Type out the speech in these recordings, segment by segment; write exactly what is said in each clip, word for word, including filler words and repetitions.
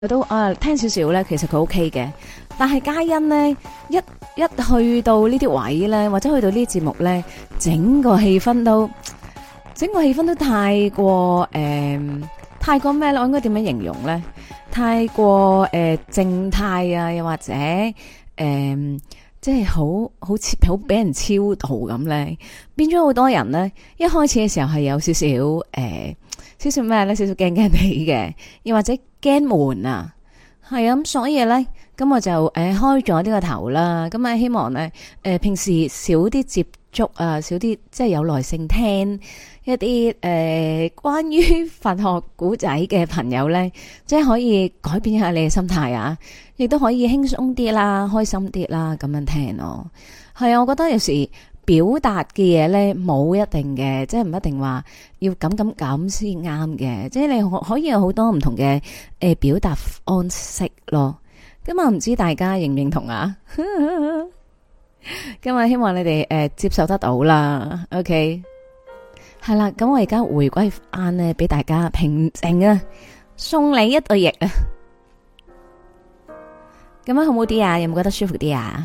佢都啊聽少少咧，其實佢 O K 嘅。但係嘉欣咧，一一去到呢啲位咧，或者去到呢啲節目咧，整個氣氛都整個氣氛都太過誒、呃，太過咩咧？我應該點樣形容咧？太過誒靜態啊，又或者誒、呃，即係好好似好俾人超度咁咧，變咗好多人咧。一開始嘅時候係有少少誒。呃少少咩咧？少少驚驚地嘅，又或者驚悶啊，係啊咁，所以咧，咁我就誒、呃、開咗呢個頭啦。咁啊，希望咧，誒、呃、平時少啲接觸啊，少啲即係有耐性聽一啲誒、呃、關於佛學古仔嘅朋友咧，即係可以改變一下你嘅心態啊，亦都可以輕鬆啲啦，開心啲啦，咁樣聽咯。係啊，我覺得有時。表達嘅嘢咧冇一定嘅，即係唔一定話要咁咁咁先啱嘅，即係你可可以有好多唔同嘅誒、呃、表達方式咯。咁啊，唔知大家認唔認同啊？咁啊，希望你哋誒、呃、接受得到啦。OK， 係啦，咁我而家回歸翻咧，俾大家平靜啊，送你一對翼啊。咁樣好唔好啲啊？有冇覺得舒服啲啊？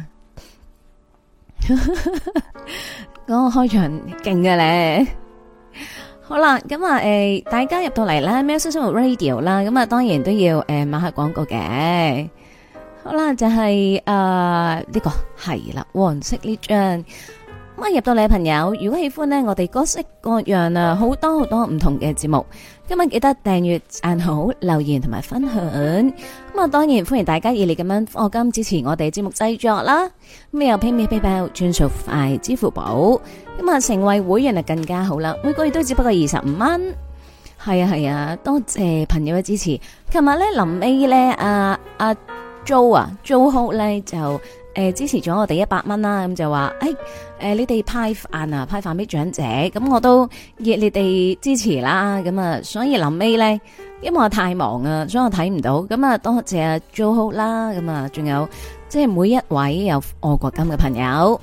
嗰個開場勁嘅咧，好啦，咁啊，誒，大家入到嚟啦，喵式生活 Radio 啦，咁啊，當然都要誒買下廣告嘅。好啦，就係誒呢個係啦，黃色呢張。咁啊，入到嚟嘅朋友，如果喜歡呢，我哋各式各樣啊，好多好多唔同嘅節目，今日記得訂閱、讚好、留言同埋分享。咁啊，當然歡迎大家熱烈咁樣課金支持我哋節目製作啦。咁又 PayMe PayPal 轉數快，支付寶。咁啊，成為會員就更加好啦，每個月都只不過二十五蚊。係啊係啊，多謝朋友嘅支持。琴日咧臨尾咧，阿阿 Jo 啊 Jo Ho 咧就誒、呃、支持咗我哋一百蚊啦，咁就話誒。哎誒、呃，你哋派飯啊，派飯俾長者，咁我都熱烈地支持啦。咁啊，所以臨尾咧，因為我太忙啊，所以我睇唔到。咁啊，多謝阿 Jo 啦。咁啊，仲有即係每一位有愛國金嘅朋友，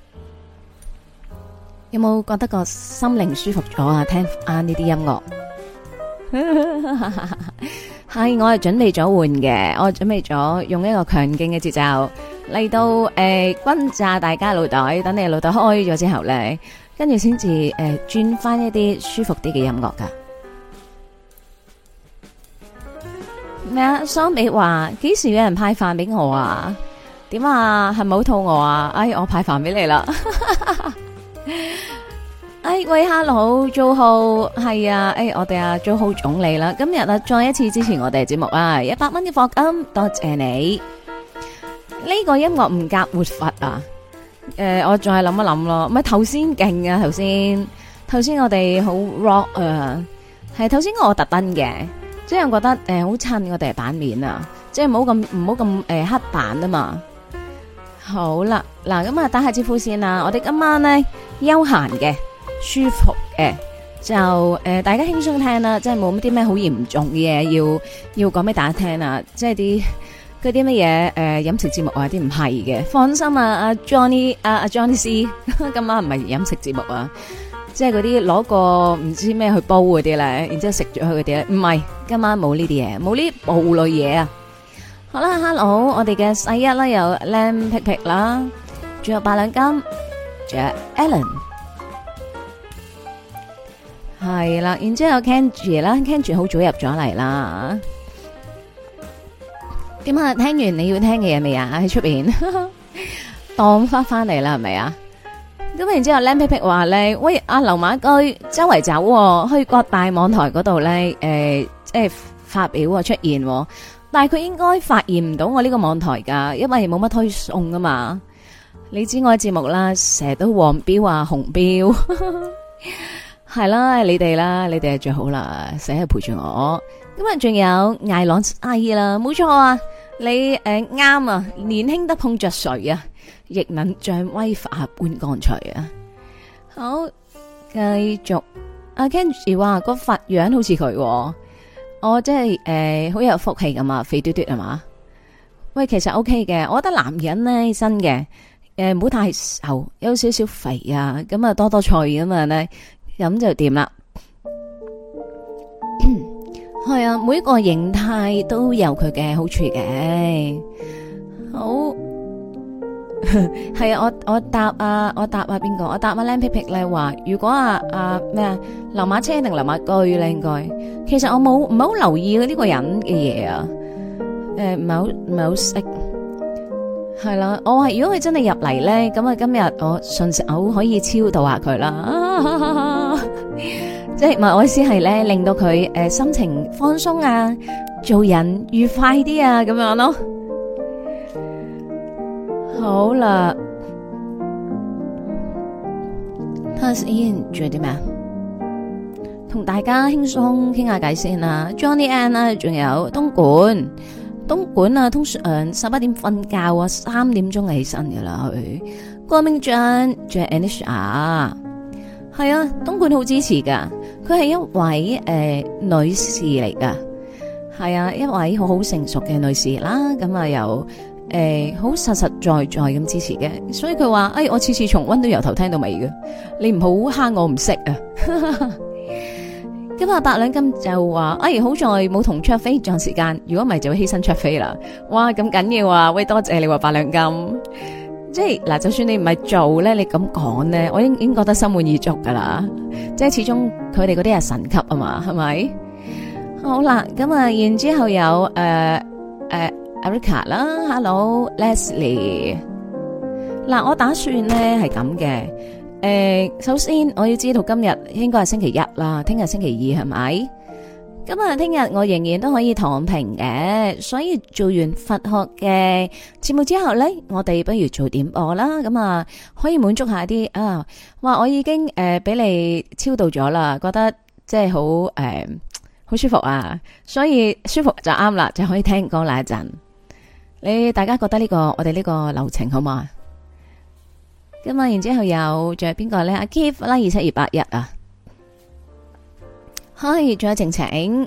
有冇覺得個心靈舒服咗啊？聽啱呢啲音樂，係我係準備咗換嘅，我準備咗用一個強勁嘅節奏。嚟到誒轟炸大家腦袋，等你腦袋開咗之後咧，跟住先至誒轉翻一啲舒服啲嘅音樂噶。咩啊？桑比話幾時有人派飯俾我啊？點啊？係咪好肚餓啊？哎，我派飯俾你啦。哎喂 ，Hello，Jo Ho，係啊，哎，我哋阿 Jo Ho 總理啦，今日啊再一次支持我哋節目啊，一百蚊嘅課金，多謝你。呢、這個音樂唔夾活佛啊！誒、呃，我再諗一諗咯。唔係頭先勁啊，頭先頭先我哋好 rock 啊，係頭先我特登嘅，即係我覺得誒好襯我哋版面啊，即係唔好咁唔好咁誒黑板啊嘛。好啦，嗱咁啊打下招呼先啦。我哋今晚咧休閒嘅、舒服嘅，就誒、呃、大家輕鬆聽啦，即係冇乜啲咩好嚴重嘅嘢要要講俾大家聽啊，即係啲。嗰啲乜嘢誒飲食節目啊啲唔係嘅，放心啊，阿 Johnny 阿阿 Johnny C 今晚唔係飲食節目啊，即係嗰啲攞個唔知咩去煲嗰啲咧，然之後食咗佢嗰啲咧，唔係今晚冇呢啲嘢，冇呢部類嘢啊。好啦 ，Hello，我哋嘅細一啦，有 Lam 皮皮啦，仲有八兩金，仲有 Alan， 係啦，然之後 Kenji 啦 ，Kenji 好早入咗嚟啦。點啊？聽完你要聽嘅嘢未啊？喺出邊當翻翻嚟啦，係咪啊？咁然之後靚皮皮話咧，喂，阿劉馬居周圍走、哦，去各大網台嗰度咧，誒、呃，即係發表啊出現、哦，但係佢應該發現唔到我呢個網台噶，因為冇乜推送噶嘛。你知我嘅節目啦，成日都黃標啊紅標，係啦，你哋啦，你哋係最好啦，成日陪住我。咁啊，仲有艾朗阿姨啦，冇錯啊，你誒啱、呃、啊，年輕得碰着誰啊，亦能像威化般乾脆啊。好，繼續。阿 Kenji 話個佛樣好似佢、哦，我即係誒好有福氣咁啊，肥嘟嘟係嘛？喂，其實 OK 嘅，我覺得男人咧真嘅，誒唔好太瘦，有少少肥啊，咁啊多多菜咁啊咧，咁就掂啦。 係啊，每一個形態都有佢嘅好處嘅。好。係啊，我我答啊，我答啊邊個？我答啊靚皮皮咧話，如果啊啊咩啊，流馬車定流馬居咧？應該，其實我冇唔係好留意呢個人嘅嘢啊。誒，唔係好唔係好識。係啦，我話如果佢真係入嚟咧，咁啊今日我順手可以超度下佢啦。即係唔係我意思係咧，令到佢誒心情放鬆啊，做人愉快啲啊，咁樣咯。好啦，睇下先，仲有啲咩啊？同大家輕鬆傾下偈先啦。Johnny Ann 啊，仲有東莞，東莞啊，通常十一點瞓覺啊，三點鐘就起身噶啦。佢郭明俊，仲有 Anisha，係啊，東莞好支持噶。佢係一位誒、呃、女士嚟噶，係啊，一位好好成熟嘅女士啦。咁啊又。誒，好、欸、實實在在咁支持嘅，所以佢話：，誒、哎，我次次重溫都由頭聽到尾嘅，你唔好蝦我唔識啊！咁啊，八兩金就話：，誒、哎，好在冇同卓飛撞時間，如果唔係就會犧牲卓飛啦。哇，咁緊要啊！喂，多謝你話八兩金，即係嗱，就算你唔係做咧，你咁講咧，我已經已經覺得心滿意足噶啦。即係始終佢哋嗰啲係神級啊嘛，係咪？好啦，咁啊，然之後有誒誒。呃呃 Erica 啦 ，Hello Leslie。嗱，我打算咧係咁嘅。誒、呃，首先我要知道今日應該係星期一啦，聽日星期二係咪？咁啊，聽日我仍然都可以躺平嘅，所以做完佛學嘅節目之後咧，我哋不如做點播啦。咁啊，可以滿足下啲啊，話我已經誒俾、呃、你超度咗啦，覺得即係好誒好舒服啊，所以舒服就啱啦，就可以聽歌啦一陣。你大家覺得呢、這個我哋呢個流程好嘛？咁啊，然之後有仲有邊個咧？阿 Keith 啦，二七二八一啊，係仲有晴晴，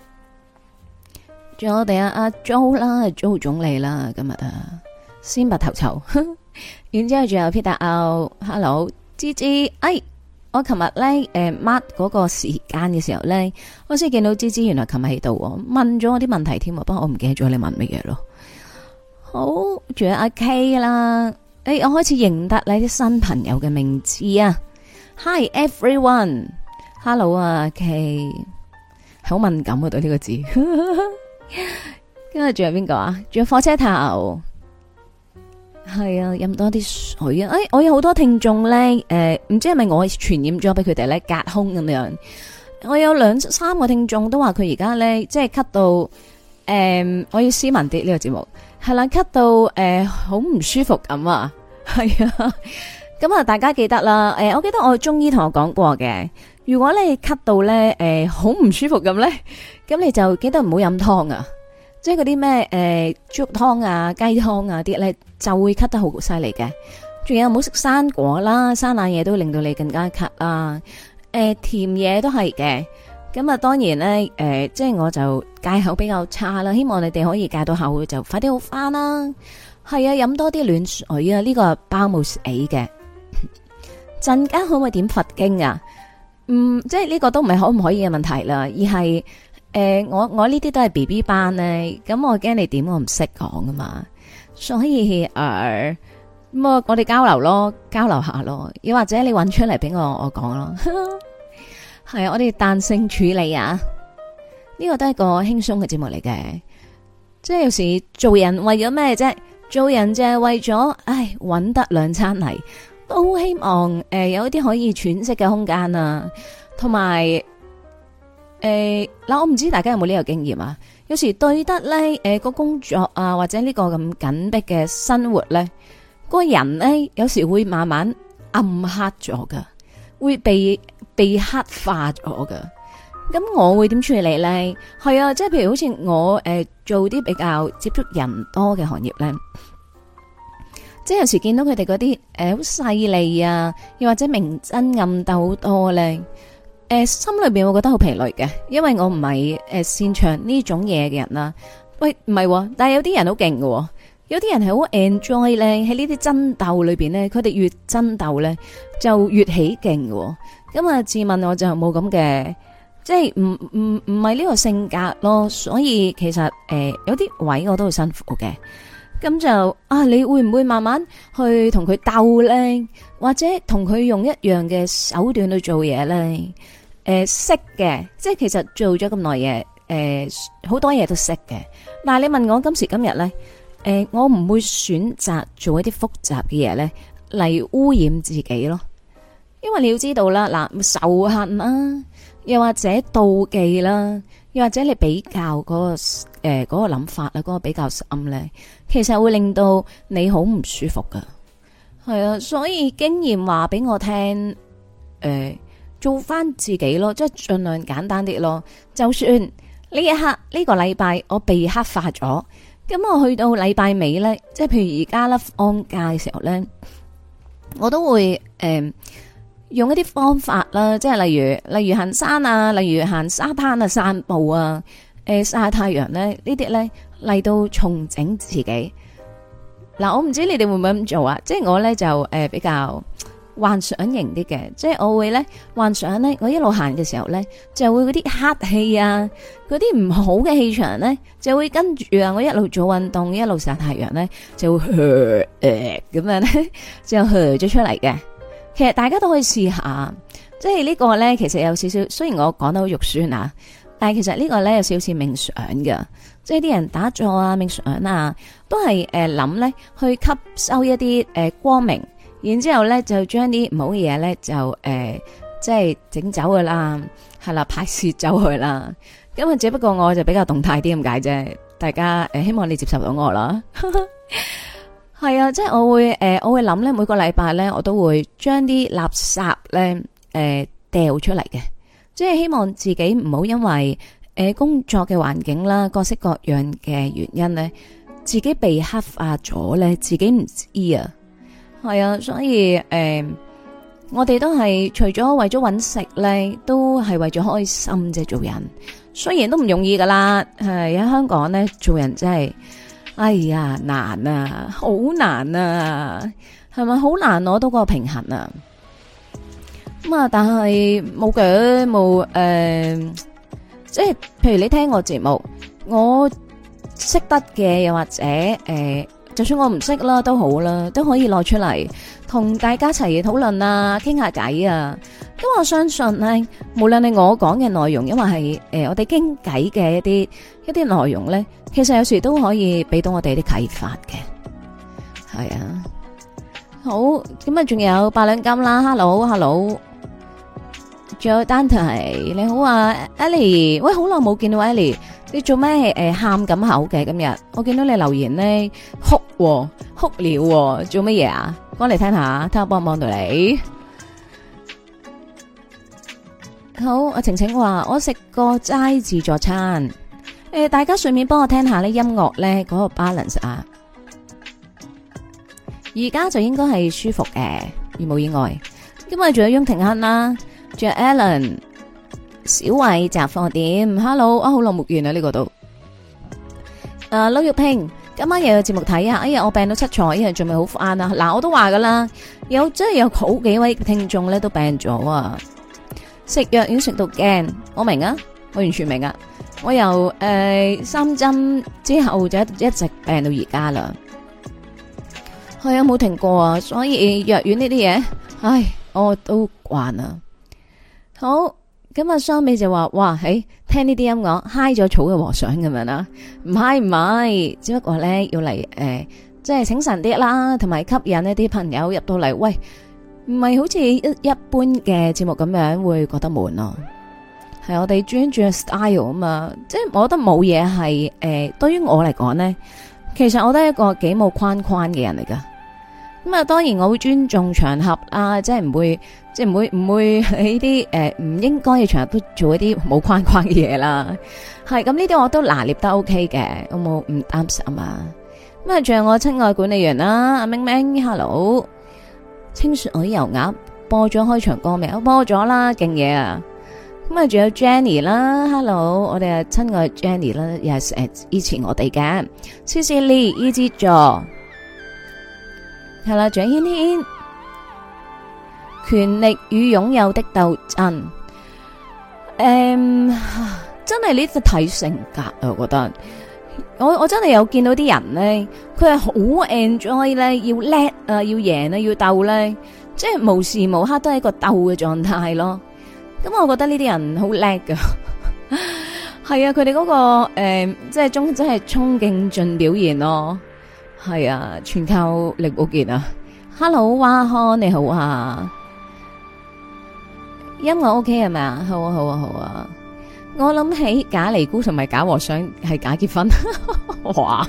仲有我哋阿阿 Jo 啦 ，Jo 總理啦，今日啊，先拔頭籌。然之後仲有 Peter O，Hello，芝芝，哎，我琴日咧誒 mark 嗰個時間嘅時候咧，我先見到芝芝原來琴日喺度，問咗我啲問題添，不過我唔記得咗你問乜嘢咯。好，仲有阿 K 啦，誒、欸，我開始認得你啲新朋友嘅名字啊。Hi everyone，Hello 啊 K，好敏感啊對呢個字。跟住仲有邊個啊？仲有火車頭，係啊，飲多啲水啊。誒、欸，我有好多聽眾咧，誒、呃，唔知係咪我傳染咗俾佢哋咧，隔空咁樣。我有兩三個聽眾都話佢而家咧，即係咳到，誒、呃，我要斯文啲呢個節目。係啦，咳到誒好唔舒服咁啊，係啊，咁啊大家記得啦，誒、呃、我記得我中醫同我講過嘅，如果你咳到咧誒好唔舒服咁咧，咁你就記得唔好飲湯啊，即係嗰啲咩誒豬肉湯啊、雞湯啊啲咧就會咳得好犀利嘅，仲有唔好食生果啦，生冷嘢都令到你更加咳啊，誒、呃、甜嘢都係嘅。咁啊，當然咧，誒、呃，即係我就戒口比較差啦，希望你哋可以戒到口就快啲好翻啦。係啊，飲多啲暖水啊，呢、這個包冇死嘅。陣間可唔可以點佛經啊？嗯，即係呢個都唔係可唔可以嘅問題啦，而係誒、呃，我我呢啲都係 B B 班咧，咁我驚你點我唔識講噶嘛，所以誒，咁、呃、我我哋交流咯，交流下咯，又或者你搵出嚟俾我我講咯。係啊，我哋彈性處理啊，呢個都係個輕鬆嘅節目嚟嘅。即係有時做人為咗咩啫？做人就係為咗，唉，搵得兩餐嚟，都希望誒、呃、有一啲可以喘息嘅空間啊。同埋誒嗱，我唔知大家有冇呢個經驗啊？有時對得咧，誒、呃、個工作啊，或者呢個咁緊迫嘅生活咧，個人咧有時會慢慢暗黑咗噶，會被。被黑化咗噶，咁我會點處理咧？係啊，即係譬如好似我誒、呃、做啲比較接觸人多嘅行業咧，即係有時見到佢哋嗰啲誒好細膩啊，又或者明爭暗鬥好多咧，誒、呃、心裏邊會覺得好疲累嘅，因為我唔係誒擅長呢種嘢嘅人啦。喂，唔係、啊，但係有啲人好勁嘅，有啲人係好 enjoy 咧喺呢啲爭鬥裏邊咧，佢哋越爭鬥咧就越起勁嘅。咁啊，自問我就冇咁嘅，即即係唔唔唔係呢個性格咯，所以其實誒、呃、有啲位我都好辛苦嘅。咁就啊，你會唔會慢慢去同佢鬥咧？或者同佢用一樣嘅手段去做嘢咧？誒、呃，識嘅，即係其實做咗咁耐嘢，誒、呃，好多嘢都識嘅。但係你問我今時今日咧，誒、呃，我唔會選擇做一啲複雜嘅嘢咧嚟污染自己咯。因為你要知道啦，嗱，仇恨啦，又或者妒忌啦，又或者你比較嗰、嗰個誒嗰、嗰個諗法啦，嗰、嗰個比較深咧。其實會令到你好唔舒服噶，係啊，所以經驗話俾我聽，誒、呃，做翻自己咯，即係盡量簡單啲咯。就算呢一刻呢、呢個禮拜我被黑化咗，咁我去到禮拜尾咧，即係譬如而家啦，放假嘅時候咧，我都會誒、呃、用一啲方法啦，即係例如例如行山啊，例如行沙灘啊，散步啊。誒，曬太陽咧，呢啲咧嚟到重整自己。嗱，我唔知你哋會唔會咁做啊？即係我咧就誒、呃、比較幻想型啲嘅，即係我會咧幻想咧，我一路行嘅時候咧，就會嗰啲黑氣啊，嗰啲唔好嘅氣場咧，就會跟住啊，我一路做運動，一路曬太陽咧，就會誒誒咁樣咧，就咳咗出嚟嘅。其實大家都可以試下，即係呢個咧，其實有少少，雖然我講得好肉酸啊。但係其實呢個咧有少少冥想㗎，即係啲人打坐啊、冥想啊，都係誒諗咧去吸收一啲誒、呃、光明，然之後咧就將啲唔好嘅嘢咧就誒、呃、即係整走佢啦，係啦，排泄走佢啦。咁啊，只不過我就比較動態啲咁解啫，大家誒、呃、希望你接受到我啦。係啊，即係我會誒、呃、我會諗咧每個禮拜咧我都會將啲垃圾咧誒掉出嚟嘅。即係希望自己唔好因為誒、呃、工作嘅環境啦，各式各樣嘅原因咧，自己被黑化咗咧，自己唔知啊，係啊，所以誒、呃，我哋都係除咗為咗搵食咧，都係為咗開心啫。做人雖然都唔容易噶啦，係喺香港咧做人真係，哎呀難啊，好難啊，係咪好難攞到個平衡啊？咁啊，但係冇嘅，冇誒，即係譬如你聽我節目，我識得嘅，又或者誒、呃，就算我唔識啦，都好啦，都可以攞出嚟同大家一齊討論啊，傾下偈啊。咁我相信咧，無論係我講嘅內容，因為係誒、呃、我哋傾偈嘅一啲一啲內容咧，其實有時都可以俾到我哋啲啟發嘅，係啊。好，咁啊，仲有八兩金啦 ，hello hello。仲有丹提，你好啊 Ellie，喂，好耐冇見到 Ellie，你做咩誒喊咁口嘅今日？我見到你留言咧哭哭了，做乜嘢啊？講嚟聽下，睇下幫唔幫到你。好，阿晴晴話我食個齋自助餐，誒、呃，大家順便幫我聽下呢音樂咧嗰個 balance 啊。而家就應該係舒服嘅，如無意外。今日仲有雍廷亨啦。仲有 Alan、小慧雜貨店 ，Hello 啊，好耐冇見啊呢個度。誒，劉玉萍，今晚又有節目睇啊！哎呀，我病到七彩，因為仲未好翻啊！嗱，我都話噶啦，有真係有好幾位聽眾咧都病咗啊！食藥已經食到驚，我明啊，我完全明啊！我由誒、呃、三針之後就一直病到而家啦，係啊冇停過啊！所以藥丸呢啲嘢，唉，我都慣啦。好，咁啊，雙美就話，哇，誒，聽呢啲音樂嗨咗草嘅和尚咁樣啦，唔係唔係，只不過咧要嚟誒、呃，即係醒神啲啦，同埋吸引一啲朋友入到嚟，喂，唔係好似一一般嘅節目咁樣會覺得悶咯，係我哋專注嘅 style 啊嘛，即係我覺得冇嘢係誒，對於我嚟講咧，其實我都係一個幾冇框框嘅人嚟噶。咁啊，當然我會尊重場合啊，即係唔會，即係唔會唔會喺啲誒唔應該嘅場合都做一啲冇框框嘅嘢啦。係咁呢啲我都拿捏得 OK 嘅，我冇唔擔心啊。咁啊，仲有我親愛管理員啦，阿明明 ，hello，清水油鴨播咗開場歌未？我播咗啦，勁嘢啊！咁啊，仲有 Jenny 啦 ，hello，我哋啊親愛 Jenny 啦，又係誒以前我哋嘅 C C Lee Easy 座。係啦，蔣軒軒，權力與擁有的鬥爭。誒、 誒，真係呢個睇性格啊，我覺得。我我真係有見到啲人咧，佢係好 enjoy 咧，要叻啊，要贏啊，要鬥咧，即係無時無刻都係一個鬥嘅狀態咯。咁我覺得呢啲人好叻噶，係啊，佢哋嗰個誒、呃，即係中，即係衝勁盡表現咯。係啊，全靠力保健啊。Hello， 蛙康你好啊，音樂 OK 係咪啊？好啊，好啊，好啊。我諗起假尼姑同埋假和尚係假結婚，哇！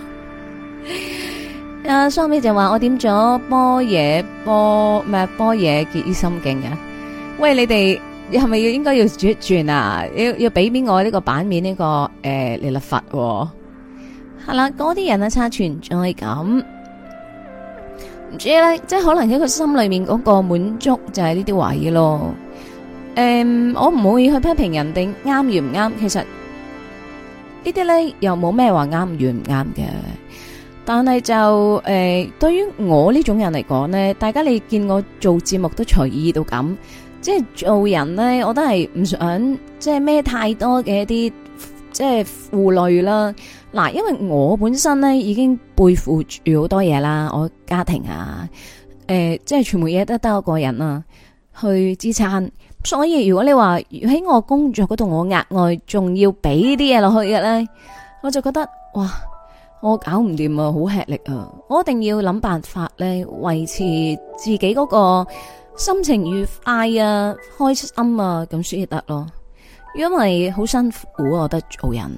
阿雙美就話我點咗般若波咩般若結於心經啊？喂，你哋係咪要應該要轉一轉啊？要要俾邊我呢個版面呢、這個誒彌勒佛係啦？嗰啲人啊，差存在感，唔知咧，即係可能喺佢心裏面嗰個滿足就係呢啲位咯。誒、嗯，我唔會去批評人哋啱與唔啱，其實呢啲咧又冇咩話啱與唔啱嘅。但係就誒、呃，對於我呢種人嚟講咧，大家你見我做節目都隨意到咁，即係做人咧，我都係唔想即係孭太多嘅一啲即係負累啦。嗱，因為我本身咧已經背負住好多嘢啦，我家庭啊，誒、呃，即係全部嘢都得我個人啊去支撐。所以如果你話喺我工作嗰度，我額外仲要俾啲嘢落去嘅咧，我就覺得哇，我搞唔掂啊，好吃力啊！我一定要諗辦法咧，維持自己嗰個心情愉快啊、開心啊，咁先得咯。因為好辛苦，我覺得做人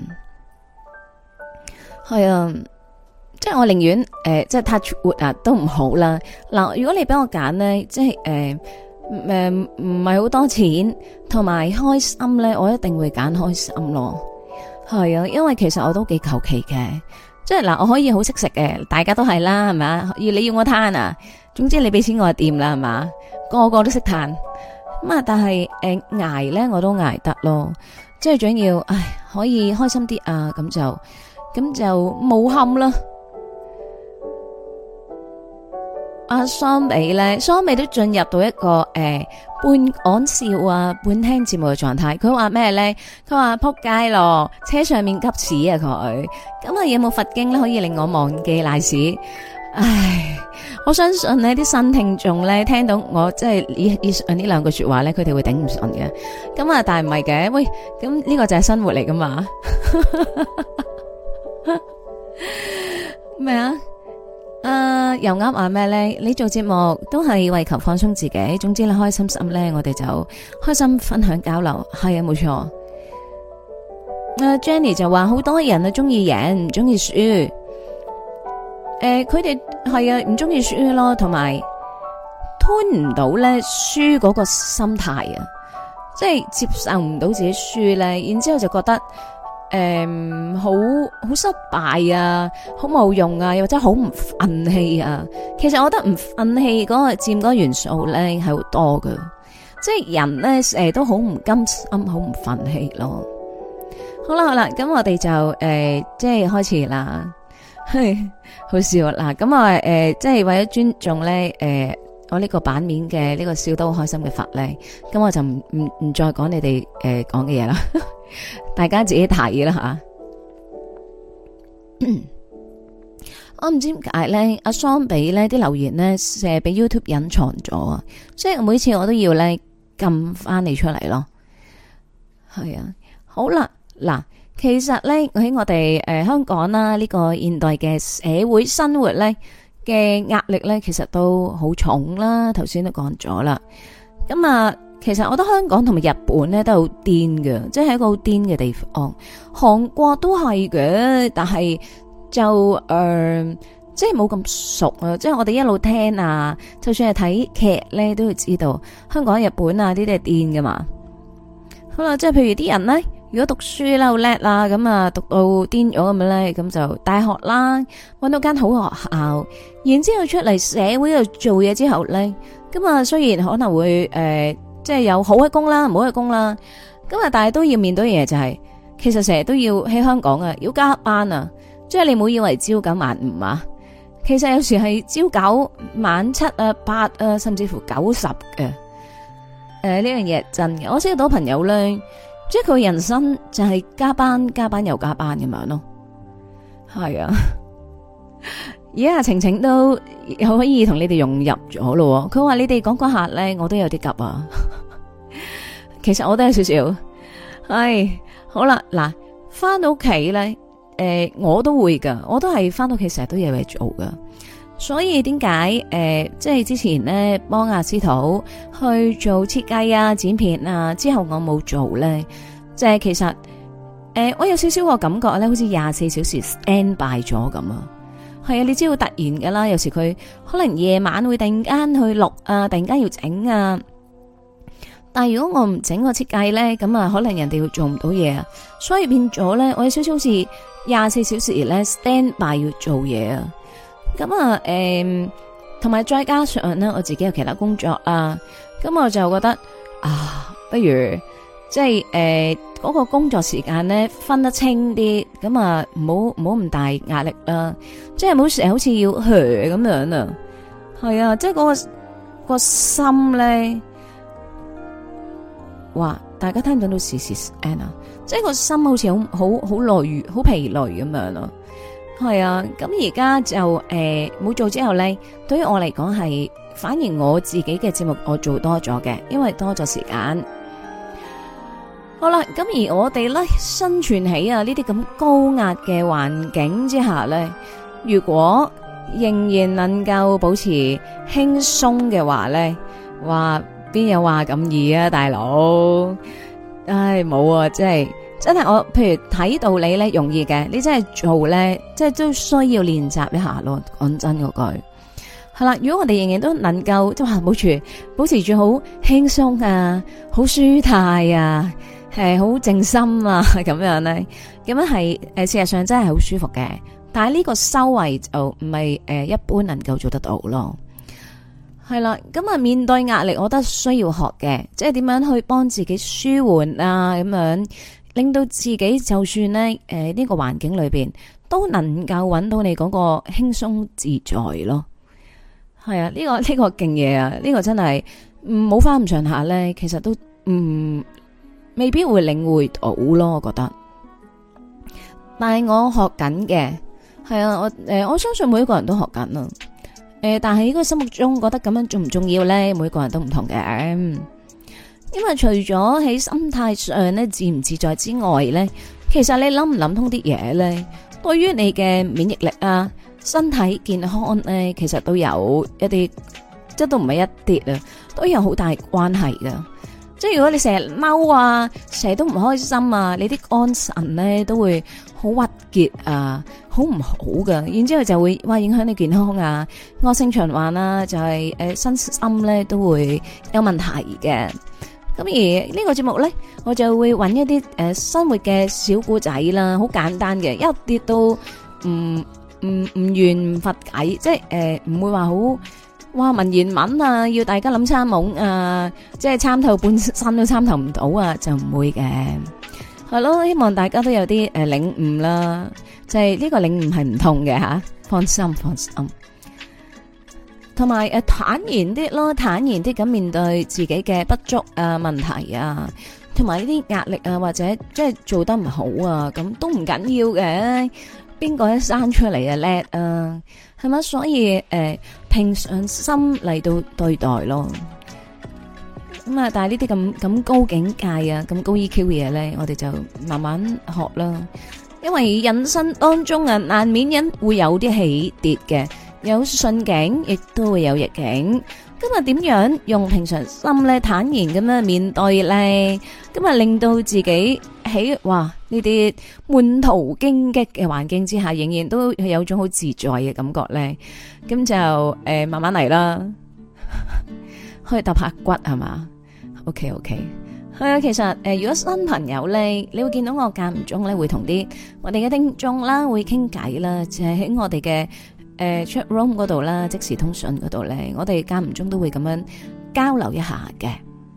係啊，即係我寧願誒，即係 touch wood 啊，都唔好啦。嗱，如果你俾我揀咧，即係誒。呃誒，唔係好多錢，同埋開心咧，我一定會揀開心咯。係啊，因為其實我都幾求其嘅，即係嗱，我可以好識食嘅，大家都係啦，係咪？要你要我攤啊，總之你俾錢我就掂啦，係嘛？個個都識攤咁啊，但係誒捱咧，我都捱得咯。即係最緊要，唉，可以開心啲啊，咁就咁就冇冚啦。阿桑美咧，桑美都進入到一個誒、呃、半講笑啊，半聽節目嘅狀態。佢話咩咧？佢話撲街咯，車上面急屎啊佢。咁啊有冇佛經咧可以令我忘記賴屎？唉，我相信呢啲新聽眾咧聽到我即係以以上呢兩句說話咧，佢哋會頂唔順嘅。咁啊，但係唔係嘅，喂，咁呢個就係生活嚟噶嘛？咩啊？誒、uh，又啱話咩咧？你做節目都係為求放鬆自己，總之你開心心咧，我哋就開心分享交流，係啊，冇錯。誒、uh，Jenny 就話好多人啊中意贏，唔中意輸。誒、呃，佢哋係啊，唔中意輸咯，同埋吞唔到咧輸嗰個心態啊，即係接受唔到自己輸咧，然之後就覺得。誒、嗯，好好失敗啊，好冇用啊，又或者好唔忿氣啊。其實我覺得唔忿氣嗰個佔嗰個元素咧係好多㗎，即係人咧誒都好唔甘心，好唔忿氣咯。好啦好啦，咁我哋就誒、呃、即係開始啦，好笑啦。咁啊誒，即係為咗尊重咧誒、呃、我呢個版面嘅呢個笑得好開心嘅佛咧，咁我就唔唔唔再講你哋誒講嘅嘢啦。大家自己睇啦吓，我唔知點解咧，阿桑比咧啲留言咧成日俾 YouTube 隱藏咗啊，所以每次我都要咧撳翻你出嚟咯。係啊，好啦，嗱，其實咧喺我哋誒、呃、香港啦呢、這個現代嘅社會生活咧嘅壓力咧，其實都好重啦。頭先都講咗啦，咁啊。其實我覺得香港同埋日本咧都好癲嘅，即係一個好癲嘅地方。韓國都係嘅，但係就誒、呃，即係冇咁熟啊。即係我哋一路聽啊，就算係睇劇咧，都會知道香港、日本啊呢啲係癲噶嘛。好啦，即係譬如啲人咧，如果讀書啦好叻啦，咁啊讀到癲咗咁樣咧，咁就大學啦，搵到間好學校，然之後出嚟社會度做嘢之後咧，咁啊雖然可能會誒。呃即係有好嘅工啦，唔好嘅工啦，咁啊，但係都要面對嘅嘢就係、是，其實成日都要喺香港啊，要加班啊，即係你唔好以為朝九晚五啊，其實有時係朝九晚七啊、八啊，甚至乎九十嘅。誒、呃，呢樣嘢真嘅，我識到朋友咧， 即係佢人生就係加班加班又加班咁樣咯。係啊，而家阿晴晴都可以同你哋融入咗咯。佢話你哋講講下咧，我都有啲急啊。其實我都有少少。唉，好啦，嗱，翻到屋企咧，誒、呃，我都會噶，我都係翻到屋企成日都有嘢做噶。所以點解誒，即係之前咧幫阿司徒去做設計啊、剪片啊，之後我冇做咧，即係其實誒、呃，我有少少個感覺咧，好似廿四小時 stand by 咗咁啊。係啊，你知道突然噶啦，有時佢可能夜晚會突然間去錄啊，突然間要整啊。但係如果我唔整個設計咧，咁啊可能人哋會做唔到嘢啊。所以變咗咧，我有少少好似廿四小時咧 stand by 要做嘢啊。咁啊，誒、嗯，同埋再加上咧，我自己有其他工作啦，咁我就覺得啊，不如即係誒嗰個工作時間咧分得清啲，咁啊唔好唔好咁大壓力啦，即係唔好成日好似要咁樣啊，係啊，即係嗰、嗰個、嗰個心咧，哇！大家聽唔聽到時時 Anna， 即係個心好似好好好累、好疲累咁樣咯。係啊，咁而家就誒冇、呃、做之後咧，對於我嚟講係反而我自己嘅節目我做多咗嘅，因為多咗時間。好啦，咁而我哋咧生存喺啊呢啲咁高壓嘅環境之下咧，如果仍然能夠保持輕鬆嘅話咧，話邊有話咁易啊，大佬？唉，冇啊，即係。真係我，譬如睇道理咧容易嘅，你真係做咧，即係都需要練習一下咯。講真嗰句，係啦。如果我哋仍然都能夠即係保持保持住好輕鬆啊，好舒泰啊，係好靜心啊，咁樣咧，咁樣係誒，事實上真係好舒服嘅。但係呢個修為就唔係誒一般能夠做得到咯。係啦，咁啊面對壓力，我覺得需要學嘅，即係點樣去幫自己舒緩啊，咁樣。令到自己就算咧，誒、呃、呢、這個環境裏邊都能夠揾到你嗰個輕鬆自在咯。係啊，呢、這個呢、這個勁嘢啊，呢、這個真係唔好翻咁上下咧，其實都唔、嗯、未必會領會到咯。我覺得，但係我學緊嘅，係啊，我誒、呃、我相信每一個人都學緊啊。誒、呃，但係呢個心目中覺得咁樣重唔重要咧？每個人都唔同嘅。因為除咗喺心態上咧自唔自在之外咧，其實你諗唔諗通啲嘢咧，對於你嘅免疫力啊、身體健康咧，其實都有一啲，即係都唔係一啲啊，都有好大關係噶。即係如果你成日嬲啊，成日都唔開心啊，你啲肝腎咧都會好鬱結啊，好唔好噶。然之後就會哇影響你健康啊，惡性循環啊，就係、是、誒、呃、身心咧都會有問題嘅。咁而呢個節目咧，我就會揾一啲誒、呃、生活嘅小故仔啦，好簡單嘅，一啲都唔唔唔圓唔佛偈，即係誒唔會話好哇文言文啊，要大家諗參懵啊，即係參透半生都參透唔到啊，就唔會嘅。係咯，希望大家都有啲誒、呃、領悟啦，就係、是、呢個領悟係唔同嘅吓，放心放心。同埋誒坦然啲咯，坦然啲咁面對自己嘅不足啊、問題啊，同埋呢啲壓力啊，或者即係做得唔好啊，咁都唔緊要嘅。邊個一生出嚟啊叻啊，係咪？所以誒、呃、平常心嚟到對待咯。咁啊，但係呢啲咁咁高境界啊、咁高 E Q 嘅嘢咧，我哋就慢慢學啦。因為人生當中啊，難免因會有啲起跌嘅。有順境，亦都會有逆境。今日點樣用平常心咧，坦然咁樣面對咧？今日令到自己喺哇呢啲滿途荊棘嘅環境之下，仍然都有種好自在嘅感覺咧。咁就誒、呃、慢慢嚟啦，可以揼下骨係嘛 ？OK OK，係啊。其實誒、呃，如果新朋友咧，你會見到我間唔中咧會同啲我哋嘅聽眾啦會傾偈啦，就係、是、喺我哋嘅。誒、呃、chat room 嗰度啦，即時通訊嗰度咧，我哋間唔中都會咁樣交流一下嘅。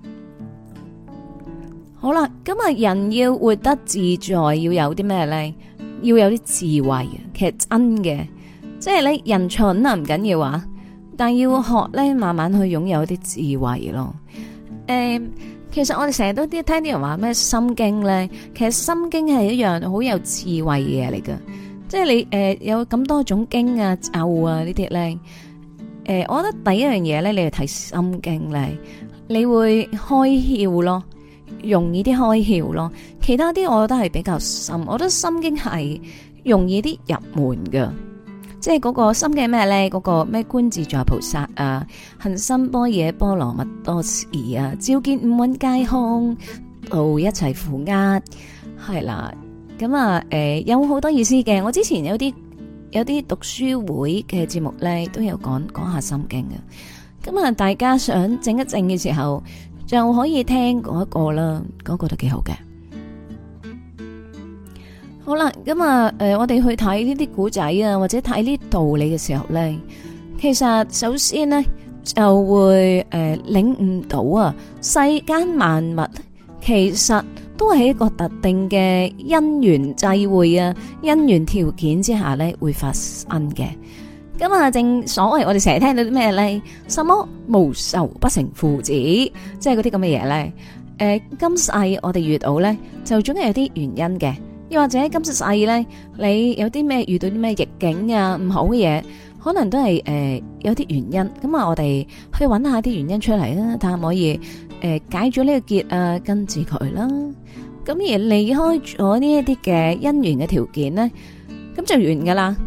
好啦，咁啊，人要活得自在，要有啲咩咧？要有啲智慧啊！其實真嘅，即係你人蠢啊唔緊要啊，但要學咧，慢慢去擁有啲智慧咯。誒、呃， 其實我哋成日都啲聽啲人話咩心經咧，其實心經係一樣好有智慧嘅嘢嚟噶。即係你誒、呃、有咁多種經啊咒啊呢啲咧，誒、呃，我覺得第一樣嘢咧，你去睇心經咧，你會開竅咯，容易啲開竅咯。其他啲我覺得係比較深，我覺得心經係容易啲入門噶。即係嗰個心經咩咧？嗰、那個咩觀自在菩薩啊，行深般若波羅蜜多時啊，照見五蘊皆空，度一切苦厄，係啦。咁啊，誒、呃，有好多意思嘅。我之前有啲有啲讀書會嘅節目咧，都有講講下心經嘅。咁啊，大家想靜一靜嘅時候，就可以聽嗰一個啦，嗰、那個都幾好嘅。好啦，咁啊，誒、呃，我哋去睇呢啲古仔啊，或者睇呢啲道理嘅時候咧，其實首先呢，就會誒、呃、領悟到啊，世間萬物其實都係一個特定嘅因緣際會啊，因緣條件之下咧會發生嘅。咁啊，正所謂我哋成日聽到啲咩咧，什麼無仇不成父子，即係嗰啲咁嘅嘢咧。誒、呃，今世我哋遇到咧，就總係有啲原因嘅。又或者今世咧，你有啲咩遇到啲咩逆境啊，唔好嘅嘢，可能都係誒、呃、有啲原因。咁啊，我哋去揾下啲原因出嚟啦，睇下可唔可以誒、呃、解咗呢個結啊，根治佢啦。咁而離開咗呢一啲嘅因緣嘅條件咧，咁就完噶啦。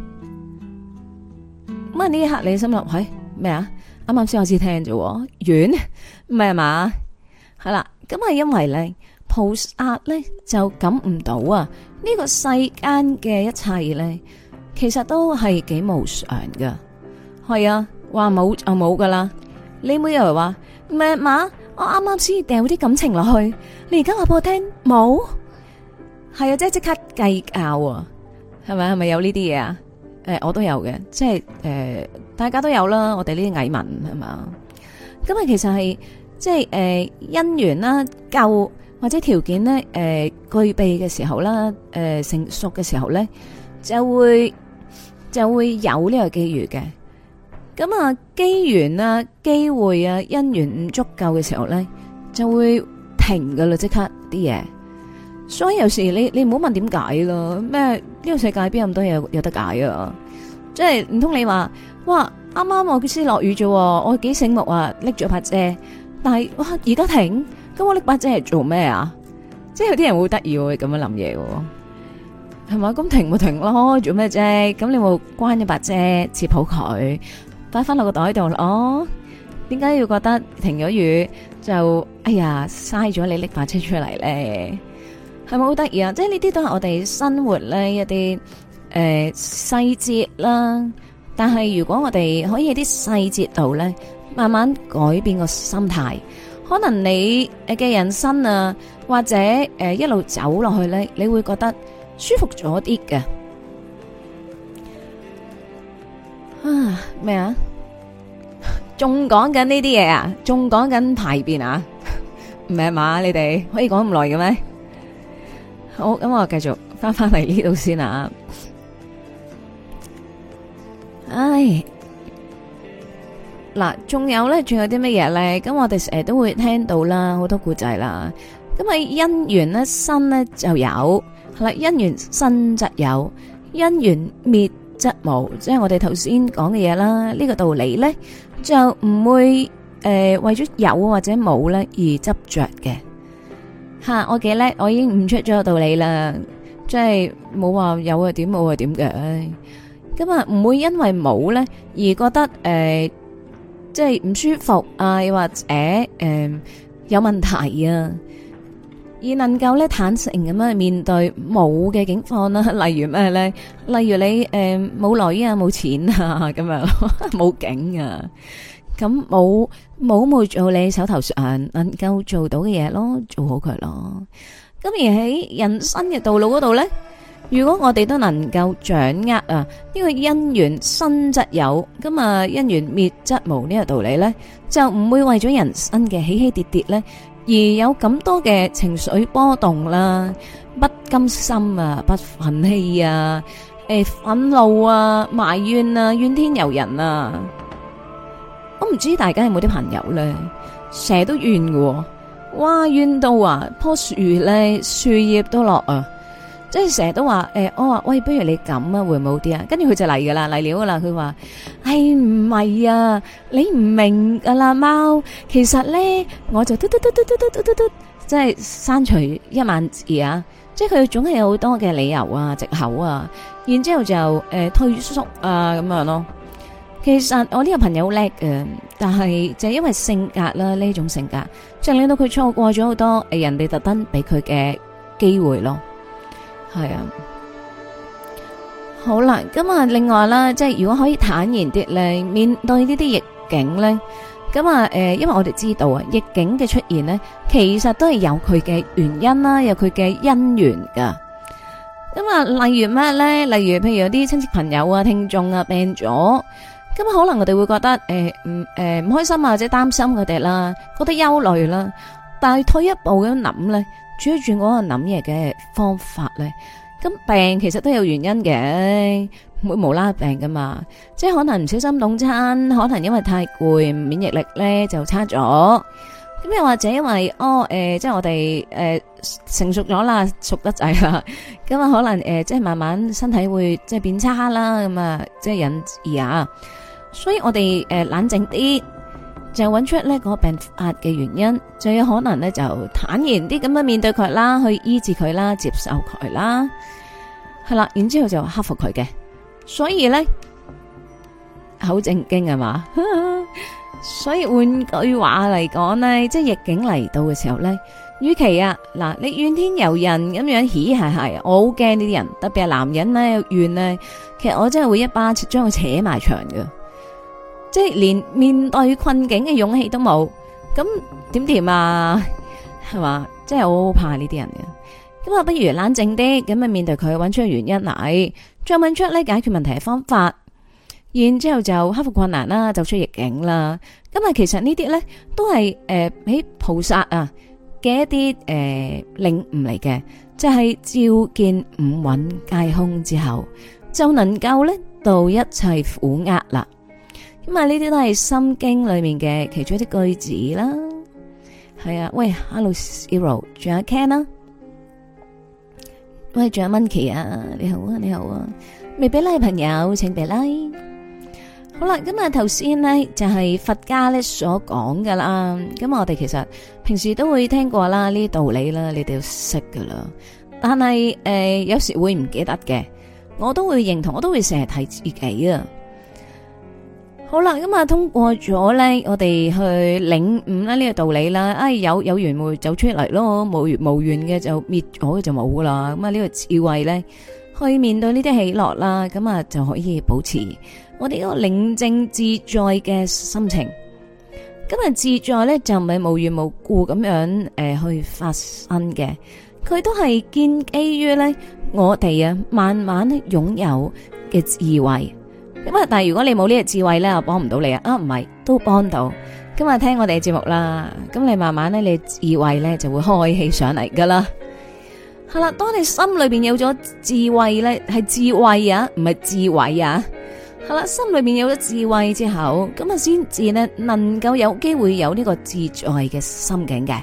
咁啊呢一刻你心諗，喂咩啊？啱啱先開始聽啫，完唔係嘛？係啦，咁係因為咧。菩薩咧就感悟到啊，呢、這個世間嘅一切咧，其實都係幾無常噶。係啊，話冇就冇噶啦。你每日話唔係嘛？我啱啱先掉啲感情落去，你而家話俾我聽冇？係啊，即係即刻計較啊，係咪？係咪有呢啲嘢啊？誒、呃，我都有嘅，即係誒、呃，大家都有啦。我哋呢啲蟻民係嘛？咁啊，其實係即係誒、呃、因緣啦，夠。或者條件咧，誒、呃、具備嘅時候啦，誒、呃、成熟嘅時候咧，就會就會有呢個機遇嘅。咁啊，機緣啊、機會啊、因緣唔足夠嘅時候咧，就會停噶啦，即刻啲嘢。所以有時你你唔好問點解咯，咩呢、這個世界邊有咁多嘢有得解啊？即係唔通你話，哇啱啱我先落雨啫，我幾醒目啊，拎咗把遮，但係哇而家停。咁我拎把遮係做咩啊？即係有啲人會得意會咁樣諗嘢嘅，係咪？咁停咪停咯，做咩啫？咁你冇關一把遮，接好佢，擺翻落個袋度咯。點解要覺得停咗雨就哎呀嘥咗你拎把遮出嚟咧？係咪好得意啊？即係呢啲都係我哋生活咧一啲誒細節啦。但係如果我哋可以喺啲細節度咧，慢慢改變個心態。可能你誒嘅人生啊，或者誒、呃、一路走落去咧，你會覺得舒服咗啲嘅。啊咩啊？仲講緊呢啲嘢啊？仲講緊排便啊？唔係嘛？你哋可以講咁耐嘅咩？好，咁我繼續翻翻嚟呢度先啊。唉。嗱，仲有咧，仲有啲乜嘢咧？咁我哋成日都會聽到啦，好多故仔啦。咁啊，因緣咧生咧就有，係啦，因緣生則有，因緣滅則無，即係我哋頭先講嘅嘢啦。呢、這個道理咧就唔會誒、呃、為咗有或者冇咧而執着嘅。吓、啊，我幾叻，我已經悟出咗個道理啦，即係冇話有係點，冇係點嘅。咁啊，唔會因為冇咧而覺得誒。呃即係唔舒服啊，又或者誒、呃、有問題啊，而能夠咧坦誠咁樣面對冇嘅境況啦，例如咩咧？例如你誒冇女啊，冇錢啊，咁樣冇景啊，咁冇冇冇做你手頭上能夠做到嘅嘢咯，做好佢咯。咁而喺人生嘅道路嗰度咧。如果我哋都能夠掌握啊呢個因緣生則有，咁啊因緣滅則無呢個道理咧，就唔會為咗人生嘅起起跌跌咧而有咁多嘅情緒波動啦、不甘心啊、不忿氣啊、誒憤怒啊、埋怨啊、怨天尤人啊。我唔知大家有冇啲朋友咧，成日都怨嘅， 哇怨到啊，棵樹咧樹葉都落啊，即係成日都話誒、欸，我話喂，不如你咁啊，會唔會好啲啊？跟住佢就嚟噶啦，嚟料噶啦，佢話係唔係啊？你唔明噶啦，貓，其實咧我就嘟嘟嘟嘟嘟嘟嘟嘟嘟，即係刪除一萬字啊！即係佢總係有好多嘅理由啊、藉口啊，然之後就誒、呃、退縮啊咁樣咯。其實我呢個朋友好叻嘅，但係就係因為性格啦，呢種性格就令到佢錯過咗好多誒人哋特登俾佢嘅機會咯。係啊，好啦，咁啊，另外啦，即係如果可以坦然啲咧，面對呢啲逆境咧。咁啊，誒，因為我哋知道啊，逆境嘅出現呢，其實都係有佢嘅原因啦，有佢嘅因緣噶。咁啊，例如咩咧？例如，譬如有啲親戚朋友啊、聽眾啊病咗，咁可能我哋會覺得誒，唔誒唔開心啊，或者擔心佢哋啦，覺得憂慮啦。但係退一步咁諗咧，轉一轉嗰個諗嘢嘅方法咧，咁病其實都有原因嘅。唔會無啦啦病噶嘛，即係可能唔小心凍親，可能因為太攰，免疫力咧就差咗。咁又或者因為哦誒、呃，即係我哋誒、呃、成熟咗啦，熟得滯啦，咁啊可能誒、呃、即係慢慢身體會即係變差啦，咁啊即係引致啊。所以我哋誒、呃、冷靜啲，就揾出呢個病發嘅原因，就有可能咧就坦然啲咁樣面對佢啦，去醫治佢啦，接受佢啦，係啦，然之後就克服佢嘅。所以咧，好正經係嘛？所以換句話嚟講咧，即係逆境嚟到嘅時候咧，與其啊嗱，你怨天尤人咁樣，嘻係係，我好驚呢啲人，特別係男人咧怨咧，其實我真係會一巴將佢扯埋牆㗎，即係連面對困境嘅勇氣都冇，咁點掂啊？係嘛？即係我好怕呢啲人嘅，咁啊，不如冷靜啲，咁啊面對佢，揾出個原因嚟。再問出咧解決問題嘅方法，然之後就克服困難啦，走出逆境啦。咁啊，其實呢啲咧都係誒喺菩薩啊嘅一啲誒領悟嚟嘅，即係照見五蘊皆空之後，就能夠咧度一切苦厄啦。咁啊，呢啲都係心經裏面嘅其中一啲句子啦。係啊，喂 ，Hello Zero， 仲有 Ken 啦。喂，仲有 Monkey 啊，你好啊，你好啊，未俾 like 嘅朋友請俾 like。好啦，咁啊頭先呢就係佛家咧所講噶啦，咁我哋其實平時都會聽過啦，呢啲道理啦，你哋要識噶啦。但係誒有時會唔記得嘅，我都會認同，我都會成日提自己啊。好啦，咁啊通過咗咧，我哋去領悟啦呢個道理啦。哎，有有緣會走出嚟咯，無緣無緣嘅就滅咗嘅就冇噶啦。咁啊呢個智慧咧，去面對呢啲喜樂啦，咁啊就可以保持我哋嗰個寧靜自在嘅心情。咁啊自在咧就唔係無緣無故咁樣誒、呃、去發生嘅，佢都係建基於咧我哋啊慢慢擁有嘅智慧。咁啊！但係如果你冇呢個智慧咧，我幫唔到你啊！啊，唔係都幫到。今日聽我哋嘅節目啦，咁你慢慢咧，你智慧咧就會開起上嚟噶啦。係啦，當你心裏邊有咗智慧咧，係智慧啊，唔係智慧啊。係啦，心裏邊有咗智慧之後，咁啊先至咧能夠有機會有呢個自在嘅心境嘅。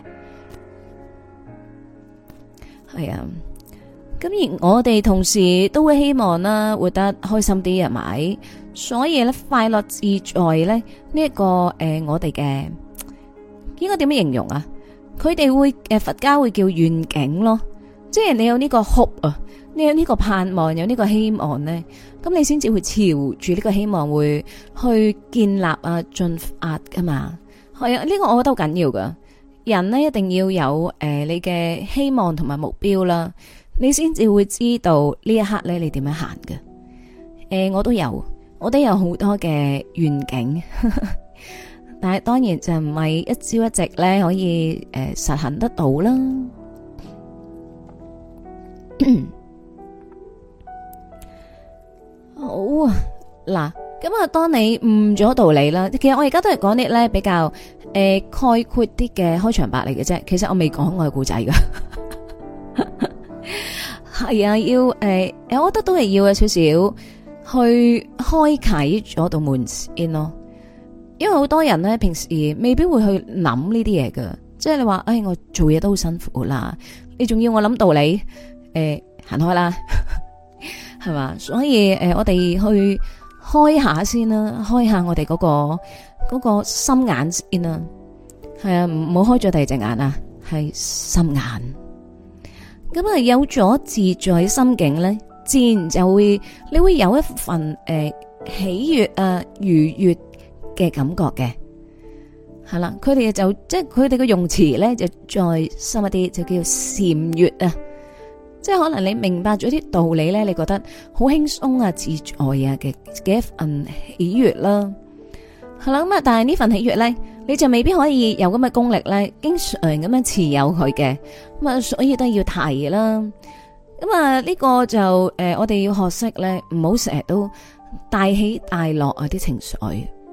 係啊。咁而我哋同時都會希望啦，活得開心啲係咪？所以咧，快樂自在咧呢一、這個誒、呃，我哋嘅應該點樣形容啊？佢哋會誒，佛家會叫願景咯，即係你有呢個 hope 啊，你有呢個盼望，有呢個希望咧，咁你先至會朝住呢個希望會去建立啊，進發噶嘛。係啊，呢、這個我覺得好緊要噶。人呢一定要有誒、呃，你嘅希望同埋目標啦。你先至會知道呢一刻咧，你點樣行嘅？誒、呃，我都有，我都有好多嘅願景，但係當然就唔係一朝一夕咧可以誒、呃、實行得到啦。好啊，嗱，咁啊，當你悟咗道理啦，其實我而家都係講啲咧比較誒、呃、概括啲嘅開場白嚟嘅啫。其實我未講我嘅故仔噶。係啊，要誒、呃，我覺得都係要有少少去開啟咗道門先咯。因為好多人咧，平時未必會去諗呢啲嘢噶， 即係你話，哎，我做嘢都好辛苦啦，你仲要我諗道理，誒、呃，行開啦，係嘛？所以誒、呃，我哋去開下先啦，開下我哋嗰、嗰個嗰、嗰個心眼先啦。係啊，唔好開咗第二隻眼啊，係心眼。咁啊，有咗自在心境咧，自然就會你會有一份誒、呃、喜悦啊愉悦嘅感覺嘅。係啦，佢哋就即係佢哋嘅用詞咧，就再深一啲，就叫禪悅啊。即係可能你明白咗啲道理咧，你覺得好輕鬆啊、自在啊嘅嘅一份喜悅啦。係啦，咁啊，但係呢份喜悅咧，你就未必可以有咁嘅功力咧，經常咁樣持有佢嘅。咁啊，所以都要提啦。咁啊，呢個就誒、呃，我哋要學識咧，唔好成日都大起大落啊啲情緒。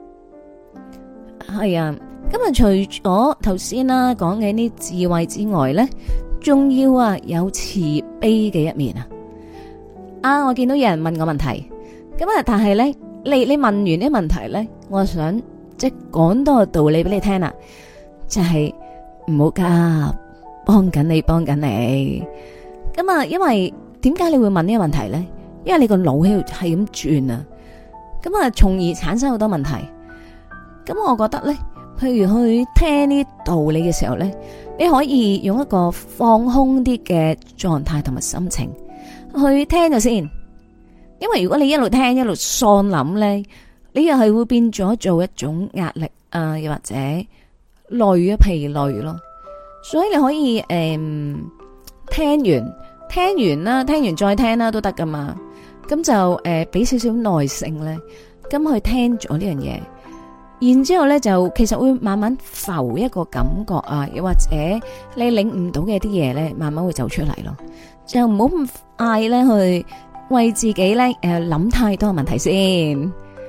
係啊。咁啊，除咗頭先啦講嘅啲智慧之外咧，仲要啊有慈悲嘅一面啊！啊，我見到有人問我問題，咁啊，但係咧，你你問完啲問題咧，我想即係講多個道理俾你聽啦，就係唔好急，幫緊你，幫緊你。咁啊，因為點解你會問呢個問題咧？因為你個腦喺度係咁轉啊，咁啊，從而產生好多問題。咁我覺得咧。譬如去聽呢啲道理嘅時候咧，你可以用一個放空啲嘅狀態同埋心情去聽咗先。因為如果你一路聽一路喪諗咧，你又係會變咗做一種壓力啊，又或者累啊疲累咯。所以你可以誒、嗯、聽完聽完啦，聽完再聽啦都得噶嘛。咁就誒俾少少耐性咧，咁去聽咗呢樣嘢。然之後咧，就其實會慢慢浮一個感覺啊，又或者你領悟到嘅啲嘢咧，慢慢會走出嚟咯。就唔好咁嗌咧，去為自己咧誒諗太多問題先。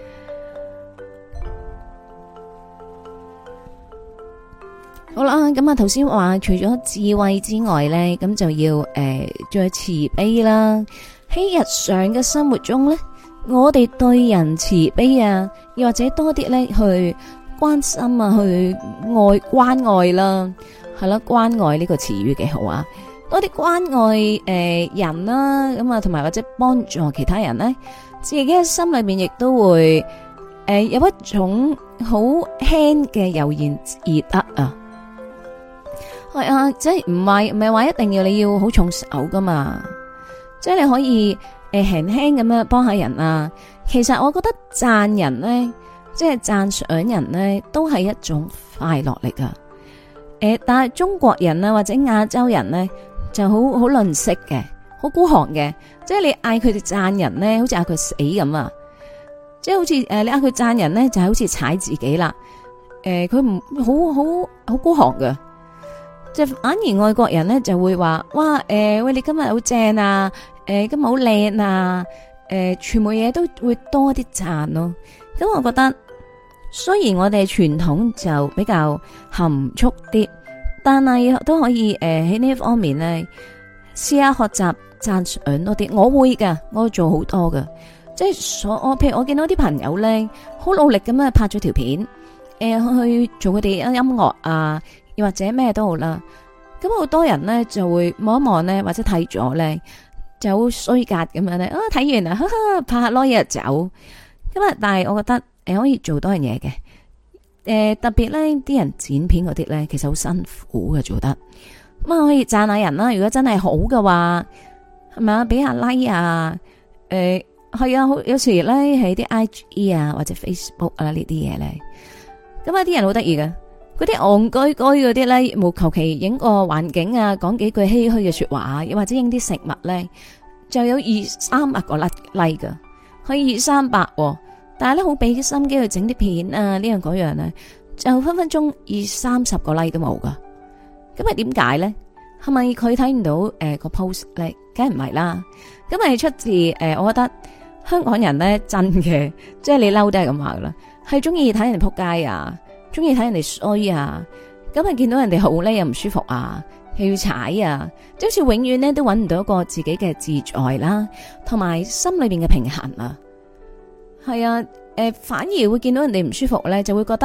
好啦，咁啊頭先話除咗智慧之外咧，咁就要誒再慈悲啦。喺日常嘅生活中咧。我哋對人慈悲啊，又或者多啲咧去關心啊，去愛關愛啦，係啦，關愛呢個詞語幾好啊！多啲關愛誒、呃、人啦，咁啊，同埋或者幫助其他人咧，自己嘅心裏面亦都會誒、呃、有一種好輕嘅悠然自得啊！係啊，即係唔係唔係話一定要你要好重手噶嘛，即係你可以。誒，輕輕咁樣幫下人啊！其實我覺得讚人咧，即係讚賞人咧，都係一種快樂嚟噶。誒，但係中國人啊，或者亞洲人咧，就好好吝嗇嘅，好孤寒嘅。即係你嗌佢哋讚人咧，好似嗌佢死咁啊！即係好似誒，你嗌佢讚人咧，就係好似踩自己啦。誒，佢唔好好好孤寒噶。即係反而外國人咧就會話：哇，誒，喂，你今日好正啊！誒，今日好靚啊！誒，全部嘢都會多啲讚咯。咁我覺得，雖然我哋傳統就比較含蓄啲，但係都可以誒喺呢一方面咧，試下學習讚賞多啲。我會噶，我會做好多噶。即係所我，譬如我見到啲朋友咧，好努力咁樣拍咗條片，誒、呃、去做佢哋音樂啊，又或者咩都好啦。咁好多人咧就會望一望咧，或者睇咗咧。就好衰格咁樣咧，啊睇完啦，哈哈，拍下攞嘢就走。咁啊，但係我覺得誒可以做多樣嘢嘅，誒、呃、特別咧啲人剪片嗰啲咧，其實好辛苦嘅做得。咁啊可以讚下人啦，如果真係好嘅話，係咪啊？俾下 like 啊，誒係啊，好有時咧喺啲 I G 啊或者 Facebook 啊呢啲嘢咧，咁啊啲人好得意嘅。嗰啲戇居居嗰啲咧，冇求其影個環境啊，講幾句唏噓嘅說話，又或者影啲食物咧，就有二三百個 like 噶，可以二三百，但係咧好俾心機去整啲片啊，呢樣嗰樣咧，就分分鐘二三十個 like 都冇噶。咁係點解咧？係咪佢睇唔到誒、呃、個 post 咧？梗係唔係啦。咁係出自誒、呃，我覺得香港人咧真嘅，即係你嬲都係咁話噶啦，係中意睇人哋撲街啊！中意睇人哋衰啊，咁啊見到人哋好咧又唔舒服啊，又要踩啊，即好似永遠咧都搵唔到一個自己嘅自在啦，同埋心裏邊嘅平衡啊。係啊，誒、呃、反而會見到人哋唔舒服咧，就會覺得，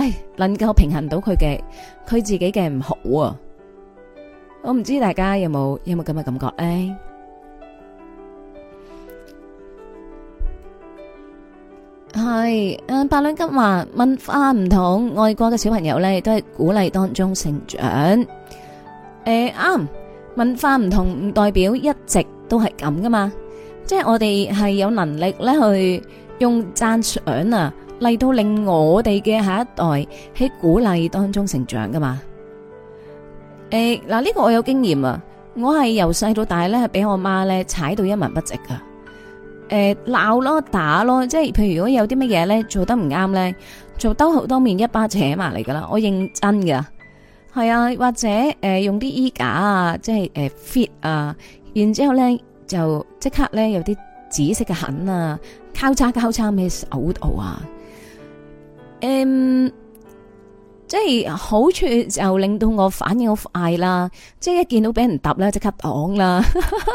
唉，能夠平衡到佢嘅佢自己嘅唔好啊。我唔知大家有冇有冇咁嘅感覺咧？係誒，八兩金話文化唔同，外國嘅小朋友咧都係鼓勵當中成長。誒啱，文化唔同唔代表一直都係咁噶嘛，即係我哋係有能力咧去用讚賞啊嚟到令我哋嘅下一代喺鼓勵當中成長噶嘛。誒嗱，呢個我有經驗啊，我係由細到大咧係俾我媽咧踩到一文不值噶。誒鬧咯打咯，即係譬如如果有啲乜嘢咧做得唔啱咧，做兜口兜面一巴扯埋嚟噶啦，我認真噶。係啊，或者誒、呃、用啲衣架啊，即係誒、呃、fit 啊，然之後咧就即刻咧有啲紫色嘅痕啊，交叉交叉喺手度啊。嗯，即係好處就令到我反應好快啦，即係一見到俾人揼咧即刻擋啦。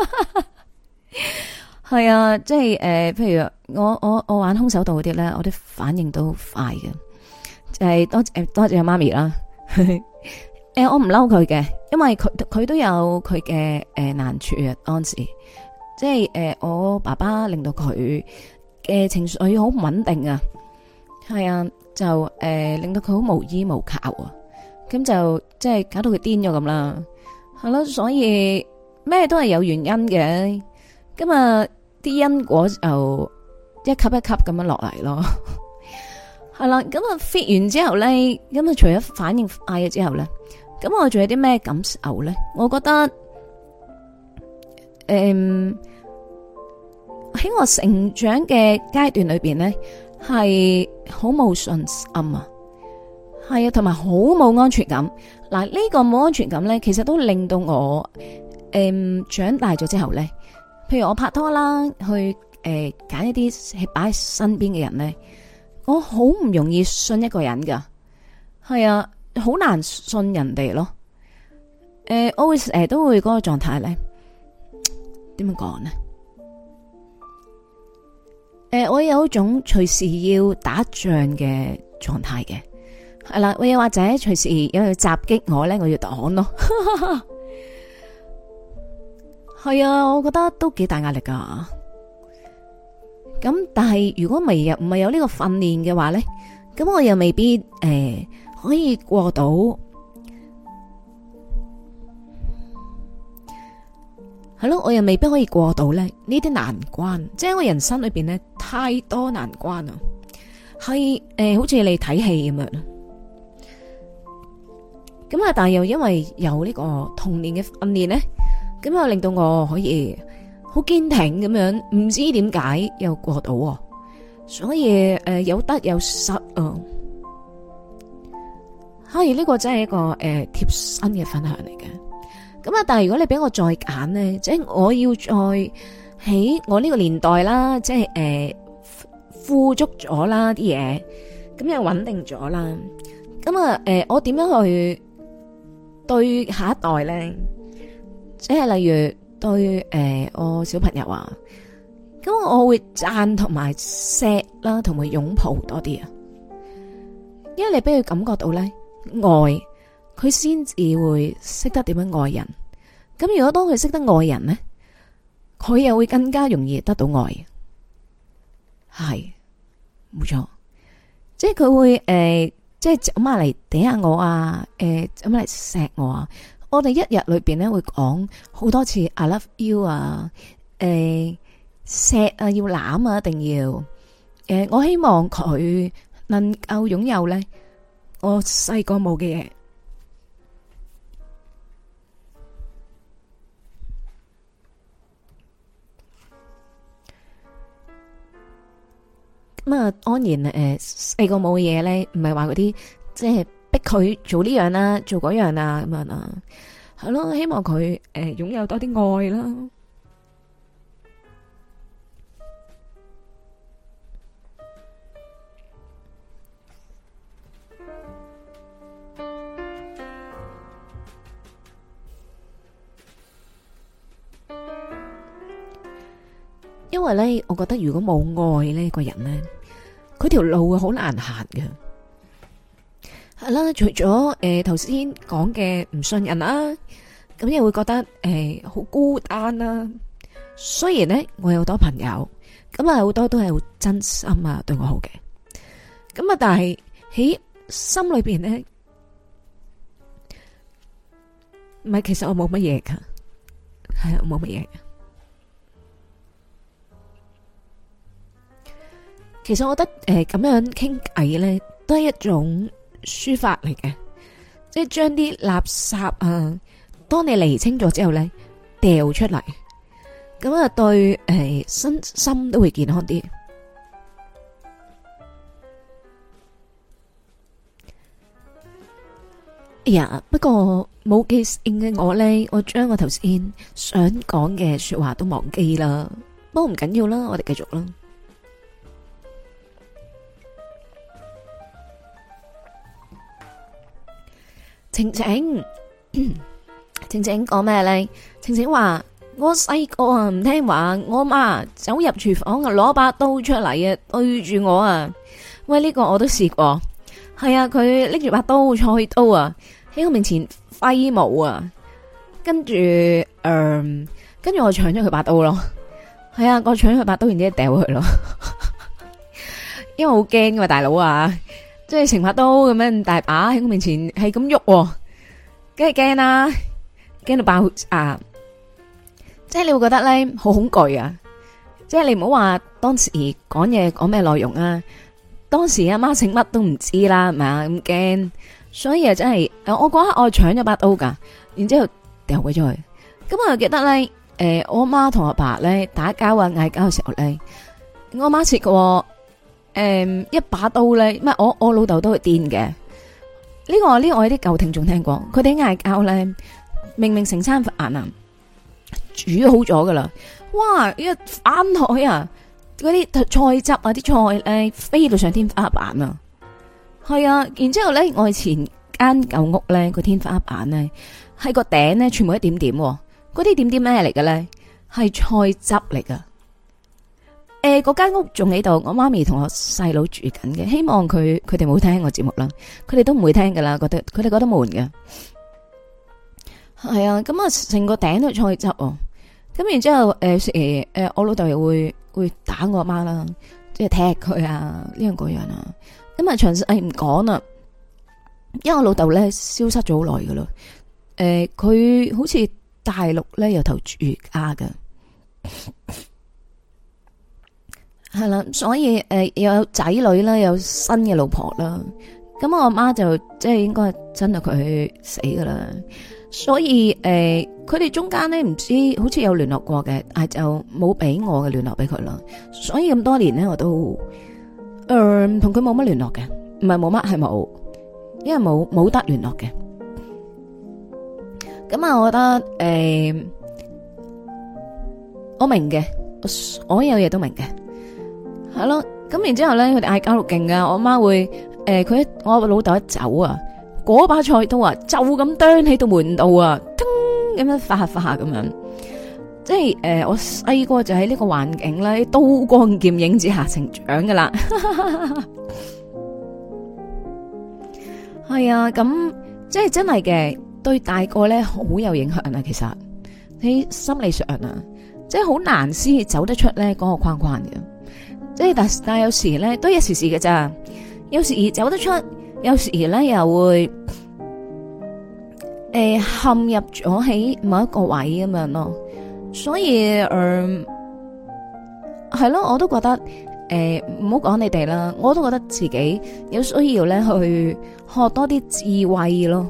係啊，即係誒、呃，譬如我我我玩空手道嗰啲咧，我啲反應都快嘅，就係、是、多誒多謝媽咪啦。誒、呃，我唔嬲佢嘅，因為佢佢都有佢嘅誒難處啊。當時即係誒、呃，我爸爸令到佢嘅情緒好唔穩定啊，係啊，就誒、呃、令到佢好無依無靠啊，咁就即係搞到佢癲咗咁啦，係咯，所以咩都係有原因嘅，咁啊。啲因果就一級一級咁樣落嚟咯，係啦，咁啊 fit 完之後咧，咁啊除咗反應快咗之後咧，咁我仲有啲咩感受咧？我覺得，誒、嗯，喺我成長嘅階段裏邊咧，係好冇信心啊，係啊，同埋好冇安全感。嗱，呢個冇安全感咧，其實都令到我，誒、嗯，長大咗之後咧。譬如我拍拖啦，去誒揀、呃、一啲係擺喺身邊嘅人咧，我好唔容易信一個人噶，係啊，好難信人哋咯。誒、呃，我會誒、呃、都會嗰個狀態咧，點樣講呢？誒、呃，我有一種隨時要打仗嘅狀態嘅，係啦，我又或者隨時有人襲擊我咧，我要擋咯。係啊，我覺得都幾大壓力噶。咁但係如果未有唔係有呢個訓練嘅話咧，咁我又未必誒、呃、可以過到。係咯，我又未必可以過到咧呢啲難關。即係我人生裏邊咧太多難關啊，係誒、呃、好似你睇戲咁樣。咁啊，但係又因為有呢個童年嘅訓練咧。咁啊，令到我可以好堅挺咁樣，唔知點解又過到，所以誒、呃、有得有失啊。係呢個真係一個誒貼身嘅分享嚟嘅。咁啊，但係如果你俾我再揀咧，即係我要再喺我呢個年代啦，即係誒、呃、富足咗啦啲嘢，咁又穩定咗啦。咁啊，誒、呃、我點樣去對下一代咧？即係例如對誒、呃、我小朋友啊，咁我會讚同埋錫啦，同埋擁抱多啲啊，因為你俾佢感覺到咧愛，佢先至會識得點樣愛人。咁如果當佢識得愛人咧，佢又會更加容易得到愛。係，冇錯，即係佢會誒、呃，即係走埋嚟嗲下我啊，誒、呃，走埋嚟錫我啊。我哋一日裏邊咧會講好多次 I love you 啊，誒錫啊要攬啊一定要，誒、呃、我希望佢能夠擁有咧我細個冇嘅嘢。咁啊，安然誒細個冇嘅嘢咧，唔係話嗰啲即係。逼佢做呢樣啦，做嗰樣啦，咁樣啦，係咯，希望佢誒擁有多啲愛啦。因為咧，我覺得如果冇愛呢個人咧，佢條路會好難行嘅。 係啦，除咗誒頭先講嘅唔信任啦，咁又會覺得誒好孤單啦。雖然咧我有好多朋友，咁啊好多都係好真心啊對我好嘅，咁啊但係喺心裏邊咧，唔係其實我冇乜嘢噶，係啊冇乜嘢。其實我覺得誒咁樣傾偈咧，都係一種抒發嚟嘅，即係將啲垃圾啊，當你釐清咗之後咧，掉出嚟，咁啊對誒身心都會健康啲。哎呀，不過冇記性嘅我咧，我將我頭先想講嘅說話都忘記啦。不過唔緊要啦，我哋繼續啦。晴晴，晴晴講咩咧？晴晴話我細個啊唔聽話，我媽走入廚房啊攞把刀出嚟啊對住我啊！喂，呢個我都試過，係啊，佢拎住把刀菜刀啊喺我面前揮舞啊，跟住誒，跟住我搶咗佢把刀咯，係啊，我搶咗佢把刀，然之後掉佢咯，因為好驚噶嘛，大佬啊！即係成把刀咁樣大把喺我面前係咁喐，梗係驚啦，驚到爆啊！即係你會覺得咧好恐懼啊！即係你唔好話當時講嘢講咩內容啊，當時阿媽姓乜都唔知啦，係咪啊咁驚？所以啊真係，我嗰刻我搶咗把刀噶，然之後掉鬼咗去。咁我又記得咧，誒，我媽同阿爸咧打交啊嗌交嘅時候咧，我媽切過。誒、嗯，一把刀咧，唔係我我老豆都會癲嘅。呢、這個呢、這個我有啲舊聽眾聽過，佢哋嗌交咧，明明成餐飯啊煮好咗噶啦，哇！一翻台啊，嗰啲菜汁啊，啲菜咧飛到上天花板啊，係啊。然之後咧，我以前間舊屋咧個天花板咧，係個頂咧全部一點點，嗰啲點點咩嚟嘅咧？係菜汁嚟噶。誒，嗰間屋仲喺度，我媽咪同我細佬住緊嘅，希望佢佢哋冇聽我節目啦，佢哋都唔會聽噶啦，覺得佢哋覺得悶嘅，係啊，咁啊成個頂都係菜汁哦，咁然之後誒誒誒，我老豆又會會打我阿媽啦，即係踢佢啊呢樣嗰樣啊，咁啊詳細唔講啦，因為我老豆咧消失咗好耐噶啦，誒佢好似大陸咧由頭住家噶。係啦，所以誒、呃、又有仔女啦，有新嘅老婆啦，咁我阿媽就即係應該真係佢死噶啦，所以誒佢哋中間咧唔知好似有聯絡過嘅，但係就冇俾我嘅聯絡俾佢啦，所以咁多年咧我都誒同佢冇乜聯絡嘅，唔係冇乜係冇，因為冇冇得聯絡嘅，咁啊我覺得誒、呃、我明嘅，我所有嘢都明嘅。係咯，咁然之後咧，佢哋嗌交到勁噶，我媽會誒，佢、呃、我老豆一走啊，嗰把菜刀啊，就咁啄喺度門度啊，噔咁樣發下發下咁樣，即係誒、呃，我細個就喺呢個環境咧，刀光劍影之下成長噶啦，係啊，咁即係真係嘅，對大個咧好有影響啊，其實喺心理上啊，即係好難先走得出咧嗰個框框嘅。即係但但有時咧都一時時嘅咋，有時走得出，有時咧又會誒、呃、陷入咗喺某一個位咁樣咯。所以誒係咯，我都覺得誒唔好講你哋啦，我都覺得自己有需要咧去學多啲智慧咯。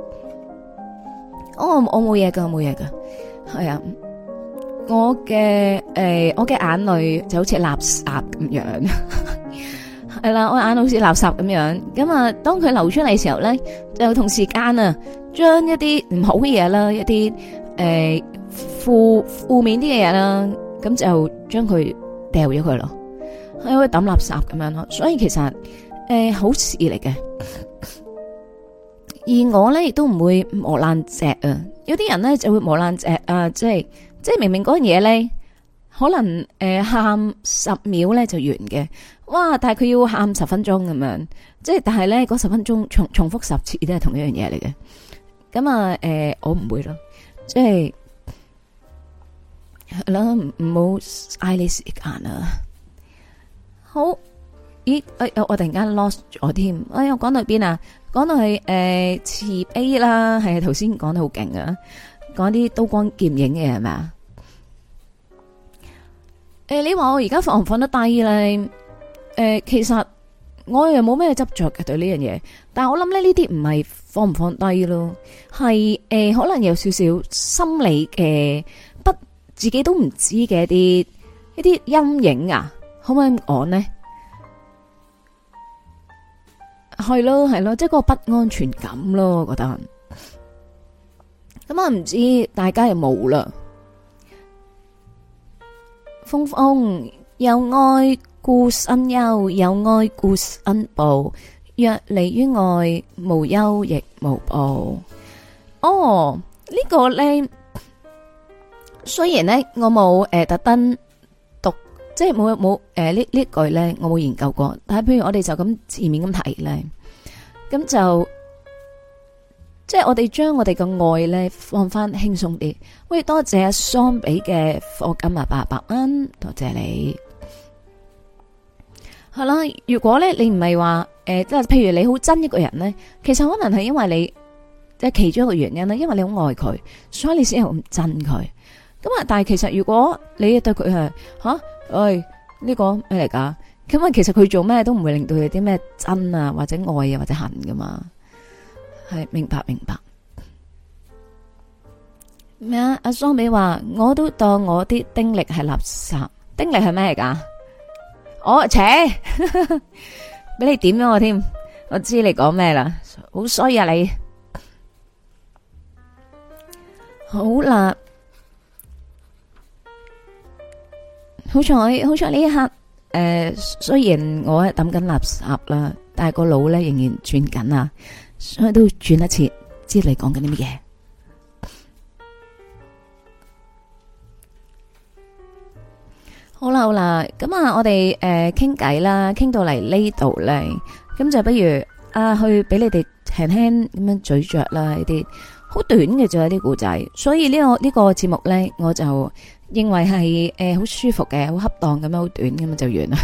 我我冇嘢噶，冇嘢噶，係啊。我嘅誒、呃，我嘅眼淚就好似垃圾咁樣，係啦，我眼淚好似垃圾咁樣。咁啊，當佢流出嚟嘅時候咧，就同時間啊，將一啲唔好嘅嘢啦，一啲誒負負面啲嘅嘢啦，咁就將佢掉咗佢咯，係可以抌垃圾咁樣咯。所以其實誒、呃、好事嚟嘅。而我咧亦都唔會磨爛蓆啊，有啲人咧就會磨爛蓆啊，即係。即係明明嗰樣嘢咧可能誒喊十秒咧就完嘅，哇！但係佢要喊十分鐘咁樣，即係但係咧嗰十分鐘重重複十次都係同一樣嘢嚟嘅。咁啊誒，我唔會咯，即係係啦，唔好嘥你時間啊。好，咦？誒，我突然間 lost 咗添。哎呀，講到邊啊？講到係誒慈悲啦，係頭先講得好勁啊，講啲刀光劍影嘅係咪啊？誒、呃，你話我而家放唔放得低咧？誒、呃，其實我又冇咩執着嘅對呢樣嘢，但係我諗咧呢啲唔係放唔放低咯，係誒、呃、可能有少少心理嘅不自己都唔知嘅一啲一啲陰影啊，可唔可以咁講呢？係咯係咯，即係嗰個不安全感咯，我覺得。咁啊，唔知大家有冇啦？風風有愛故身憂，有愛故身報。若離於愛，無憂亦無報。哦，呢、這個咧，雖然咧我冇誒、呃、特登讀，即係冇冇誒呢呢句咧，我冇研究過。但係譬如我哋就咁字面咁睇咧，咁就。即係我哋將我哋嘅愛咧放翻輕鬆啲。喂，多謝阿桑比嘅課金啊，八百蚊，多謝你。係啦，如果咧你唔係話誒，即係譬如你好憎一個人咧，其實可能係因為你即係其中一個原因啦，因為你好愛佢，所以你先係咁憎佢。咁啊，但係其實如果你對佢係吓，喂呢個咩嚟噶？咁啊，其實佢做咩都唔會令到佢有啲咩憎啊，或者愛啊，或者恨噶嘛。係明白明白咩啊？阿桑比話我都當我啲丁力係垃圾，丁力係咩嚟噶？我扯俾你點咗我添，我知你講咩啦，好衰啊你！好啦，好彩好彩呢一刻誒、呃，雖然我係抌緊垃圾啦，但係個腦咧仍然轉緊啊！所以都轉一次，知你講緊啲乜嘢？好啦好啦，咁啊，我哋誒傾偈啦，傾到嚟呢度咧，咁就不如啊去俾你哋輕輕咁樣咀嚼啦，呢啲好短嘅就係啲故仔，所以呢個呢個節目咧，我就認為係誒好舒服嘅，好恰當咁樣，好短咁就完啦。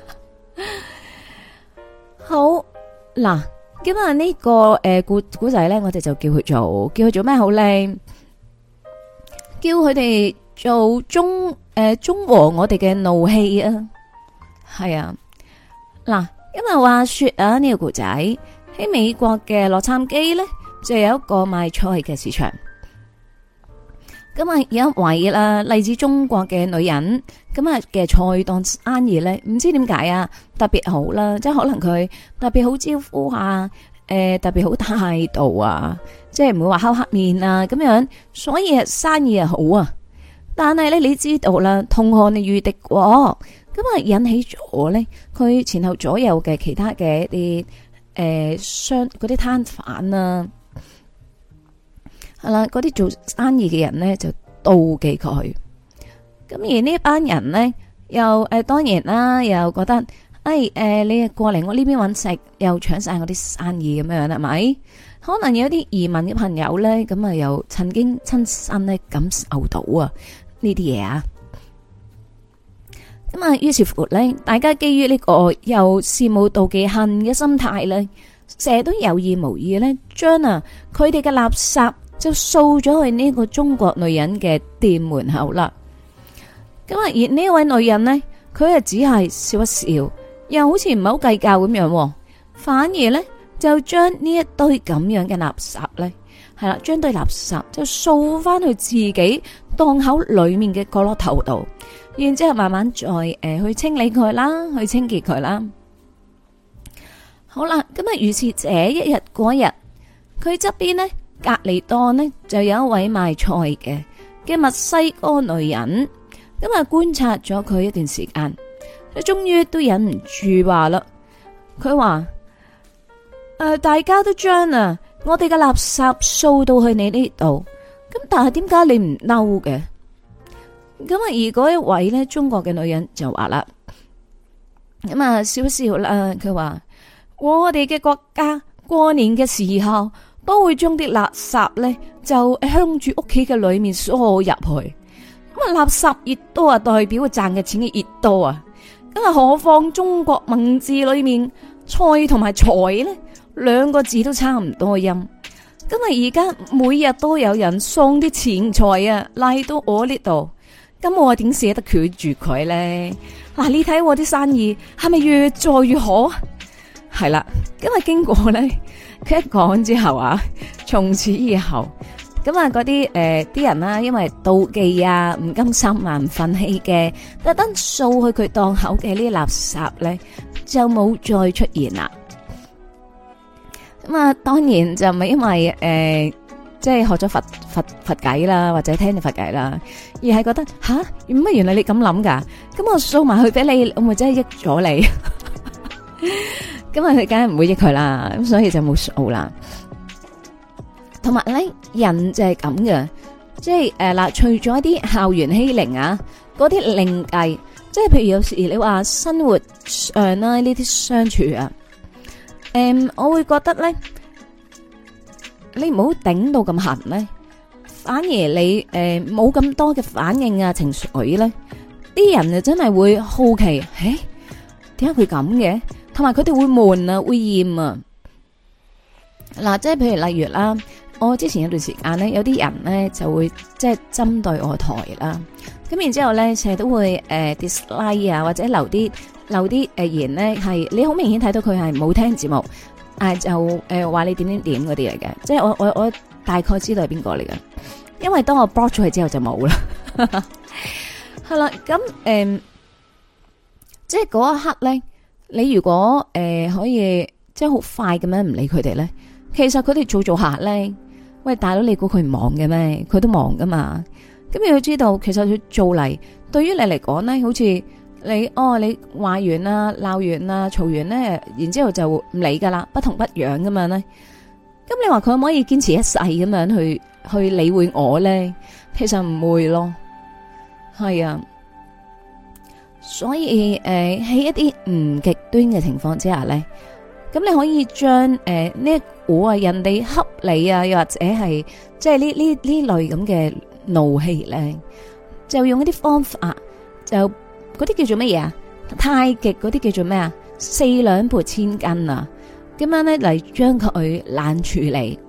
好嗱。咁啊，呢個誒古古仔咧，我哋就叫佢做叫佢做咩好咧？叫佢哋做中誒、呃、中和我哋嘅怒氣啊！係啊，嗱，因為話說啊，呢、這個古仔喺美國嘅洛杉磯咧，就有一個賣菜嘅市場。咁啊，有一位啦，嚟自中國嘅女人，咁啊嘅菜檔生意咧，唔知點解啊，特別好啦，即係可能佢特別好招呼啊，誒、呃，特別好態度啊，即係唔會話敲黑面啊咁樣，所以生意係好啊。但係咧，你知道啦，同行你遇敵國，咁啊引起咗咧，佢前後左右嘅其他嘅一啲誒商嗰啲攤販啊。係啦，嗰啲做生意嘅人呢，就妒忌佢，咁而呢一班人呢，又誒、呃、當然啦，又覺得誒誒、哎呃、你過嚟我呢邊揾食，又搶晒我啲生意咁樣係咪？可能有啲移民嘅朋友呢，咁啊又曾經親身咧感受到啊呢啲嘢啊，咁啊於是乎呢，大家基於呢個又羨慕妒忌恨嘅心態呢，成日都有意無意呢，將啊佢哋嘅垃圾就掃咗去呢個中國女人嘅店門口啦。咁啊，而呢位女人呢，佢啊只係笑一笑，又好似唔係好計較咁樣，反而呢，就將呢一堆咁樣嘅垃圾呢，係啦，將堆垃圾就掃翻去自己檔口裏面嘅角落頭度，然之後慢慢再誒、呃、去清理佢啦，去清潔佢啦。好啦，咁啊，如是這一日過一日，佢側邊呢。隔籬檔呢，就有一位賣菜嘅嘅墨西哥女人，咁啊觀察咗佢一段時間，佢終於都忍唔住話啦，佢話誒，大家都將啊我哋嘅垃圾掃到去你呢度，咁但係點解你唔嬲嘅？ 咁啊，而嗰一位咧中國嘅女人就話啦，咁啊笑一笑啦，佢話我哋嘅國家過年嘅時候都會將啲垃圾咧就向住屋企嘅裏面疏入去，咁啊垃圾越多啊，代表賺嘅錢越多啊，咁啊何況中國文字裏面菜同埋財咧兩個字都差唔多音，咁啊而家每日都有人送啲錢財啊嚟到我呢度。咁我點捨得拒絕佢咧？嗱、啊，你睇我啲生意係咪越做越好？係啦，咁啊經過咧，佢一講之後啊，從此以後，咁啊嗰啲誒啲人啦，因為妒忌啊、唔甘心啊、唔忿氣嘅，特登掃去佢檔口嘅呢啲垃圾咧，就冇再出現啦。咁啊，當然就唔係因為誒。呃即係學咗佛佛佛偈啦，或者聽咗佛偈啦，而係覺得吓，乜原來你咁諗噶？咁我掃埋去俾你，我咪真係益咗你？咁啊，佢梗係唔會益佢啦，咁所以就冇掃啦。同埋咧，人就係咁嘅，即係誒嗱，除咗一啲校園欺凌啊，嗰啲另計，即係譬如有時你話生活上啦呢啲相處啊，誒、嗯，我會覺得咧。你唔好頂到咁痕咧，反而你誒冇咁多嘅反應啊情緒咧，啲人就真係會好奇，誒點解佢咁嘅？同埋佢哋會悶啊，會厭啊。嗱，即係譬如例如啦，我之前有段時間咧，有啲人咧就會即係針對我台啦，咁然之後咧成日都會誒 dislike 啊，或者留啲留啲誒言咧係你好明顯睇到佢係冇聽節目。誒，就誒話、呃、你點點點嗰啲嚟嘅，即係我我我大概知道係邊個嚟嘅，因為當我 block 咗佢之後就冇啦。係啦，咁誒、呃，即係嗰一刻咧，你如果誒、呃、可以即係好快咁樣唔理佢哋咧，其實佢哋做做下咧，喂大佬你估佢唔忙嘅咩？佢都忙噶嘛。咁你要知道，其實佢做嚟對於你嚟講咧，好似。你哦，你話完啦，鬧完啦，嘈完咧，然之後就唔理噶啦，不痛不癢咁樣咧。咁你話佢可唔可以堅持一世咁樣去去理會我咧？其實唔會咯，係啊。所以誒，喺、呃、一啲唔極端嘅情況之下咧，咁你可以將誒呢一股啊人哋恰你啊，又或者係即係呢呢呢類咁嘅怒氣咧，就用一啲方法就。嗰啲叫做乜嘢啊？太極嗰啲叫做咩啊？四兩撥千斤啊！咁樣咧嚟將佢冷處理，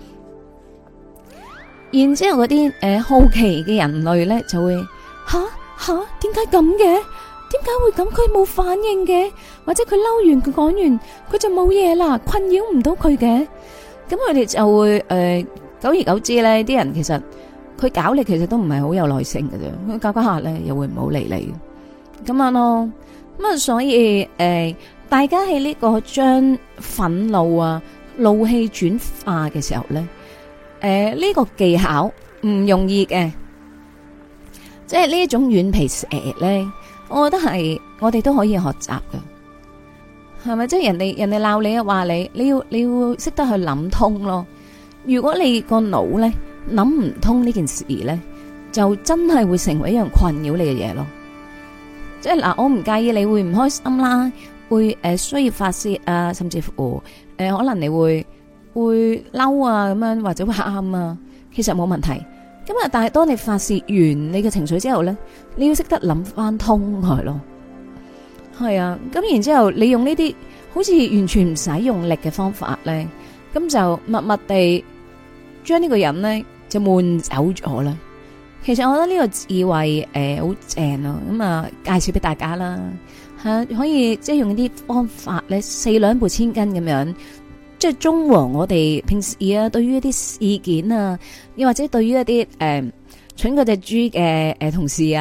然之後嗰啲誒好奇嘅人類咧就會吓吓，點解咁嘅？點解會咁？佢冇反應嘅，或者佢嬲完佢講完佢就冇嘢啦，困擾唔到佢嘅。咁佢哋就會誒、呃，久而久之咧，啲人其實佢搞你，其實都唔係好有耐性嘅啫。佢搞搞下咧，又會唔好理你。咁樣咯，咁啊，所以誒、呃，大家喺呢個將憤怒啊、怒氣轉化嘅時候咧，誒、呃，呢、這個技巧唔容易嘅，即係呢一種軟皮蛇咧，我覺得係我哋都可以學習嘅，係咪？即係人哋人哋鬧你啊，話你，你要你要識得去諗通咯。如果你個腦咧諗唔通呢件事咧，就真係會成為一樣困擾你嘅嘢咯。即係嗱，我唔介意你會唔開心啦，會誒、呃、需要發洩啊，甚至乎誒、呃、可能你會會嬲啊咁樣，或者會喊啊，其實冇問題。咁啊，但係當你發洩完你嘅情緒之後咧，你要識得諗翻通佢咯。係啊，咁然之後你用呢啲好似完全唔使用力嘅方法咧，咁就默默地將呢個人咧就悶走咗啦。其實我覺得呢個智慧誒好正咯，咁啊介紹俾大家啦吓，可以即係用啲方法咧，四兩撥千斤咁樣，即係中和我哋平時啊對於一啲事件啊，又或者對於一啲誒蠢嗰隻豬嘅誒同事啊，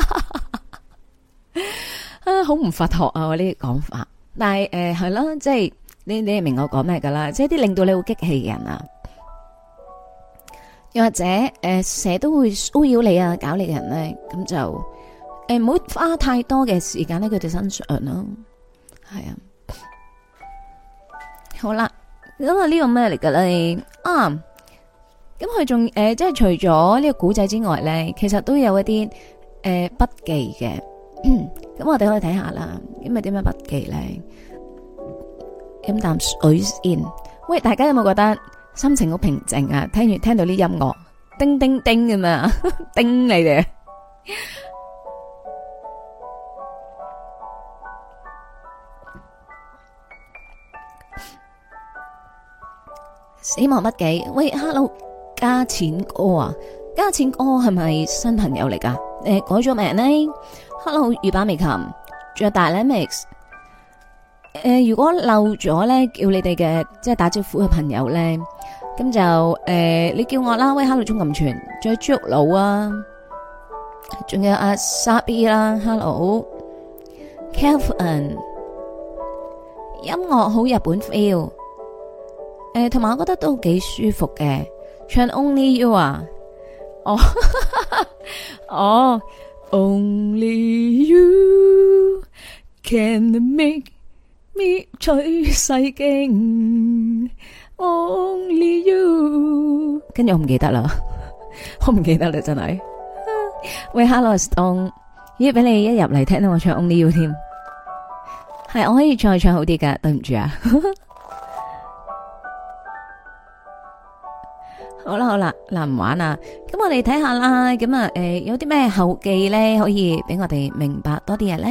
啊好唔佛學啊我呢啲講法，但係誒係咯，即係你你係明我講咩噶啦，即係啲令到你好激氣嘅人啊。又或者誒，成日都會騷擾你啊，搞你嘅人咧，咁就誒唔好花太多嘅時間喺佢哋身上咯。係啊，好啦，咁啊呢個咩嚟噶咧？啊，咁佢仲誒，即係除咗呢個古仔之外咧，其實都有一啲誒筆記嘅，咁我哋可以睇下啦。咁咪點樣筆記咧？飲啖水先。喂，大家有冇覺得心情好平靜啊？聽完聽到啲音樂，叮叮叮咁嘛，叮你哋。死亡筆記，喂 ，Hello， 加錢哥啊，加錢哥係咪新朋友嚟噶？誒，改咗名呢 ？Hello， 御板美琴，仲有大 Lemix。誒，如果漏咗咧，叫你哋嘅即係打招呼嘅朋友咧，咁就誒、呃，你叫我啦。喂 ，Hello， 鍾錦全，仲有豬肉佬啊，仲有阿 Sabi 啦 ，Hello，Kelvin， 音樂好日本 feel。誒，同埋我覺得都幾舒服嘅，唱 Only You 啊，哦，哦，Only You can make me 取世經 ，Only You，跟住我唔記得啦，我唔記得啦，真係。喂 ，Hello Stone， 咦，俾你一入嚟聽到我唱 Only You 添，係我可以再唱好啲噶，對唔住啊。好啦好啦，嗱唔玩啦，咁我哋睇下啦，咁啊誒有啲咩後記咧可以俾我哋明白多啲嘢咧？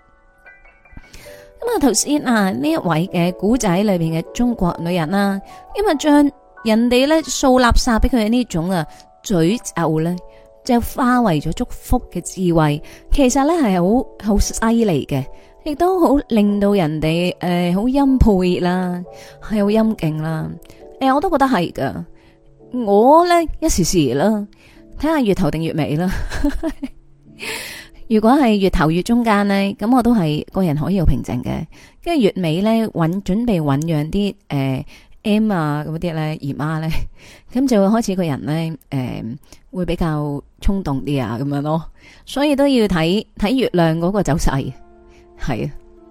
咁啊頭先啊呢一位嘅古仔裏邊嘅中國女人啦，因為將人哋咧掃垃圾俾佢嘅呢種啊詛咒咧，就化為咗祝福嘅智慧，其實咧係好好犀利嘅，亦都好令到人哋誒好欽佩啦，係好欽敬啦，誒我都覺得係噶。我咧一時時啦，睇下月頭定月尾啦。如果係月頭月中間咧，咁我都係個人可以好平靜嘅。跟住月尾咧，搵準備醞釀啲誒 M 啊咁啲咧姨媽咧，咁就會開始個人咧誒、呃、會比較衝動啲啊咁樣咯。所以都要睇睇月亮嗰個走勢，係啊。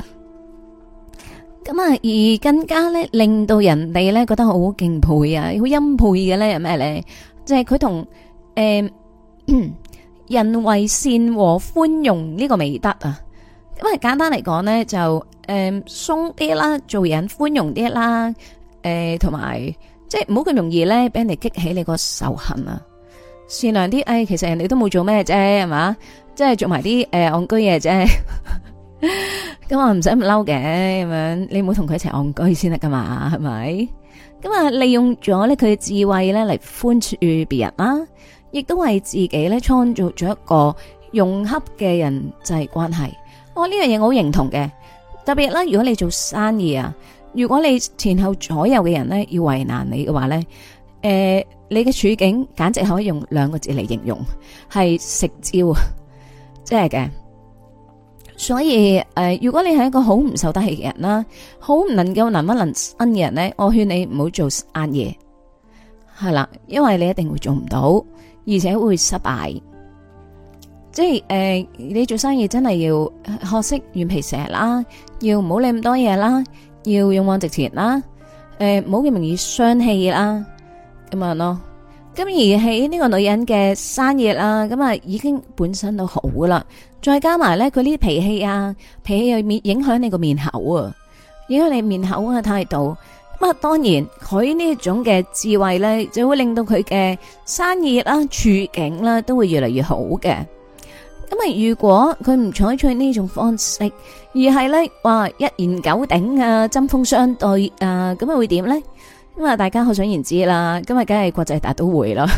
咁啊，而更加咧，令到人哋咧覺得好敬佩啊，好欽佩嘅咧，係咩咧？即係佢同誒人為善和寬容呢個美德啊。咁啊，簡單嚟講咧，就誒鬆啲啦，做人寬容啲啦，誒、呃，同埋即係唔好咁容易咧，俾人哋激起你個仇恨啊。善良啲，誒、哎，其實人哋都冇做咩啫，係嘛？即係做埋啲誒戇居嘢啫。咁我唔使咁嬲嘅，咁樣你唔好同佢一齊戇居先得噶嘛，係咪？咁啊，利用咗咧佢嘅智慧咧嚟寬恕別人啦，亦都為自己咧創造咗一個融洽嘅人際關係。我呢樣嘢我好認同嘅，特別啦，如果你做生意啊，如果你前後左右嘅人咧要為難你嘅話咧，誒、呃，你嘅處境簡直可以用兩個字嚟形容，係食蕉啊，即係嘅。所以誒、呃，如果你係一個好唔受得氣嘅人啦，好唔能夠能屈能伸嘅人咧，我勸你唔好做生意，係啦，因為你一定會做唔到，而且會失敗。即係誒、呃，你做生意真係要學識軟皮蛇啦，要唔好理咁多嘢啦，要勇往直前啦，誒、呃，唔好咁容易傷氣啦，咁樣咯。咁而喺呢個女人嘅生意啦，咁啊已經本身都好噶啦，再加埋咧佢呢啲脾氣啊，脾氣又面影響你個面口啊，影響你面口嘅態度。咁啊，當然佢呢種嘅智慧咧，就會令到佢嘅生意啦、處境啦，都會越嚟越好嘅。咁啊，如果佢唔採取呢種方式，而係咧話一言九鼎啊、針鋒相對啊，咁啊會點咧？咁啊，大家可想而知啦。今日梗係國際大都會啦，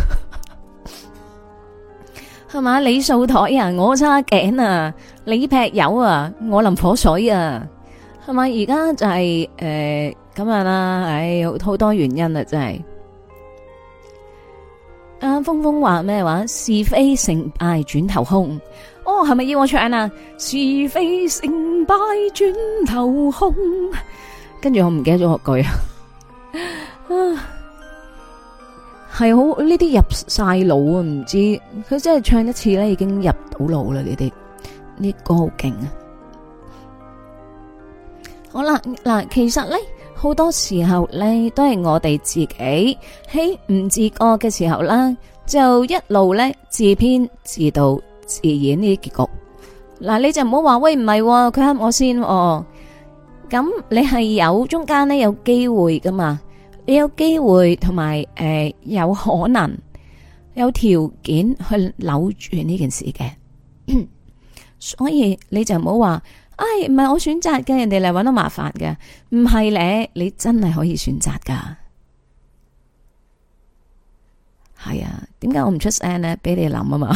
係嘛？你掃台啊，我叉頸啊；你劈友啊，我淋火水啊，係咪？而家就係誒咁樣啦。唉，好多原因啊，真係。阿峰峰話咩話？是非成敗轉頭空。哦，係咪要我唱啊？是非成敗轉頭空。跟住我唔記得咗個句啊。啊，係好呢啲入晒腦啊！唔知佢真係唱一次咧，已經入到腦啦！呢啲呢歌好勁啊！好啦，嗱，其實咧好多時候咧都係我哋自己喺唔自覺嘅時候啦，就一路咧自編自導自演呢啲結局。嗱，你就唔好話喂，唔係佢啱我先哦，咁你係有中間呢，有機會噶嘛？你有機會同埋誒有可能有條件去扭轉呢件事嘅，所以你就唔好話，唉，唔係我選擇嘅，人哋嚟搵到麻煩嘅，唔係咧，你真係可以選擇噶。係啊，點解我唔出聲呢？俾你諗啊嘛。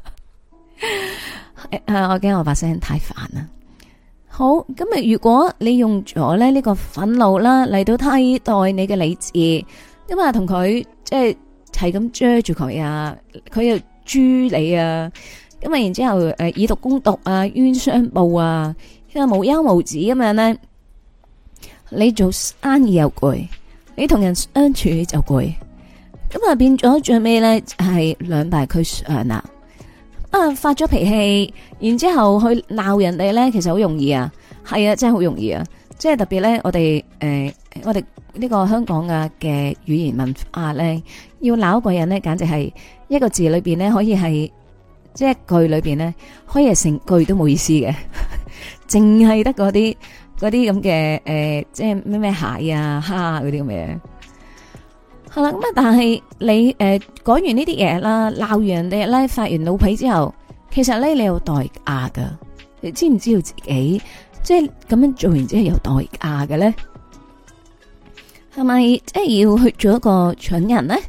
誒，我驚我把聲太煩啦。好，咁啊，如果你用咗咧呢個憤怒啦嚟到替代你嘅理智，咁啊同佢即係係咁追住佢啊，佢又誅你啊，咁啊然之後誒以毒攻毒啊，冤相報啊，因為無休無止咁樣咧，你做生意又攰，你同人相處就攰，咁啊變咗最尾咧係兩敗俱傷啦。啊！發咗脾氣，然之後去鬧人哋咧，其實好容易啊，係啊，真係好容易啊！即係特別咧，我哋誒、呃，我哋呢個香港嘅嘅語言文化咧，要鬧一個人咧，簡直係一個字裏邊咧，可以係即係一句裏邊咧，可以係成句都冇意思嘅，淨係得嗰啲嗰啲咁嘅誒，即係咩咩蟹啊、蝦啊嗰啲咁嘅。係啦，咁啊，但係你誒講完呢啲嘢啦，鬧完人哋咧，發完老脾之後，其實咧你有代價噶，你知唔知道自己即係咁樣做完之後有代價嘅咧？係咪即係要去做一個蠢人咧？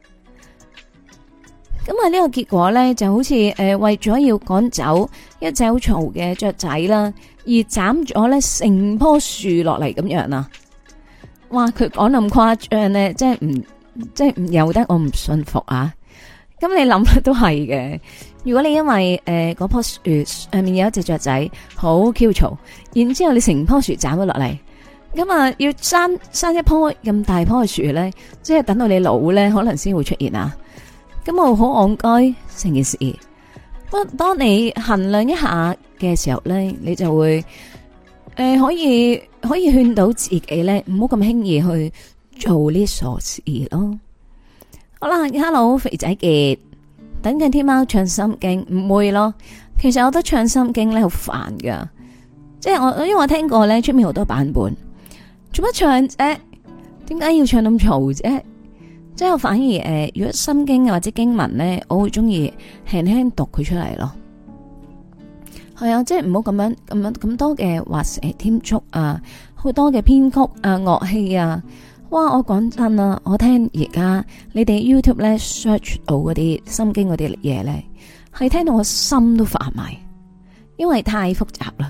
咁啊呢個結果咧就好似誒、呃、為咗要趕走一隻好嘈嘅雀仔啦，而斬咗咧成棵樹落嚟咁樣啊！哇！佢講咁誇張咧，即係唔即係唔由得我唔信服啊！咁你諗都係嘅。如果你因為誒嗰棵樹上面有一隻雀仔好 Q 嘈，然之後你成棵樹斬咗落嚟，咁啊要生生一棵咁大棵嘅樹咧，即係等到你老咧，可能先會出現啊！咁我好戇居成件事。不過當你衡量一下嘅時候咧，你就會。誒、呃，可以可以勸到自己咧，唔好咁輕易去做呢傻事咯。好啦 ，Hello 肥仔傑，等緊天喵唱心經，唔會咯。其實我覺得唱心經咧好煩噶，即係我因為我聽過咧出面好多版本，做乜唱啫？點解要唱咁嘈啫？即係我反而誒、呃，如果心經或者經文咧，我會中意輕輕讀佢出嚟咯。係啊，即係唔好咁樣咁樣咁多嘅畫蛇添足啊，好多嘅編曲啊、樂器啊，哇！我講真啊，我聽而家你哋 YouTube 咧 search 到嗰啲心經嗰啲嘢咧，係聽到我心都發埋，因為太複雜啦。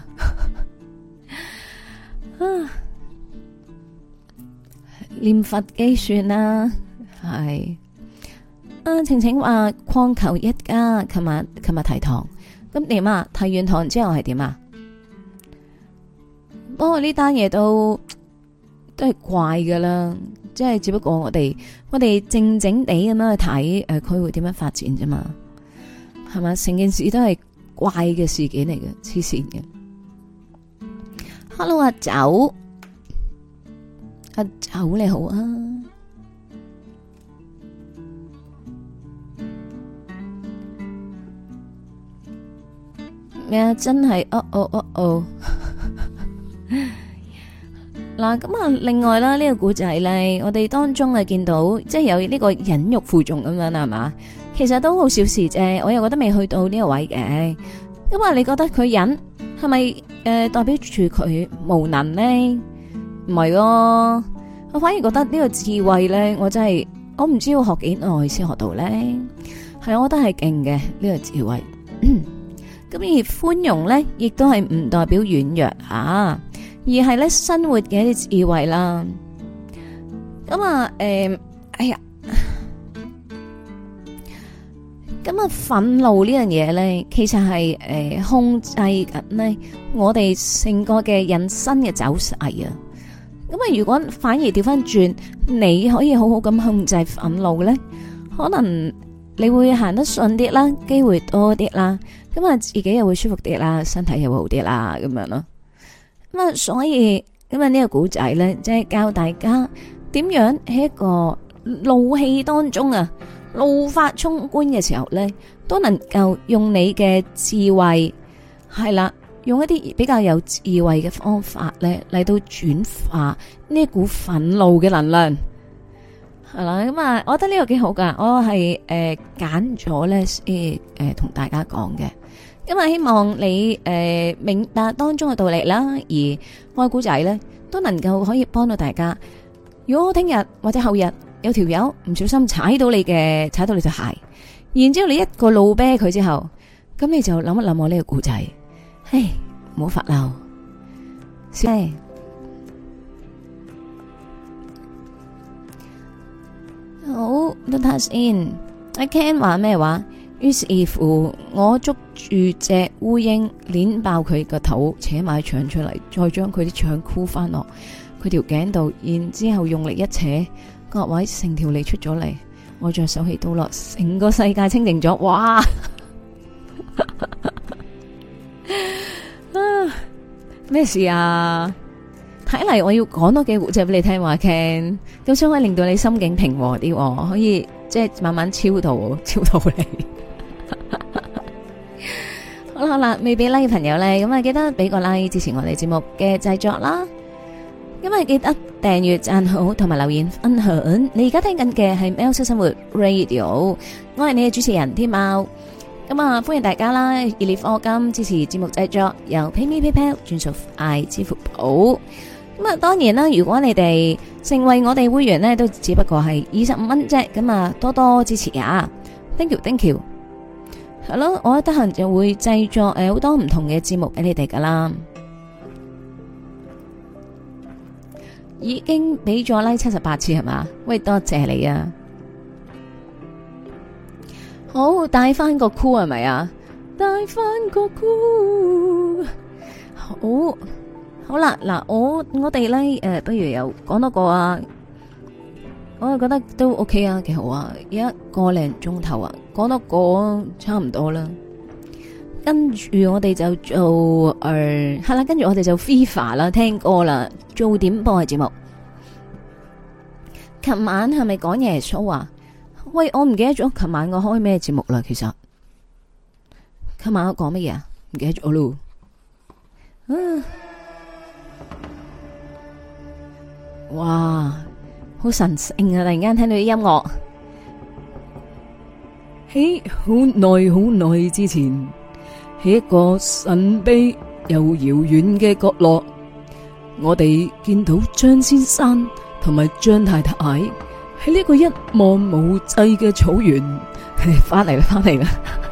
啊，念佛機算啦，係啊，晴晴話礦求一家，琴日琴日提堂。咁點啊？提完堂之後係點啊？不過呢單嘢都都係怪噶啦，即係只不過我哋我哋靜靜地咁樣去睇，誒，佢會點樣發展啫嘛？係嘛？成件事都係怪嘅事件嚟嘅，黐線嘅。Hello， 阿酒，阿酒你好啊！咩啊？真係哦哦哦哦！嗱，咁啊，另外啦，呢個古仔咧，我哋當中啊見到，即係有呢個忍辱負重咁樣啦，係嘛？其實都好小事啫，我又覺得未去到呢個位嘅。咁啊，你覺得佢忍係咪誒代表住佢無能咧？唔係咯，我反而覺得呢個智慧咧，我真係我唔知要學幾耐先學到咧。係，我覺得係勁嘅呢個智慧。咁而寬容咧，亦都係唔代表軟弱啊，而係咧生活嘅一啲智慧啦。咁啊，誒、呃，哎呀，咁啊，憤怒呢樣嘢咧，其實係誒、呃、控制緊呢我哋成個嘅人生嘅走勢啊。咁啊，如果反而調翻轉，你可以好好咁控制憤怒咧，可能你會行得順啲啦，機會多啲啦。咁啊，自己又會舒服啲啦，身體又會好啲啦，咁樣咯。咁啊，所以咁啊，呢個古仔咧，即係教大家點樣喺一個怒氣當中啊，怒髮衝冠嘅時候咧， 都能夠用你嘅智慧，係啦，用一啲比較有智慧嘅方法咧嚟到轉化呢一股憤怒嘅能量。係啦，咁啊，我覺得呢個幾好噶，我係誒揀咗咧誒誒同大家講嘅，咁啊希望你誒、呃、明白當中嘅道理啦，而愛古仔咧都能夠可以幫到大家。如果聽日或者後日有條友唔小心踩到你嘅踩到你隻鞋，然之後你一個怒啤佢之後，咁你就諗一諗我呢個古仔，唉，唔好發嬲，係。好，都睇先。阿 Ken 話咩話？於是乎，我捉住隻烏蠅，捻爆佢個肚，扯埋腸出嚟，再將佢啲腸箍翻落佢條頸度，然之後用力一扯，各位成條脷出咗嚟，我再手起刀落，成個世界清淨咗。哇！咩事啊？睇嚟我要講多幾個故仔俾你聽話 Ken，咁想可以令到你心境平和啲，可以即係慢慢超度超度你。好啦好啦，未俾 like 嘅朋友咧，咁啊記得俾個 like 支持我哋節目嘅製作啦。咁啊記得訂閱、讚好同埋留言分享。你而家聽緊嘅係喵式生活 Radio， 我係你嘅主持人天喵。咁啊，歡迎大家啦！熱烈課金支持節目製作，由 PayMe PayPal 轉數快支付寶。咁啊，當然啦，如果你哋成為我哋會員呢，都只不過係二十五蚊啫。咁啊，多多支持啊 ！Thank you，Thank you。係咯，我得閒就會製作誒好多唔同嘅節目俾你哋噶啦。已經俾咗 like 七十八次係嘛？喂，多謝你啊！好，帶翻個箍係咪啊？帶翻個箍，好。好啦，嗱，我我哋咧誒，不如又講多個啊，我就覺得都 OK 啊，幾好啊，一個零鐘頭啊，講多個差唔多啦。跟住我哋就做誒，係啦，跟住我哋就 FIFA 啦，聽歌啦，做點播嘅節目。琴晚係咪講耶穌啊？喂，我唔記得咗琴晚我開咩節目啦。其實琴晚我講乜嘢啊？唔記得咗咯。嗯。哇，好神聖啊！突然間聽到啲音樂，喺好耐好耐之前，喺一個神秘又遙遠嘅角落，我哋見到張先生同埋張太太喺呢個一望無際嘅草原，佢哋翻嚟啦，翻嚟啦，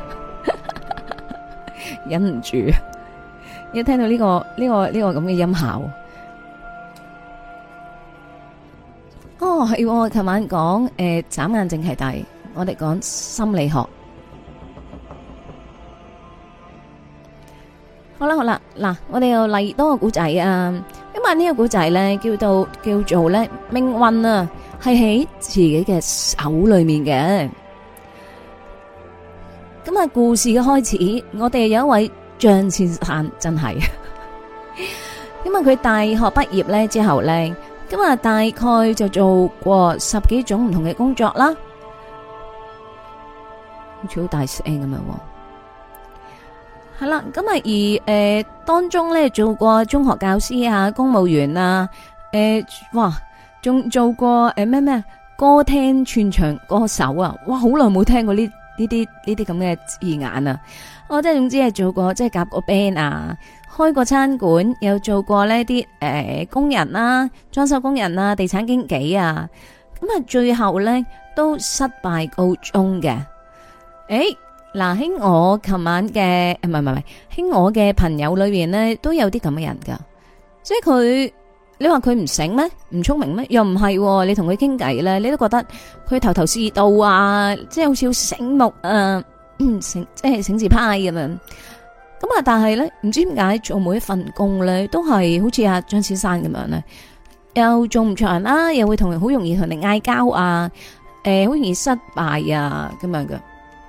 忍唔住，一聽到呢個呢個呢個咁嘅音效。哦，係我琴晚講誒，眨眼正係大，我哋講心理學。好啦好啦，嗱，我哋又嚟多個古仔啊。因為呢個古仔咧，叫做叫做咧命運啊，係喺自己嘅手裏面嘅。咁啊，故事嘅開始，我哋有一位張先生，真係，因為佢大學畢業咧之後咧。咁啊，大概就做過十幾種唔同嘅工作啦，好似好大聲咁樣。係啦，咁啊而誒、呃、當中咧做過中學教師啊、公務員啊，誒、呃、哇，仲做過誒咩咩歌廳串場歌手啊，哇，好耐冇聽過呢呢啲呢啲咁嘅字眼啊！我即係總之係做過即係夾過 band 啊。開過餐館，有做過呢啲誒工人啦、裝修工人啊、地產經紀啊，咁啊最後咧都失敗告終嘅。誒，嗱喺我琴晚嘅唔係唔係唔係喺我嘅朋友裏邊咧都有啲咁嘅人噶，即係佢你話佢唔醒咩？唔聰明咩？又唔係，你同佢傾偈咧，你都覺得佢頭頭是道啊，即係好似好醒目啊，醒即係醒字派咁樣。咁啊！但係咧，唔知點解做每一份工咧，都係好似阿張先生咁樣咧，又做唔長啦，又會同人好容易同人嗌交啊，誒、呃，好容易失敗啊，咁樣嘅。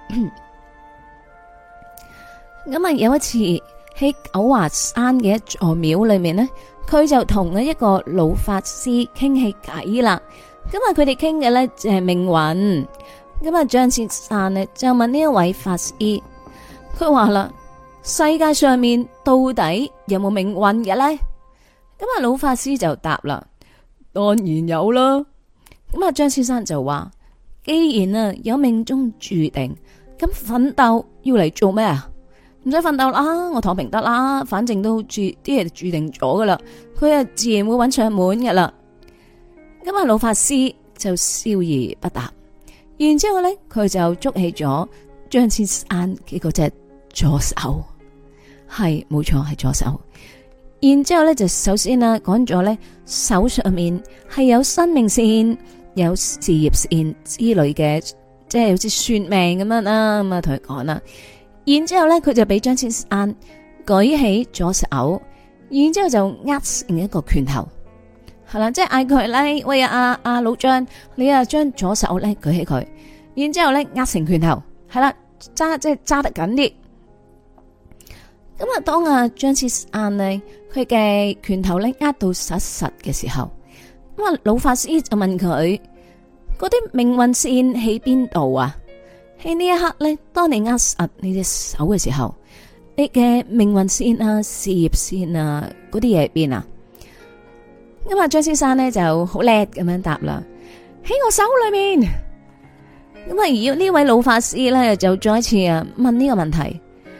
咁啊，有一次喺九華山嘅一座廟裏面咧，佢就同呢一個老法師傾起偈啦。咁啊，佢哋傾嘅咧就係命運。 咁啊，張先生呢就問呢一位法師，佢話啦：世界上面到底有冇命運嘅呢？咁啊，老法師就答啦：當然有啦。咁啊，張先生就話：既然啊有命中注定，咁奮鬥要嚟做咩啊？唔使奮鬥啦，我躺平得啦，反正都注啲嘢注定咗噶啦，佢啊自然會揾上門噶啦。咁啊，老法師就笑而不答。然之後咧，佢就捉起咗張先生嘅嗰隻左手，係冇錯係左手。然之後咧，就首先啊講咗咧，手上面係有生命線、有事業線之類嘅，即係好似算命咁樣啦。咁啊，同佢講啦。然之後咧，佢就俾張先生舉起左手，然之後就握成一個拳頭，係啦，即係嗌佢咧，喂啊阿阿老張，你啊將左手咧舉起佢，然之後咧握成拳頭，係啦，揸即係揸得緊啲。咁啊，當阿張先生咧，佢嘅拳頭咧握到實實嘅時候，咁啊老法師就問佢：嗰啲命運線喺邊度啊？喺呢一刻咧，當你握實你隻手嘅時候，你嘅命運線啊、事業線啊嗰啲嘢喺邊啊？咁啊，張先生咧就好叻咁樣答啦，喺我手裏面。咁啊，而呢位老法師咧就再一次啊問呢個問題。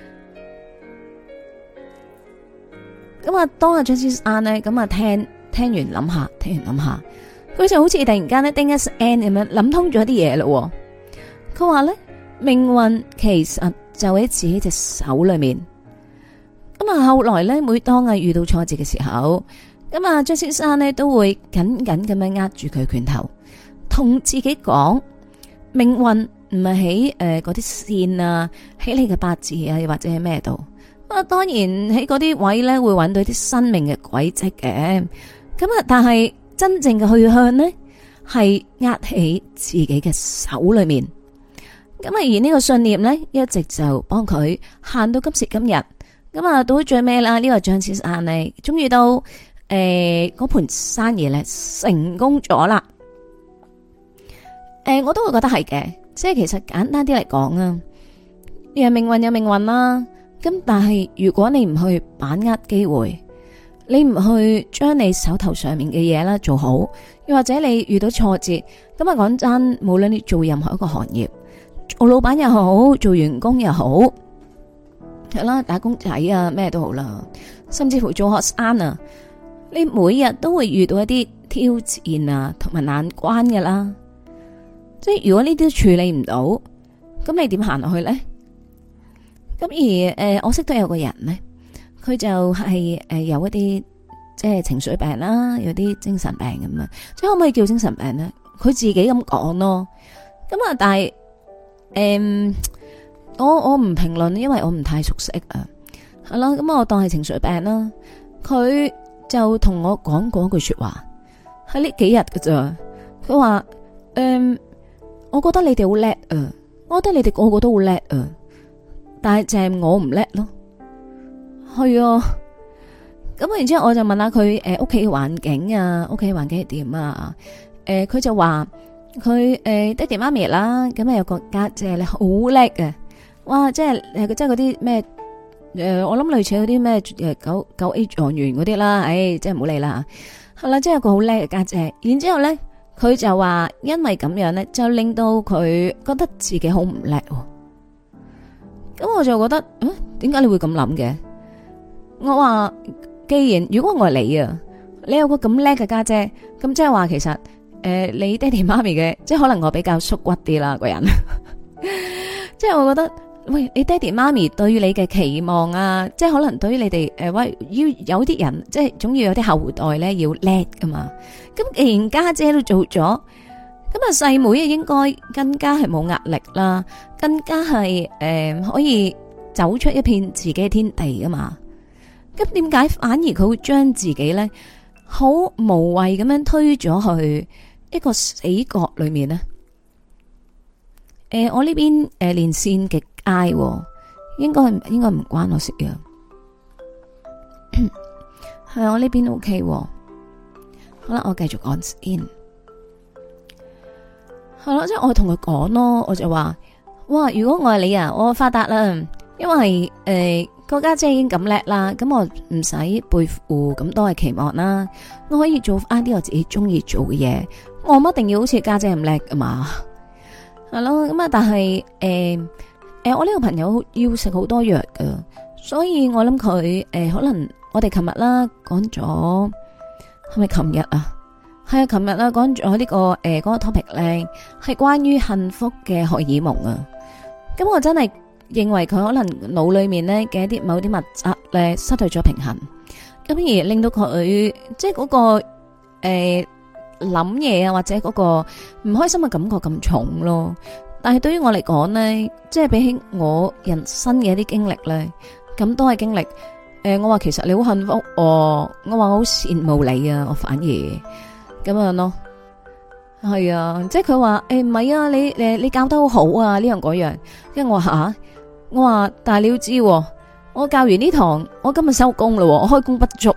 咁啊，當阿張先生咧咁啊聽聽完諗下，聽完諗下，佢就好似突然間咧叮一聲咁樣諗通咗啲嘢咯。佢話咧，命運其實就喺自己隻手裏面。咁啊，後來咧，每當啊遇到挫折嘅時候，咁啊張先生咧都會緊緊咁樣握住佢拳頭，同自己講：命運唔係喺誒嗰啲線啊，喺你嘅八字啊，又或者係咩度。啊，當然喺嗰啲位咧會揾到啲生命嘅軌跡嘅。咁啊，但係真正嘅去向呢，係握喺自己嘅手裏面。咁啊，而呢個信念咧，一直就幫佢行到今時今日。咁啊，到最尾啦，呢個張先生咧，終於到誒嗰盤生意咧成功咗啦。誒，我都會覺得係嘅，即係其實簡單啲嚟講啊，有命運有命運啦。咁但係如果你唔去把握機會，你唔去將你手頭上面嘅嘢啦做好，又或者你遇到挫折，咁啊講真，無論你做任何一個行業，做老闆又好，做員工又好，係啦，打工仔啊咩都好啦，甚至乎做學生啊，你每日都會遇到一啲挑戰啊同埋難關㗎啦。即係如果呢啲處理唔到，咁你點行落去咧？咁而誒、呃，我識得有個人咧，佢就係、是、誒、呃、有一啲即係情緒病啦，有啲精神病咁啊，即係可唔可以叫精神病咧？佢自己咁講咯。咁啊，但係誒、呃，我我唔評論，因為我唔太熟悉啊。係咯，咁我當係情緒病啦。佢就同我講過一句說話，喺呢幾日㗎咋。佢話誒，我覺得你哋好叻啊，我覺得你哋個個都好叻啊。但係就係我唔叻咯，係啊。咁然之後我就問下佢誒屋企環境啊，屋企環境係點啊？誒、呃、佢就話佢誒爹哋媽咪啦，咁啊有個家姐咧好叻嘅，哇！即係誒即係嗰啲咩誒，我諗類似嗰啲咩誒九九 A 狀元嗰啲啦，誒即係唔好理啦。係啦，即係有個好叻嘅家姐。然之後咧，佢就話因為咁樣咧，就令到佢覺得自己好唔叻。咁我就覺得，嗯，點解你會咁諗嘅？我話，既然如果我係你啊，你有個咁叻嘅家姐，咁即係話其實，誒、呃，你爹哋媽咪嘅，即係可能我比較縮骨啲啦，個人，即係我覺得，喂，你爹哋媽咪對於你嘅期望啊，即係可能對於你哋，誒、呃，喂，要有啲人，即係總要有啲後代咧要叻噶嘛。咁既然家姐都做咗。咁啊，細妹啊，應該更加係冇壓力啦，更加係誒、呃、可以走出一片自己嘅天地噶嘛。咁點解反而佢會將自己咧好無謂咁樣推咗去一個死角裏面呢？誒、呃，我呢邊誒連線極挨，應該應該唔關我事嘅。係我呢邊 OK。好啦，我繼續講先。 係咯，即係我同佢講咯，我就話，哇，如果我係你啊，我發達啦，因為誒個家姐已經咁叻啦，咁我唔使背負咁多嘅期望啦，我可以做翻啲我自己中意做嘅嘢，我唔一定要好似家姐咁叻噶嘛，係咯，咁啊，但係誒誒，我呢個朋友要食好多藥噶，所以我諗佢誒可能我哋琴日啦講咗，係咪琴日啊？係啊，琴日啦講咗呢個誒嗰、呃那個 topic 咧，係關於幸福嘅荷爾蒙啊。咁我真係認為佢可能腦裏面咧嘅一啲某啲物質咧失去咗平衡，咁而令到佢即係嗰、那個誒諗嘢啊，或者嗰個唔開心嘅感覺咁重咯。但係對於我嚟講咧，即係比起我人生嘅一啲經歷咧，咁多嘅經歷，誒、呃，我話其實你好幸福哦，我話我好羨慕你啊，我反而。咁樣咯，係啊，即係佢話誒唔係啊，你誒你教得好好啊，呢樣嗰樣，跟住我話吓，我話但係你要知，我教完呢堂，我今日收工咯，我開工不足，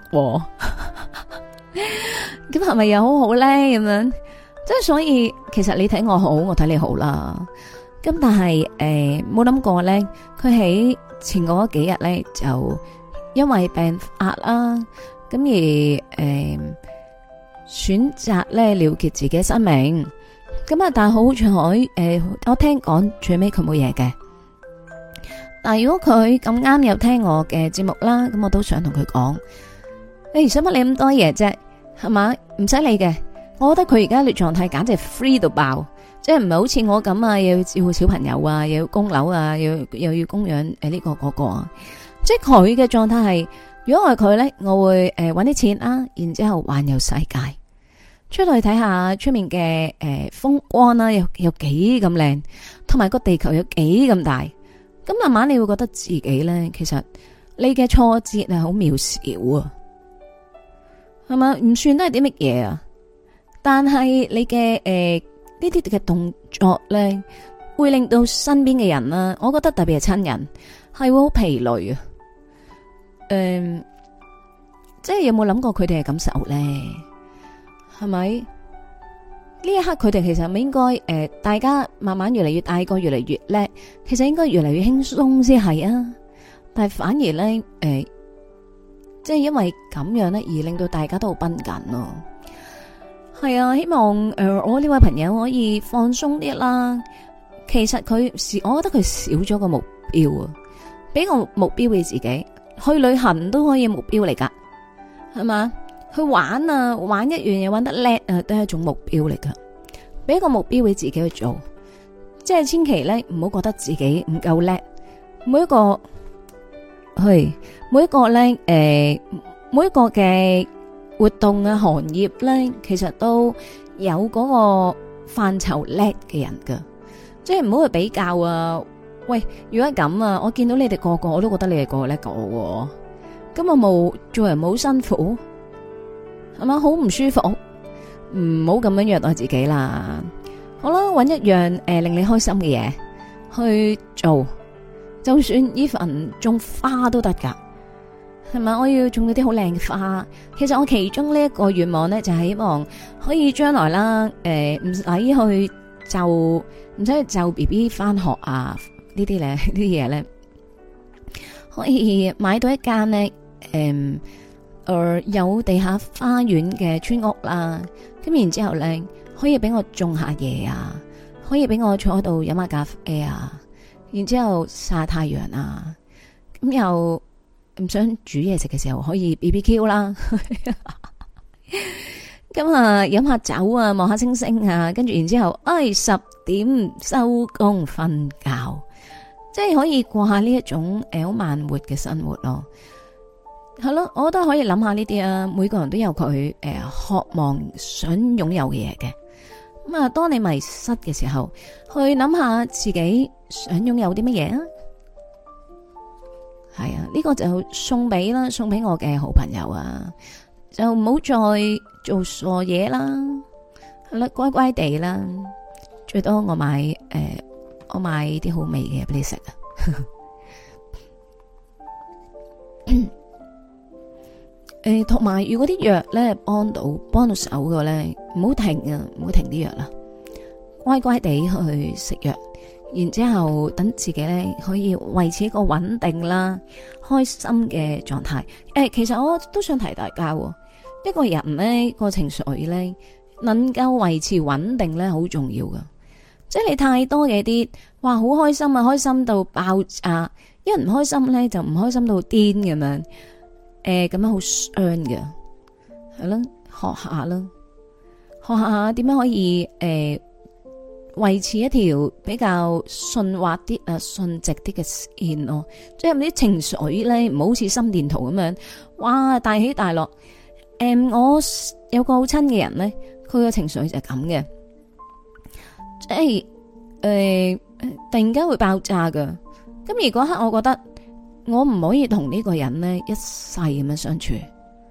咁係咪又好好咧？咁樣，即係所以其實你睇我好，我睇你好啦。咁但係誒冇諗過咧，佢喺前嗰幾日咧就因為病發啦，咁而誒。呃選擇咧了結自己生命，咁啊，但係好彩誒，我聽講最尾佢冇嘢嘅。但係如果佢咁啱有聽我嘅節目啦，咁我都想同佢講，誒，使乜你咁多嘢啫？係嘛，唔使理嘅。我覺得佢而家嘅狀態簡直係 free 到爆，即係唔係好似我咁啊，又要照顧小朋友啊，又要供樓啊，又又要供養誒呢個嗰個啊。即係佢嘅狀態係，如果我係佢咧，我會誒搵啲錢啊，然之後環遊世界。出去睇下出面嘅誒風光啦，有有幾咁靚，同埋個地球有幾咁大，咁慢慢你會覺得自己咧，其實你嘅挫折係好渺小啊，係嘛？唔算都係啲乜嘢啊，但係你嘅誒呢啲嘅動作咧，會令到身邊嘅人啦，我覺得特別係親人係會好疲累啊。誒、呃，即係有冇諗過佢哋嘅感受咧？係咪呢一刻佢哋其實咪應該誒、呃，大家慢慢越嚟越大個，越嚟越叻，其實應該越嚟越輕鬆先係啊。但係反而咧誒、呃，即係因為咁樣咧，而令到大家都好繃緊咯。係啊，希望誒、呃、我呢位朋友可以放鬆啲啦。其實佢是，我覺得佢少咗個目標啊，俾個目標俾自己去旅行都可以目標嚟噶，係嘛？去玩啊，玩一樣嘢玩得叻啊，都係一種目標嚟噶。俾一個目標俾自己去做，即係千祈咧唔好覺得自己唔夠叻。每一個去，每一個咧，誒、呃，每一個嘅活動啊，行業咧，其實都有嗰個範疇叻嘅人噶。即係唔好去比較啊。喂，如果係咁啊，我見到你哋個個，我都覺得你哋個個叻過我。咁我冇做人冇辛苦。係嘛，好唔舒服，唔好咁樣虐待自己啦。好啦，搵一樣誒、呃、令你開心嘅嘢去做，就算呢份種花都得噶，係咪？我要種嗰啲好靚嘅花。其實我其中呢一個願望咧，就係、是、希望可以將來啦，誒唔使去就唔使去就 B B 翻學啊呢啲咧，呢啲嘢咧，可以買到一間咧，誒、呃。誒、呃，有地下花園嘅村屋啦，咁然之後咧，可以俾我種下嘢啊，可以俾我坐喺度飲下咖啡啊，然之後曬下太陽啊，咁又唔想煮嘢食嘅時候可以 B B Q 啦，咁啊飲下酒啊，望下星星啊，跟住然之後，哎十點收工瞓覺，即係可以過下呢一種誒好慢活嘅生活咯。係咯，我都可以諗下呢啲啊。每個人都有佢誒、呃、渴望想擁有嘅嘢嘅。咁啊，當你迷失嘅時候，去諗下自己想擁有啲乜嘢啊。係啊，呢、這個就送俾啦，送俾我嘅好朋友啊。就唔好再做傻嘢啦。係啦，乖乖地啦。最多我買誒、呃，我買啲好味嘅俾你食啊。誒，同埋如果啲藥咧幫到幫到手嘅咧，唔好停啊，唔好停啲藥啦。 乖乖地去食藥，然之後等自己咧可以維持一個穩定啦、開心嘅狀態。誒、欸，其實我都想提大家，一個人咧個情緒咧能夠維持穩定咧好重要噶。即係你太多嘅啲，哇，好開心啊，開心到爆炸，一唔開心咧就唔開心到癲咁樣，誒、呃，咁樣好傷嘅，係咯，學下啦，學下點樣可以誒維、呃、持一條比較順滑啲啊、順直啲嘅線咯，即係啲情緒咧唔好似心電圖咁樣，哇，大起大落。誒、呃，我有個好親嘅人咧，佢嘅情緒就係咁嘅。即係誒，突然間會爆炸噶。咁而嗰刻，我覺得我唔可以同呢個人呢一世咁樣相處。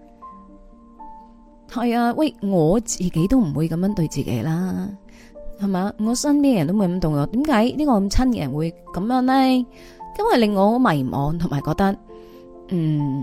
係啊，喂，我自己都唔會咁樣對自己啦，係嘛？我身邊嘅人都冇咁對我。點解呢個咁親嘅人會咁樣呢？因為令我好迷茫，同埋覺得，嗯，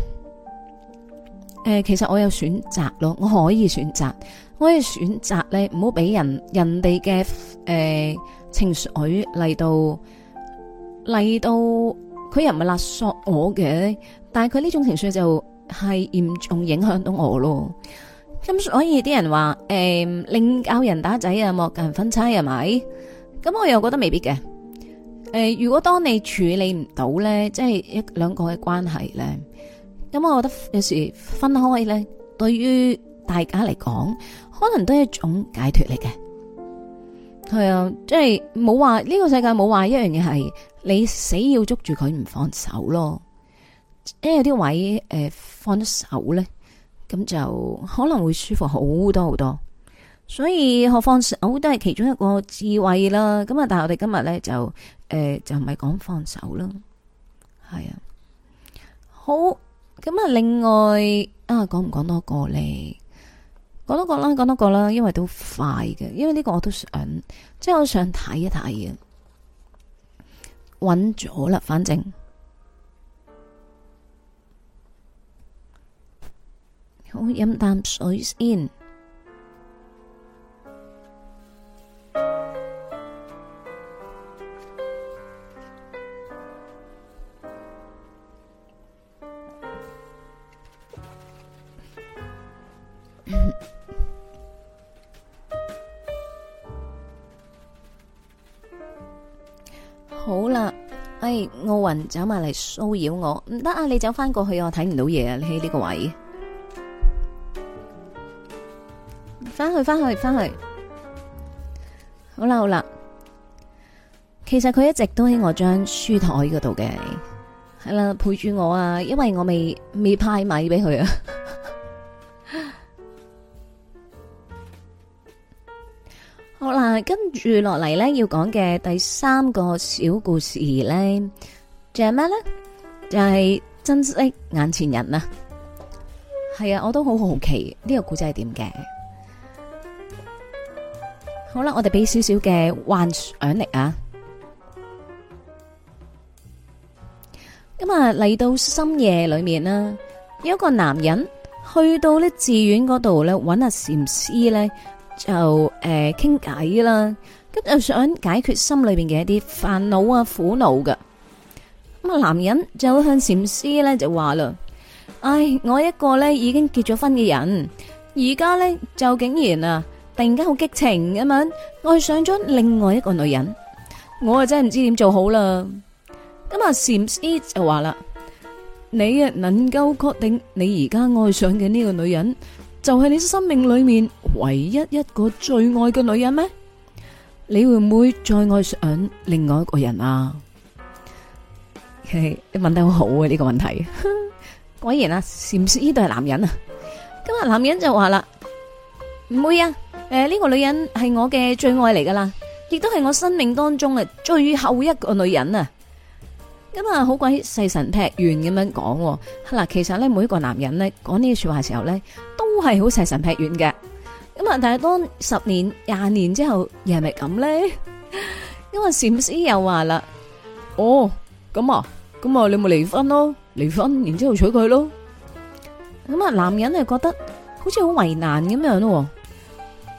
誒、呃，其實我有選擇咯，我可以選擇。我可以選擇咧，唔好俾人人哋嘅誒情緒嚟到嚟到，佢又唔係勒索我嘅，但係佢呢種情緒就係嚴重影響到我咯。咁所以啲人話誒，寧教人打仔啊，莫教人分妻係咪？咁我又覺得未必嘅。誒、呃，如果當你處理唔到咧，即係一兩個嘅關係咧，咁我覺得有時分開咧，對於大家嚟講，可能都係一種解脫嚟嘅。係啊，即係冇話呢個世界冇話一樣嘢係你死要捉住佢唔放手咯。因為有啲位誒、呃、放咗手咧，咁就可能會舒服好多好多。所以學放手都係其中一個智慧啦。咁啊，但係我哋今日咧就誒、呃、就唔係講放手啦。係啊，好，咁啊，另外啊，講唔講多個咧？講多個啦，講多個啦，因為都快嘅，因為呢個我都想，即係我想睇一睇嘅，揾咗啦，反正好飲啖水先。好啦，哎，奧運走埋嚟騷擾我，唔得啊！你走翻過去，我睇唔到嘢啊！你喺呢個位，翻去翻去翻去，好啦好啦。其實佢一直都喺我張書台嗰度嘅，係啦，陪住我啊，因為我未未派米俾佢啊。好啦，跟住落嚟咧，要講嘅第三個小故事咧，就係咩咧？就係、是、珍惜眼前人啊！係啊，我都好好奇呢、這個故仔係點嘅。好啦，我哋俾少少嘅幻想力啊！咁啊，嚟到深夜裏面啦，有一個男人去到咧寺院嗰度咧，揾阿禪師咧。就誒傾偈啦，咁就想解決心裏邊嘅一啲煩惱啊苦惱㗎。咁啊，男人就向禪師咧就話啦：唉，我一個咧已經結咗婚嘅人，而家咧就竟然啊突然間好激情咁樣愛上咗另外一個女人，我啊真係唔知點做好啦。咁啊，禪師就話啦：你啊能夠確定你而家愛上嘅呢個女人就係你生命裏面唯一一個最愛嘅女人咩？你會唔會再愛上另外一個人啊？你問得好好啊！呢個問題，果然啊，禪師呢度係男人啊。今日男人就話啦，唔會啊。誒，呢個女人係我嘅最愛嚟噶啦，亦都係我生命當中嘅最後一個女人啊。咁啊，好鬼細神劈完咁樣講。嗱，其實咧，每一個男人咧講呢啲說話嘅時候咧，都係好細神劈完嘅。咁啊，但係當十年、廿年之後，又係咪咁咧？因為禪師又話啦，哦，咁啊，咁啊，你咪離婚咯，離婚，然之後娶佢咯。咁啊，男人係覺得好似好為難咁樣咯。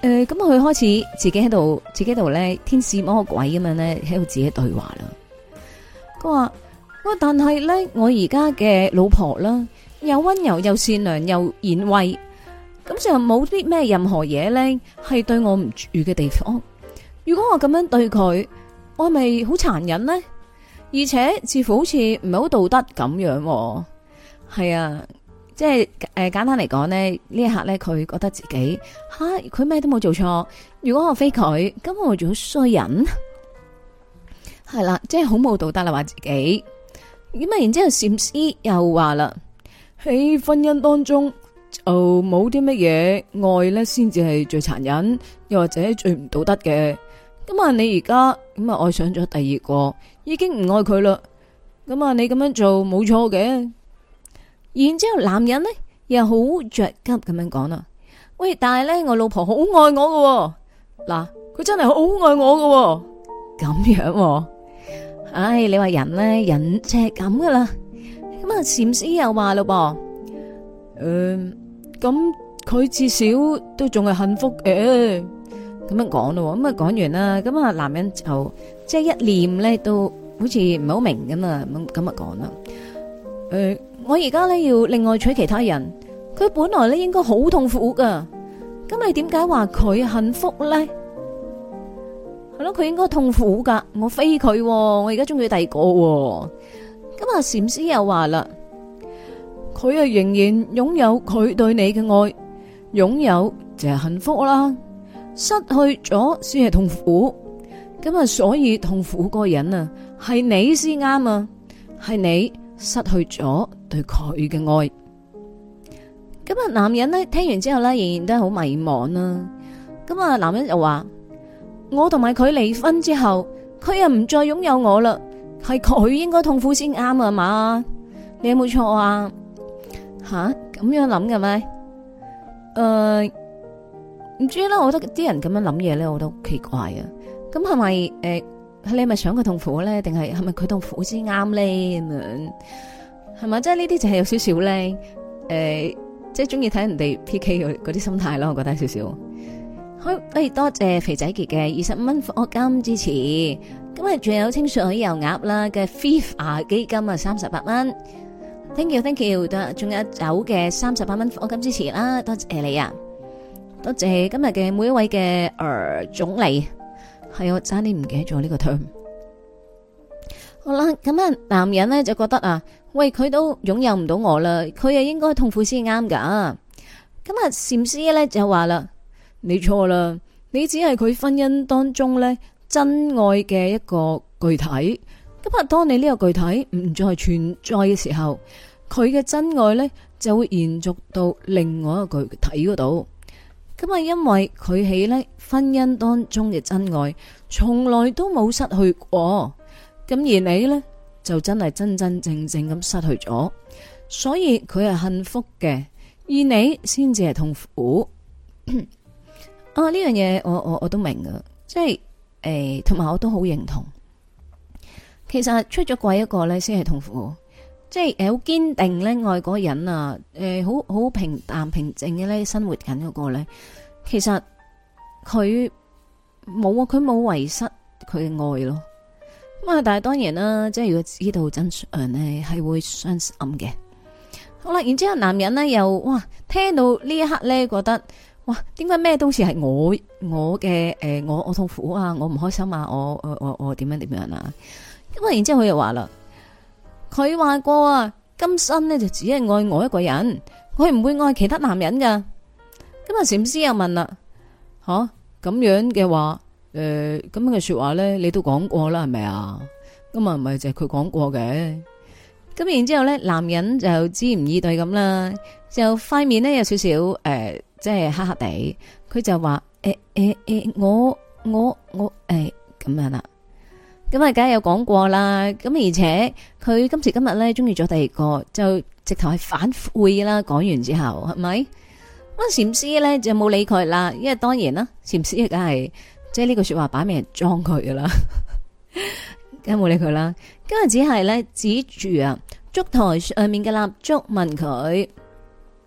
誒，咁佢開始自己喺度，自己度咧天使魔鬼咁樣咧喺度自己對話啦。佢話：喂，但係咧，我而家嘅老婆啦，又溫柔又善良又賢惠，咁就冇啲咩任何嘢咧係對我唔住嘅地方。如果我咁樣對佢，我係咪好殘忍呢？而且似乎好似唔係好道德咁樣。係啊，即係誒、呃、簡單嚟講呢，呢一刻咧佢覺得自己吓佢咩都冇做錯。如果我非佢，咁我做衰人。係啦，即係好冇道德啦，話自己咁啊。然之後禪師又話啦，喺婚姻當中就冇啲乜嘢愛咧，先至係最殘忍，又或者最唔道德嘅。咁啊，你而家咁啊愛上咗第二個，已經唔愛佢啦。咁啊，你咁樣做冇錯嘅。然之後男人呢，又好着急咁樣講啦，喂，但係咧我老婆好愛我㗎，嗱，佢真係好愛我㗎，咁樣。唉，你話人咧，人就係咁噶啦。咁啊，禪師又話咯噃，誒，咁佢至少都仲係幸福嘅。咁樣講咯，咁啊講完啦，咁啊男人就即係一念咧，都好似唔係好明咁啊，咁咁啊講啦。誒，我而家咧要另外娶其他人，佢本來咧應該好痛苦噶，咁你點解話佢幸福咧？係咯，佢應該痛苦噶，我非佢，我而家中意第二個。咁啊，禪師又話啦，佢啊仍然擁有佢對你嘅愛，擁有就係幸福啦，失去咗先係痛苦。咁啊，所以痛苦嗰個人啊，係你先啱啊，係你失去咗對佢嘅愛。咁啊，男人呢聽完之後呢，仍然都係好迷茫啦。咁啊，男人就話。我同埋佢離婚之後，佢又唔再擁有我啦，係佢應該痛苦先啱啊嘛？你有冇錯啊？吓，咁樣諗嘅咩？誒、呃，唔知啦，我覺得啲人咁樣諗嘢咧，我都好奇怪啊。咁係咪誒，你係咪想佢痛苦咧？定係係咪佢痛苦先啱咧？咁樣係咪？即係呢啲就係有少少咧，誒、呃，即係中意睇人哋 P K 嗰啲心態咯。我覺得有少少。好，誒，多謝肥仔傑嘅二十五蚊課金支持，今日仲有清水油鴨啦嘅 FIFA 基金啊三十八蚊 ，thank you，thank you，仲有酒嘅三十八蚊課金支持啦，多謝你啊，多謝今日嘅每一位嘅誒、呃、總理，係我差啲唔記得咗呢個 term。好啦，咁啊，男人咧就覺得啊，喂，佢都擁有唔到我啦，佢又應該痛苦先啱噶。咁啊，禪師咧就話啦。你錯啦，你只係佢婚姻當中咧真愛嘅一個具體。咁啊，當你呢個具體唔再存在嘅時候，佢嘅真愛咧就會延續到另外一個具體嗰度。咁啊，因為佢喺咧婚姻當中嘅真愛從來都冇失去過，咁而你呢，就真係真真正正咁失去咗，所以佢係幸福嘅，而你先至係痛苦。啊！呢樣嘢我我我都明噶，即係誒，同、呃、埋我都好認同。其實出咗軌一個咧，先係痛苦。即係誒，好堅定咧愛嗰個人啊，誒、呃，好好平淡平靜嘅咧生活緊嗰個咧，其實佢冇啊，佢冇遺失佢嘅愛咯。咁啊，但係當然啦，即係如果知道真相咧，係會傷心嘅。好啦，然之後男人咧又哇，聽到呢一刻咧，覺得。哇！點解咩都似係我我嘅誒、呃，我我痛苦啊，我唔開心啊，我我我我點樣點樣啊？咁啊，然之後佢又話啦，佢話過啊，今生呢就只係愛我一個人，我係唔會愛其他男人噶。咁啊，禪師又問啦，吓咁樣嘅話，誒咁樣嘅說話咧，你都講過啦，係咪啊？咁啊，唔係就係佢講過嘅。咁然之後咧，男人就支唔以對咁啦，就塊面咧有少少誒。呃即係黑黑地，佢就話誒誒誒，我我我誒咁樣啦，咁啊，梗係有講過啦。咁而且佢今時今日咧中意咗第二個，就直頭係反悔啦。講完之後係咪？咁禪師咧就冇理佢啦，因為當然啦，禪師梗係即係呢句說話擺明係裝佢噶啦，梗係冇理佢啦。今日只係咧指住啊燭台上面嘅蠟燭問佢。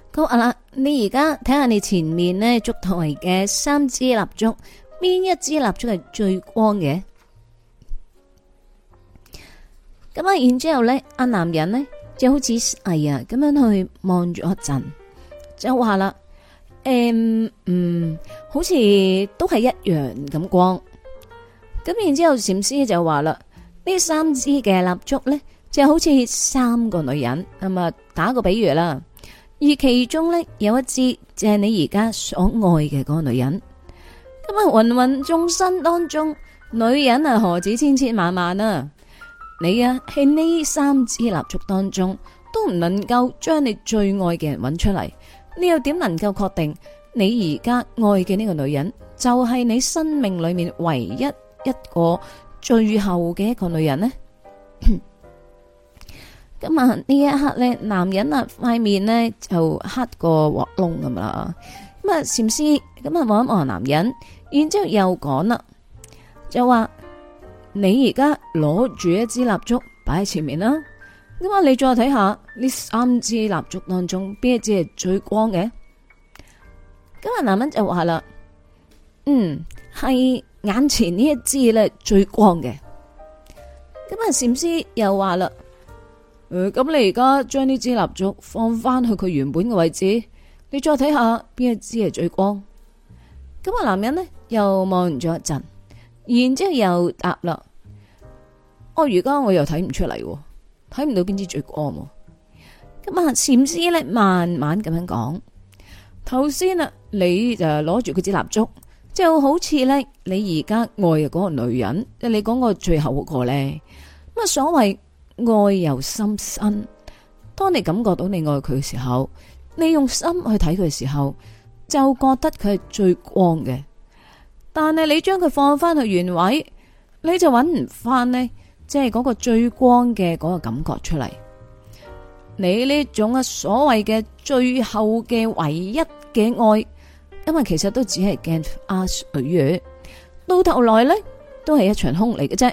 佢話啦，你而家睇下你前面呢燭台嘅三支蠟燭，邊一支蠟燭係最光嘅？咁啊，然之後咧，阿男人呢就好似係啊咁樣去望咗一陣，就話啦，誒、嗯，嗯，好似都係一樣咁光。咁然之後，禪師就話啦，呢三支嘅蠟燭咧，就好似三個女人，咁啊，打個比喻啦。而其中咧有一支就係你而家所愛嘅嗰個女人。咁啊，芸芸眾生當中，女人啊何止千千萬萬啊！你啊喺呢三支蠟燭當中，都唔能夠將你最愛嘅人揾出嚟，你又點能夠確定你而家愛嘅呢個女人就係你生命裏面唯一一個最後嘅一個女人呢？咁啊呢一刻咧，男人啊塊面呢就黑過鑊窿咁啦。咁啊禪師咁啊望一望男人，然之後又講啦，就話你而家攞住一支蠟燭擺喺前面啦。咁啊你再睇下呢三支蠟燭當中邊一支係最光嘅？咁啊男人就話啦，嗯，係眼前呢一支咧最光嘅。咁啊禪師又話啦，誒，咁你而家將呢支蠟燭放翻去佢原本嘅位置，你再睇下邊一支係最光。咁啊男人呢又望咗一陣，然之後又答啦，哦，而家我又睇唔出嚟，睇唔到邊支最光。咁啊禪師咧慢慢咁樣講，頭先啊你就攞住佢支蠟燭，就好似咧你而家愛嘅嗰個女人，即係你講個最後嗰個咧。咁啊所謂愛由心生，當你感覺到你愛佢嘅時候，你用心去睇佢嘅時候，就覺得佢係最光嘅。但係你將佢放翻去原位，你就揾唔翻呢，即係嗰個最光嘅嗰個感覺出嚟。你呢種啊所謂嘅最後嘅唯一嘅愛，因為其實都只係鏡花水月，到頭來呢都係一場空嚟嘅啫。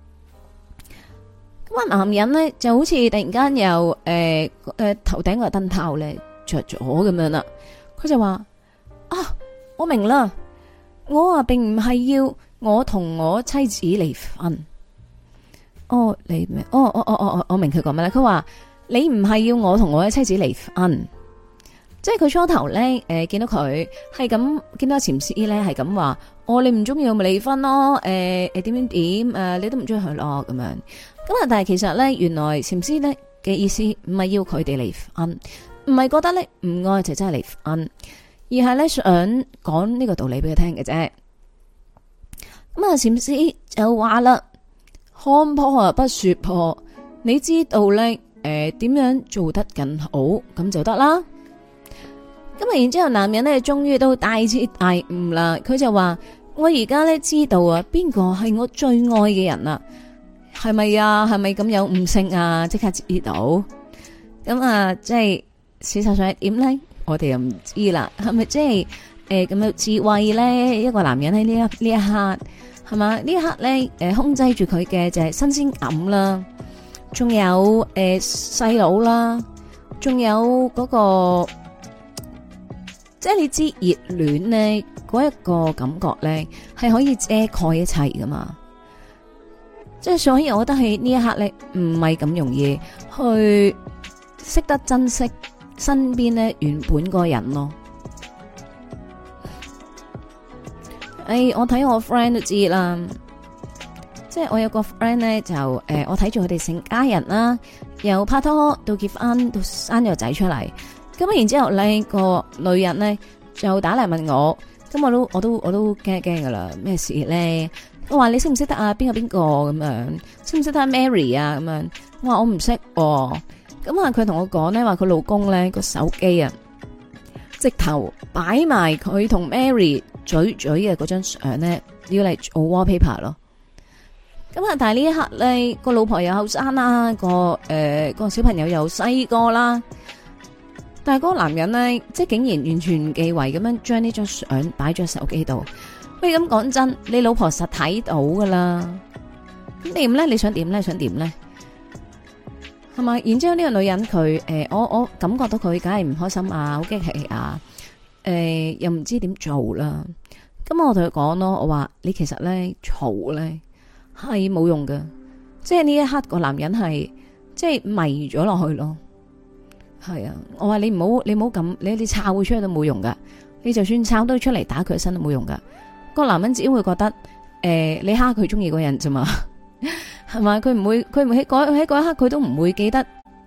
咁啊，男人呢就好似突然間又誒誒頭頂個燈泡咧着咗咁樣啦。佢就話啊，我明啦，我啊並唔係要我同我妻子離婚。哦，你明？哦哦哦哦，我明佢講咩咧？佢話你唔係要我同我嘅妻子離婚，即係佢初頭咧誒見到佢係咁，見到禪師咧係咁話，哦，你唔中意我咪離婚咯？誒誒點點點誒，你都唔中意佢咯咁樣。咁啊！但係其實咧，原來禪師咧嘅意思唔係要佢哋離婚，唔係覺得咧唔愛就真係離婚，而係咧想講呢個道理俾佢聽嘅啫。咁啊，禪師就話啦：看破啊不說破，你知道咧誒點樣做得更好咁就得啦。咁啊，然之後男人咧終於都大徹大悟啦，佢就話：我而家咧知道啊，邊個係我最愛嘅人啊！係咪啊？係咪咁有悟性啊？即刻知道咁啊！即係事實上係點咧？我哋又唔知啦。係咪即係誒咁有智慧咧？一個男人喺呢一呢一刻係嘛？呢一刻咧誒、呃、控制住佢嘅就係新鮮感啦，仲有誒細佬啦，仲有嗰個即係你知熱戀咧嗰一個感覺咧係可以遮蓋一切噶嘛。即係所以，我覺得喺呢一刻咧，唔係咁容易去識得珍惜身邊咧原本嗰個人咯。誒、哎，我睇我 friend 都知啦，即係我有個 friend 咧就誒、呃，我睇住佢哋成家人啦，由拍拖到結婚到生咗個仔出嚟，咁然之後咧個女人咧就打嚟問我，咁我都我都我都驚驚噶啦，咩事咧？我話你識唔識得啊？邊個邊個咁樣？識唔識得 Mary 啊？咁樣我話我唔識。咁啊，佢同我講咧，話佢老公咧個手機啊，直頭擺埋佢同 Mary 嘴嘴嘅嗰張相咧，要嚟做 wallpaper 咯。咁啊，但係呢一刻咧，個老婆又後生啦，個誒、呃、個小朋友又細個啦，但係嗰個男人咧，即係竟然完全唔忌諱咁樣將呢張相擺咗喺手機度。喂，咁講真，你老婆實睇到噶啦，咁點咧？你想點咧？想點咧？ 係咪？然之後呢個女人佢誒、呃，我我感覺到佢梗係唔開心啊，好激氣啊，誒、呃，又唔知點做啦。咁我同佢講咯，我話你其實咧嘈咧係冇用㗎，即係呢一刻個男人係即係迷咗落去咯。係啊，我話你唔好你唔好咁，你你抄佢出去都冇用噶，你就算抄到出嚟打佢身都冇用噶。個男人只會覺得誒、呃，你蝦佢中意嗰人啫嘛，係嘛？佢唔會佢唔喺嗰喺嗰一刻佢都唔會記得。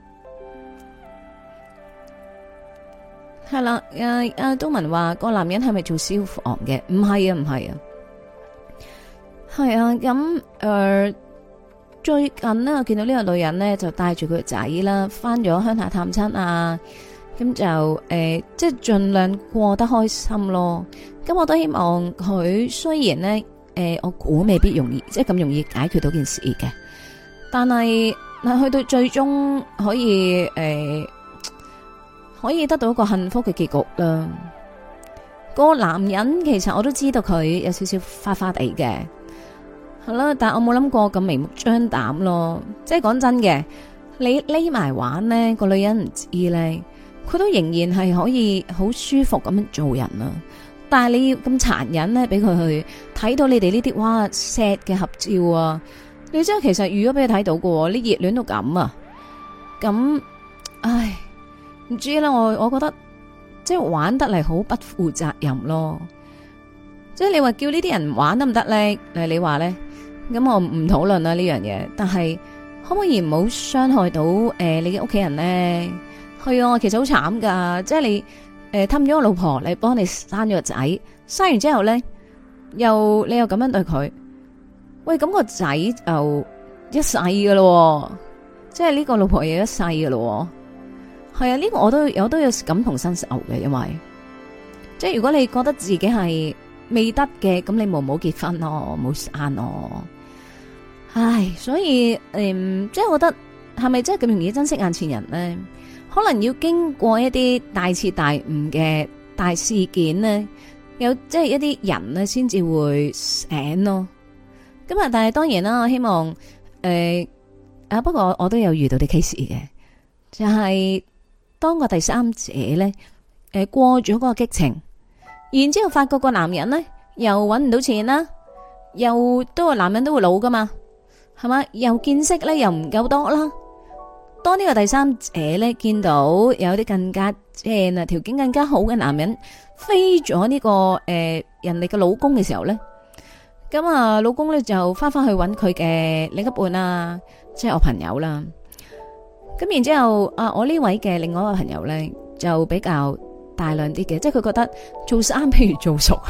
係啦，阿阿東文話個男人係咪做消防嘅？唔係啊，唔係啊，係啊。咁誒、呃，最近呢，我見到呢個女人呢，就帶住佢個仔啦，翻咗鄉下探親啊。咁就誒、呃，即係盡量過得開心咯。咁我都希望佢雖然呢，誒、呃，我估未必容易，即係咁容易解決到件事嘅，但係嗱，去到最終可以誒。呃可以得到一個幸福嘅結局啦。個男人其實我都知道佢有少少花花地嘅，係啦，但係我冇諗過咁明目張膽咯。即係講真嘅，你匿埋玩呢，個女人唔知呢，佢都仍然係可以好舒服咁樣做人啊。但係你要咁殘忍呢，俾佢去睇到你哋呢啲哇 sad 嘅合照啊！你知其實如果俾佢睇到嘅，你熱戀到咁啊，咁唉。唔知啦，我我覺得即係玩得嚟好不負責任咯。即係你話叫呢啲人玩得唔得咧？誒，你話咧？咁我唔討論啦呢樣嘢。但係可唔可以唔好傷害到誒、呃、你嘅屋企人咧？係啊，其實好慘噶。即係你誒氹咗個老婆嚟幫你生咗個仔，生完之後咧又你又咁樣對佢，喂咁、個仔就一世噶咯。即係呢個老婆又一世噶咯。係啊，呢、這個我都有都有感同身受嘅，因為即係如果你覺得自己係未得嘅，咁你冇冇結婚咯，冇生咯。唉，所以誒、嗯，即係我覺得係咪真係咁容易珍惜眼前人呢？可能要經過一啲大徹大悟嘅大事件呢，有即係一啲人呢先至會醒咯。咁啊，但係當然啦，我希望誒、呃、啊，不過我都有遇到啲 case 嘅，就係、是。當個第三者咧，誒過咗嗰個激情，然之後發覺個男人咧又搵唔到錢啦，又都個男人都會老噶嘛，係嘛？又見識咧又唔夠多啦。當呢個第三者咧見到有啲更加正啊條件更加好嘅男人飛咗呢、這個誒、呃、人哋嘅老公嘅時候咧，咁啊老公咧就翻翻去搵佢嘅另一半啊，即係我朋友啦。咁然之後，啊，我呢位嘅另外一個朋友咧，就比較大量啲嘅，即係佢覺得做生譬如做熟。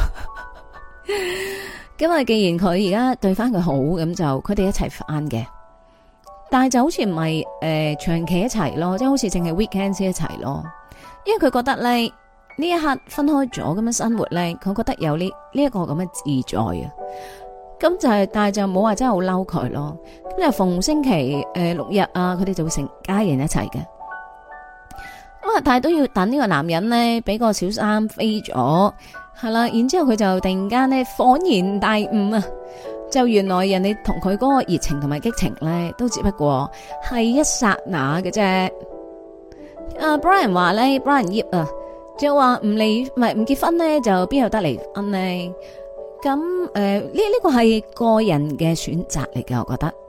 咁啊，既然佢而家對翻佢好，咁就佢哋一齊翻嘅。但係就好似唔係誒長期一齊咯，即係好似淨係 weekend 先一齊咯。因為佢覺得咧呢一刻分開咗咁樣生活咧，佢覺得有呢呢一個咁嘅自在啊。咁就係、是，但係就冇話真係好嬲佢咯。咁就逢星期誒、呃、六日啊，佢哋就會成家人一齊嘅。咁啊，但係都要等呢個男人咧，俾個小三飛咗，係啦。然之後佢就突然間咧恍然大悟啊，就原來人哋同佢嗰個熱情同埋激情咧，都只不過係一剎那嘅啫。啊 Brian 話咧 ，Brian 葉啊，就話唔離唔係唔結婚咧，就邊有得離婚呢？咁誒，呢呢個係個人嘅選擇嚟嘅，我覺得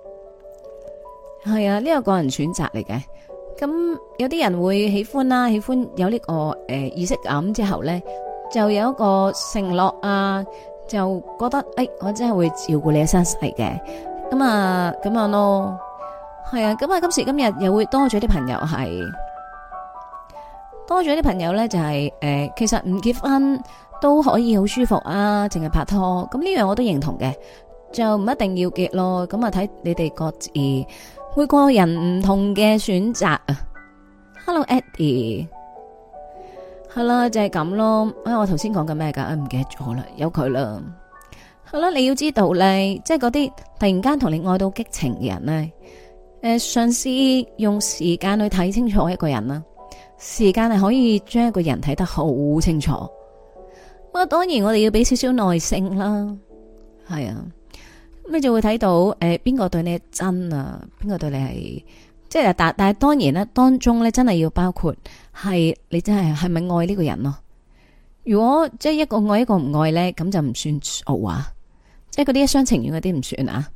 係啊，呢個個人選擇嚟嘅。咁有啲人會喜歡啦，喜歡有呢個誒儀式感之後咧，就有一個承諾啊，就覺得誒，我真係會照顧你一生世嘅。咁啊，咁樣咯，係啊。咁啊，今時今日又會多咗啲朋友係多咗啲朋友咧，就係誒，其實唔結婚都可以好舒服啊，淨係拍拖，咁呢樣我都認同嘅，就唔一定要結咯。咁啊，睇你哋各自每個人唔同嘅選擇啊。Hello Eddie，係啦，就係咁咯。哎，我頭先講緊咩噶？唔記得咗啦，有佢啦。係啦，你要知道咧，即係嗰啲突然間同你愛到激情嘅人咧，誒，嘗試用時間去睇清楚一個人啦。時間係可以將一個人睇得好清楚。咁啊，當然我哋要俾少少耐性啦，係啊，咁你就會睇到誒邊個對你係真啊，邊個對你係即係但但係當然啦，當中咧真係要包括係你真係係咪愛呢個人咯？如果即係一個愛一個唔愛咧，咁就唔算數啊！即係嗰啲一廂情願嗰啲唔算啊！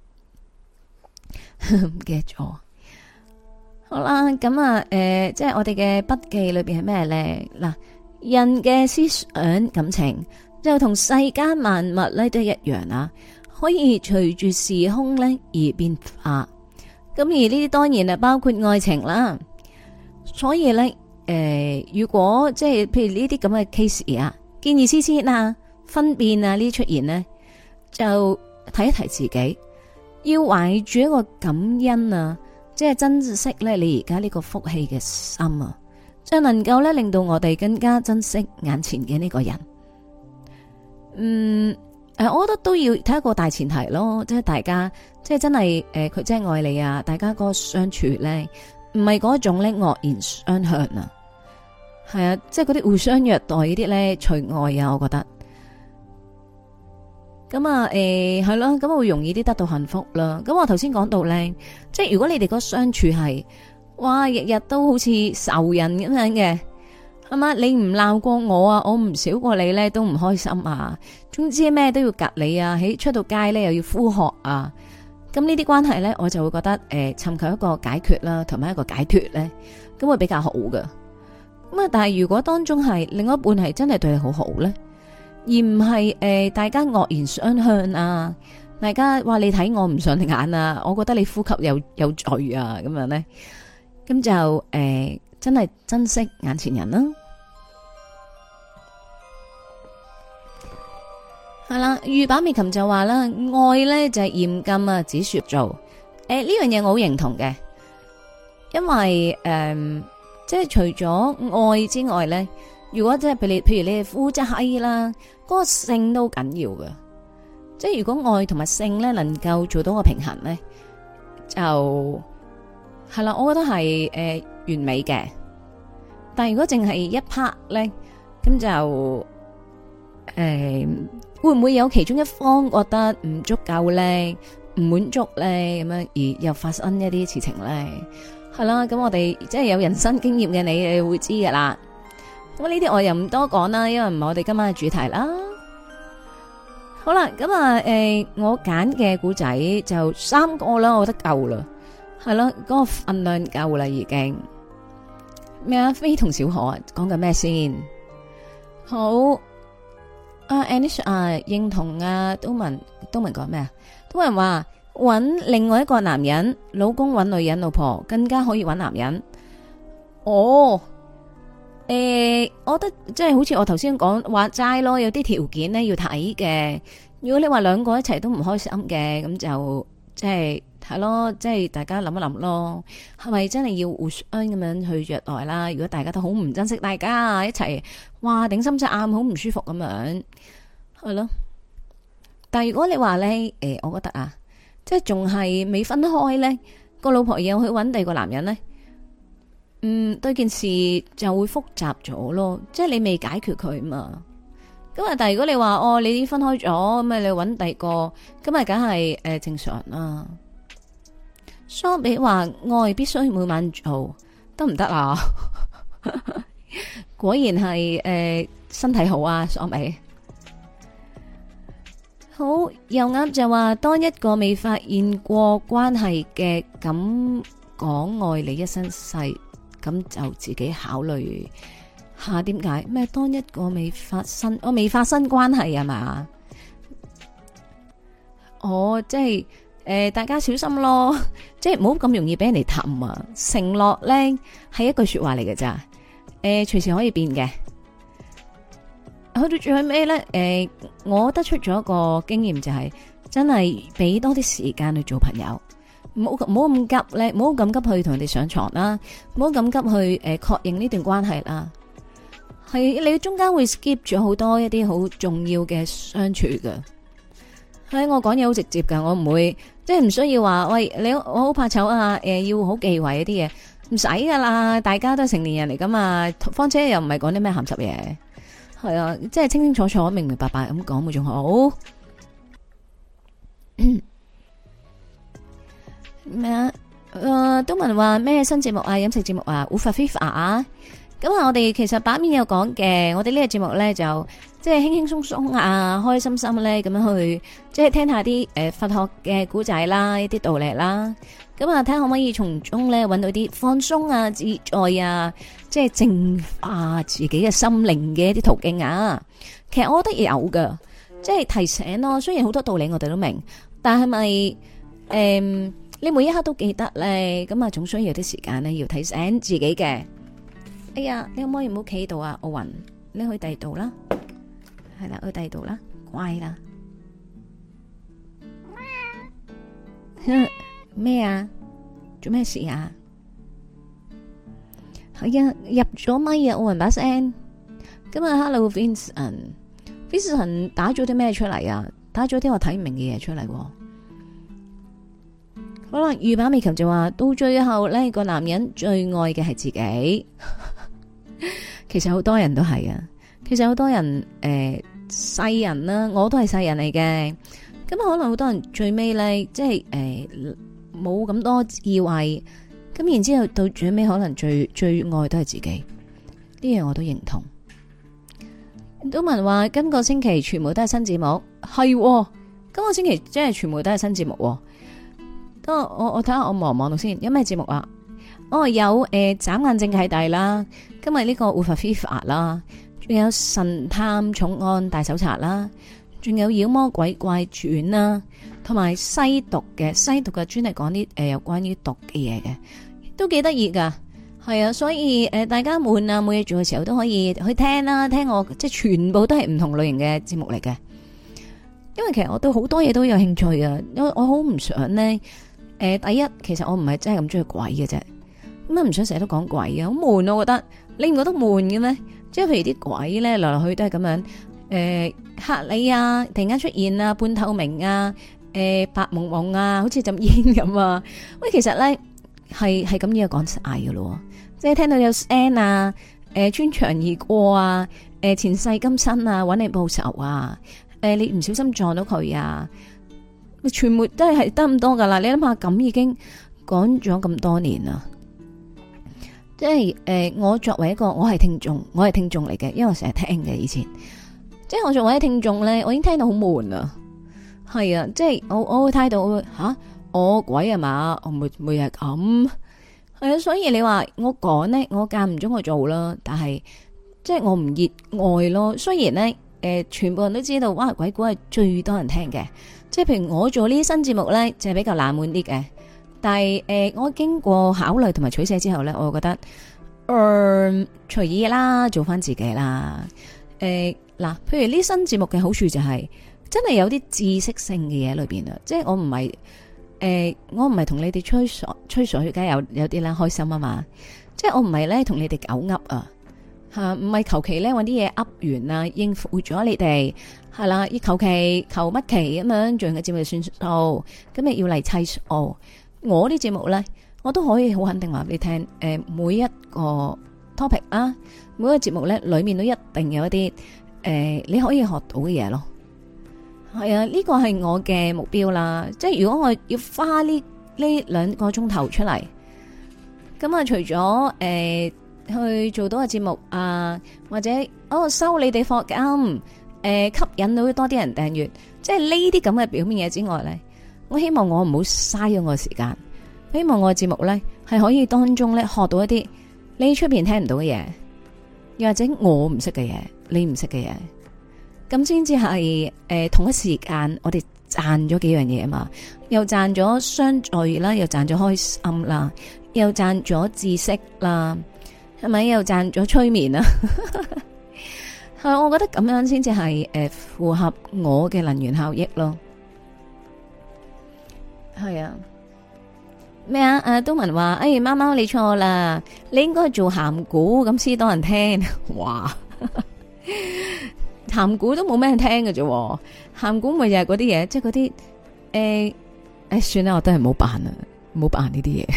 唔記得咗。好啦，咁啊，誒、呃，即係我哋嘅筆記裏邊係咩咧？嗱，人嘅思想感情就同世間萬物咧都一樣啊，可以隨住時空咧而變化。咁而呢啲當然係包括愛情啦。所以咧，誒、呃，如果即係譬如呢啲咁嘅 case 啊，見異思遷啊、分辨啊呢啲出現呢，就提一提自己，要懷住一個感恩啊。即係珍惜咧，你而家呢個福氣嘅心啊，就能夠咧令到我哋更加珍惜眼前嘅呢個人。嗯，誒，我覺得都要睇一個大前提咯，即係大家即係真係誒，佢真係愛你啊，大家嗰個相處咧，唔係嗰種咧惡言相向啊，係啊，即係嗰啲互相虐待嗰啲咧，除外啊，我覺得。咁啊，誒，係咯，咁會容易啲得到幸福啦。咁我頭先講到咧，即係如果你哋個相處係，哇，日日都好似仇人咁樣嘅，係嘛？你唔鬧過我啊，我唔少過你咧，都唔開心啊。總之咩都要隔你啊，喺出到街咧又要呼喝啊。咁呢啲關係咧，我就會覺得誒，尋求一個解決啦，同埋一個解脫咧，咁會比較好噶。咁啊，但係如果當中係另外一半係真係對你好好咧，而唔係誒，大家惡言相向啊！大家話你睇我唔上眼啊！我覺得你呼吸有有罪啊！咁樣咧，咁就誒、呃，真係珍惜眼前人啦。係啦，御板美琴就話啦，愛咧就係嚴禁啊，只說做。誒、呃，呢樣嘢我好認同嘅，因為誒、呃，即係除咗愛之外咧。如果即係譬如你，譬如你係夫妻啦，嗰、那個性都緊要嘅。即係如果愛同埋性咧能夠做到個平衡咧，就係啦，我覺得係誒、呃、完美嘅。但係如果淨係一 part 咧，咁就誒、呃、會唔會有其中一方覺得唔足夠咧，唔滿足咧，咁樣而又發生一啲事情咧？係啦，咁我哋即係有人生經驗嘅你，你會知噶啦。咁呢啲我又唔多講啦，因為唔係我哋今晚嘅主題啦。好啦，咁啊，誒、呃，我揀嘅古仔就三個啦，我覺得夠啦，係咯，嗰、那個份量夠啦，已經。咩啊？非同小可啊？講緊咩先？好，阿 Anish 啊，認同啊，都文都文講咩啊？都文話搵另外一個男人，老公搵女人，老婆更加可以搵男人。哦。誒、欸，我覺得即係好似我頭先講話齋咯，有啲條件咧要睇嘅。如果你話兩個一齊都唔開心嘅，咁就即係係咯，即係大家諗一諗咯，係咪真係要互相咁樣去虐待啦？如果大家都好唔珍惜大家一齊，哇頂心隻眼好唔舒服咁樣，係咯。但係如果你話咧，誒、欸，我覺得啊，即係仲係未分開咧，個老婆又去搵第二個男人咧。嗯，對件事就會複雜咗咯，即係你未解決佢嘛。咁啊，但係如果你話哦，你已經分開咗，咁啊，你搵第二個，咁啊，梗係誒正常啦。相比話愛必須每晚做，得唔得啊？果然係誒、呃、身體好啊，相比好又啱就話，當一個未發現過關係嘅咁講愛你一生世。咁就自己考慮下點解咩？當一個未發生，我未發生關係啊嘛？哦，即係誒、呃，大家小心咯，即係唔好咁容易俾人哋氹啊！承諾咧係一句說話嚟嘅咋，誒、呃，隨時可以變嘅。去到最後尾咧，誒、呃，我得出咗一個經驗就係、是，真係俾多啲時間去做朋友。唔好唔好咁急咧，唔好咁急去同人哋上床啦，唔好咁急去誒確認呢段關係啦。係你中間會 skip 咗好多一啲好重要嘅相處噶。係我講嘢好直接噶，我唔會即係唔需要話喂你我好怕醜啊，誒、呃、要好忌諱一啲嘢，唔使噶啦，大家都係成年人嚟噶嘛，況且又唔係講啲咩鹹濕嘢，係啊，即係清清楚楚、明明白白咁講咪仲好。咩啊？ 誒，都問話咩新節目啊，飲食節目啊，烏法非法啊。咁啊，我哋其實版面有講嘅，我哋呢個節目咧就即係輕輕鬆鬆啊，開開心心咧咁樣去，即係聽下啲誒佛學嘅古仔啦，一啲道理啦。咁啊，睇下可唔可以從中咧搵到啲放鬆啊、自在啊，即係淨化自己嘅心靈嘅一啲途徑啊。其實我覺得有噶，即係提醒咯。雖然好多道理我哋都明，但係咪誒？你每一刻都記得咧，咁啊，總需要啲時間咧，要提醒自己嘅。哎呀，你可唔可以唔好企喺度啊？奧雲，你去第二度啦，係啦，去第二度啦，乖啦。咩啊？做咩事啊？係啊，入咗咪啊，奧雲把聲。今日 Hello Vincent，Vincent 打咗啲咩出嚟啊？打咗啲我睇唔明嘅嘢出嚟。好啦，御把美琴就話到最後呢個男人最愛嘅係自己。其實好多人都係啊，其實好多人誒世、呃、人啦，我都係世人嚟嘅。咁可能好多人最尾呢，即係誒冇咁多智慧，咁然之後到最尾可能最最愛都係自己。呢樣我都認同。都文話今個星期全部都係新節目，係、哦、今個星期即係全部都係新節目、哦。等我我我睇下我望唔望到先，有咩節目啊？哦，有誒，眨、呃、眼正契弟啦，今日呢個護法非法啦，仲有神探重案大搜查啦，仲有妖魔鬼怪傳啦，同埋西毒嘅西毒嘅專係講啲誒有關於毒嘅嘢嘅，都幾得意噶。係啊，所以誒、呃、大家悶啊冇嘢做嘅時候都可以去聽啦，聽我即係全部都係唔同類型嘅節目嚟嘅。因為其實我對好多嘢都有興趣啊，因為我好唔想呢。誒、呃，第一，其實我唔係真係咁中意鬼嘅啫，咁啊唔想成日都講鬼啊，好悶啊！我覺得你唔覺得悶嘅咩？即係譬如啲鬼咧，來來去去都係咁樣，誒、呃、嚇你啊，突然間出現啊，半透明啊，誒、呃、白蒙蒙啊，好似陣煙咁啊！喂，其實咧係係咁樣講晒噶咯，即係聽到有聲啊，誒、呃、穿牆而過啊，誒、呃、前世今生啊，搵你報仇啊，誒、呃、你唔小心撞到佢啊！全部都係係得咁多噶啦，你諗下咁已經講咗咁多年啦，即係誒、呃，我作為一個我係聽眾，我係聽眾嚟嘅，因為我成日聽嘅以前，即係我作為一個聽眾咧，我已經聽到好悶啊，係啊，即係我我會睇到吓我鬼啊嘛，我每每日咁係啊，所以你話我講呢，我間唔中我做啦，但係即係我唔熱愛咯。雖然呢，誒、呃，全部人都知道哇，鬼故係最多人聽嘅。即係譬如我做呢啲新節目咧，就係比較冷門啲嘅。但係誒、呃，我經過考慮同埋取捨之後咧，我覺得，嗯、呃，隨意啦，做翻自己啦。誒、呃，嗱，譬如呢新節目嘅好處就係、是，真係有啲知識性嘅嘢裏邊啊。即係我唔係，誒、呃，我唔係同你哋吹水，吹水梗係有有啲啦，開心啊嘛。即係我唔係咧同你哋狗噏啊。吓，唔係求其咧搵啲嘢噏完啊，應付咗你哋係啦，要求其求乜其咁樣做完嘅節目就算數，咁咪要嚟砌數。我啲節目咧，我都可以好肯定話俾你聽，誒，每一個 topic 啊，每一個節目咧，裏面都一定有一啲誒、呃，你可以學到嘅嘢咯。係啊，呢個係我嘅目標啦。即係如果我要花呢呢兩個鐘頭出嚟，咁啊，除咗誒。呃去做到個節目啊，或者哦收你哋課金，誒、呃、吸引到多啲人訂閱，即係呢啲咁嘅表面嘢之外咧，我希望我唔好嘥咗我嘅時間，希望我嘅節目咧係可以當中咧學到一啲你出邊聽唔到嘅嘢，又或者我唔識嘅嘢，你唔識嘅嘢，咁先至係誒同一時間我哋賺咗幾樣嘢啊嘛，又賺咗相聚啦，又賺咗開心啦，又賺咗知識啦。係咪又賺咗催眠啊？係，我覺得咁樣先至係誒符合我嘅能源效益咯。係啊，咩啊？誒，東文話：哎，貓貓你錯啦，你應該做鹹古咁先多人聽。哇，鹹古都冇咩人聽嘅啫，鹹古咪又係嗰啲嘢，即係嗰啲誒誒，算啦，我都係唔好扮啦，唔好扮呢啲嘢。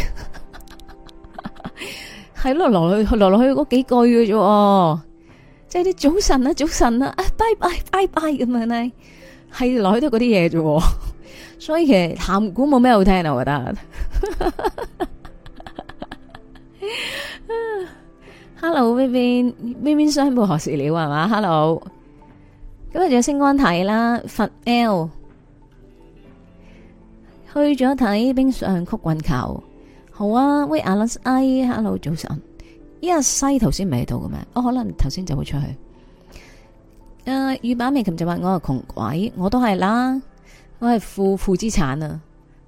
係咯，落落去落落去嗰幾句嘅啫，即係啲早晨啊，早晨啊，啊，拜拜拜拜咁樣咧， 係來都嗰啲嘢啫，所以其實鹹古冇咩好聽啊，我覺得。 Hello，Vivian，Vivian 商報何時了係嘛 ？Hello，今日仲有星光睇啦，佛 L 去咗睇冰上曲棍球，好啊。喂 ，Alice，I，Hello 早晨，依家西頭先未到嘅咩？我、哦、可能頭先就會出去。誒、uh，御板美琴就話我係窮鬼，我都係啦，我係負負資產啊，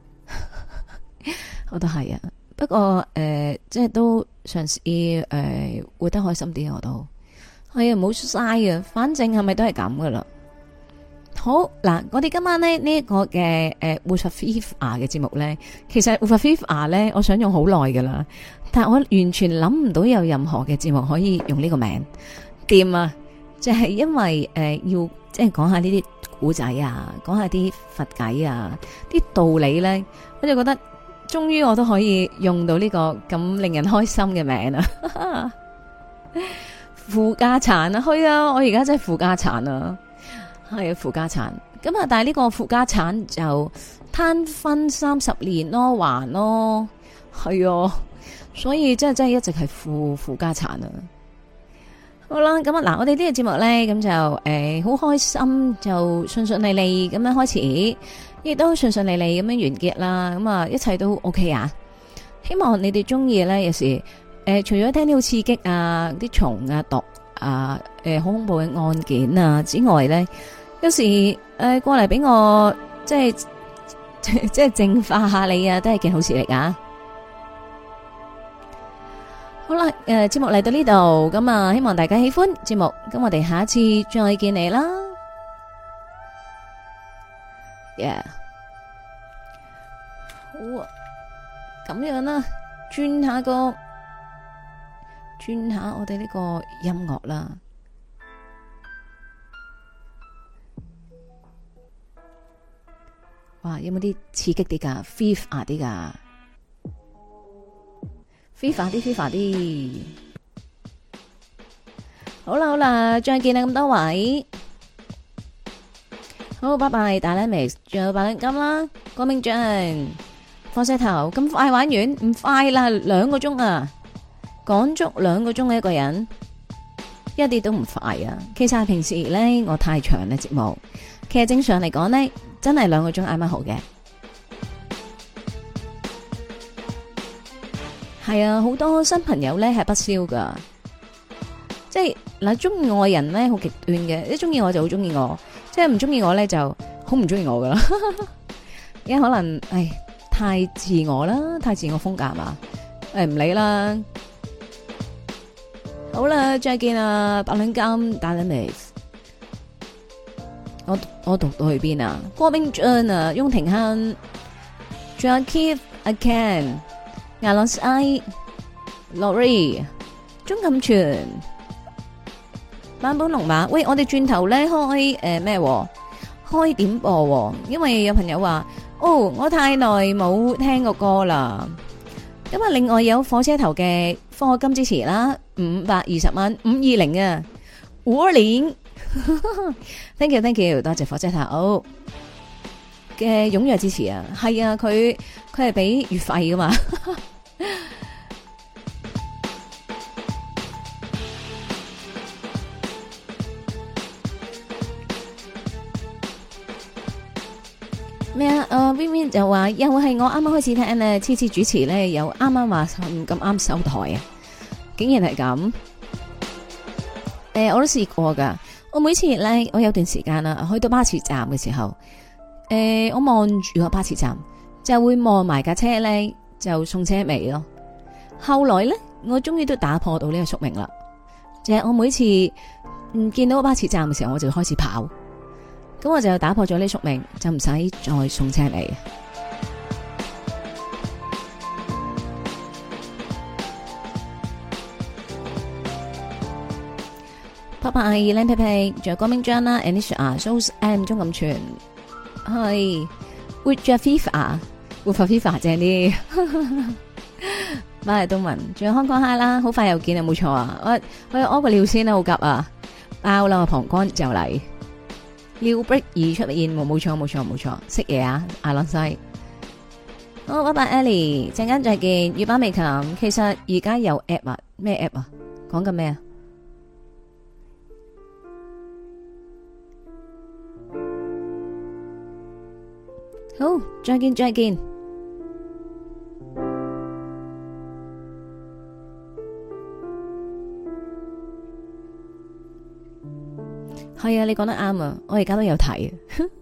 我都係啊。不過誒、呃，即係都嘗試誒活得開心啲，我都係啊，唔好嘥啊，反正係咪都係咁噶啦。好嗱，我哋今晚咧呢一、這個嘅誒活佛 FIFA 嘅節目咧，其實活佛 FIFA 咧，我想用好耐噶啦，但係我完全諗唔到有任何嘅節目可以用呢個名掂啊！就係、是、因為誒、呃、要即係講下呢啲古仔啊，講下啲佛偈啊，啲道理咧，我就覺得終於我都可以用到呢個咁令人開心嘅名啊！負家產啊，去啊！我而家真係負家產啊！係啊，負家產咁啊！但係呢個負家產就攤分三十年咯，還咯，係啊，所以真係真係一直係負負家產啊！好啦，咁啊嗱，我哋呢個節目咧，咁就誒好、呃、開心，就順順利利咁樣開始，亦都順順利利咁樣完結啦。咁啊，一切都 OK 啊！希望你哋中意咧，有時誒、呃，除咗聽啲好刺激啊、啲蟲啊、毒啊、誒、呃、好恐怖嘅案件啊之外咧。有時誒、呃、過嚟俾我即係即係淨化下你啊，都係件好事嚟噶。好啦，誒、呃、節目嚟到呢度，咁啊希望大家喜歡節目，咁我哋下一次再見你啦。Yeah， 好啊，咁樣啦，轉下個轉下我哋呢個音樂啦。哇，有冇啲刺激啲噶 FIFA 啲噶 FIFA 啲 FIFA 啲，好啦好啦，再見啦咁多位，好，拜拜，大 Alex， 仲有白兩金啦，郭明章，火車頭，咁快玩完？唔快啦，兩個鐘啊，講足兩個鐘嘅一個人，一啲都唔快啊。其實平時咧我太長嘅節目，其實正常嚟講咧。真係兩個鐘啱啱好嘅，係啊，好多新朋友咧係不消噶，即係嗱，中意我嘅人咧好極端嘅，一中意我就好中意我，即係唔中意我咧就好唔中意我噶啦，因為可能唉太自我啦，太自我風格嘛，誒唔理啦，好啦，再見啊，白兩金打緊你。我我讀到去邊啊？郭冰俊啊，翁廷亨，仲有 Keith、阿 Ken、亞朗斯、I、Lori、鍾錦全、版本龍馬。喂，我哋轉頭咧開誒咩、呃？開點播、啊，因為有朋友話：哦，我太耐冇聽過歌啦。咁啊，另外有火車頭嘅課金支持啦，五百二十蚊，五二零啊，五年。thank you thank you 多謝火車頭嘅踴躍支持啊，係啊，佢佢係俾月費噶嘛。咩啊？誒 Vivian 就話又係我啱啱開始聽咧，次次主持咧又啱啱話唔咁啱收台啊，竟然係咁。誒，我都試過噶。我每次咧，我有段時間啦，去到巴士站嘅時候，誒、呃，我望住個巴士站，就會望埋架車咧，就送車尾咯。後來咧，我終於都打破到呢個宿命啦。就係、是、我每次唔見到個巴士站嘅時候，我就開始跑，咁我就打破咗呢個宿命，就唔使再送車尾。拜拜，靚皮皮，仲有郭明章啦 ，Anisha、So M 鍾錦全，係活着 FIFA，活佛 FIFA 正啲。拜東文，仲有香港蝦啦，好快又見啊，冇錯啊，我我屙個尿先啦，好急啊，爆啦，我膀胱就嚟。 尿 break 而出現，冇冇錯冇錯冇錯，識嘢啊，阿朗西。好，拜拜 Ellie，陣間再見。月板美琴，其實而家有 app 啊，咩 app 啊？講緊咩啊？好，再見再見。係啊，你講得啱啊，我而家都有睇。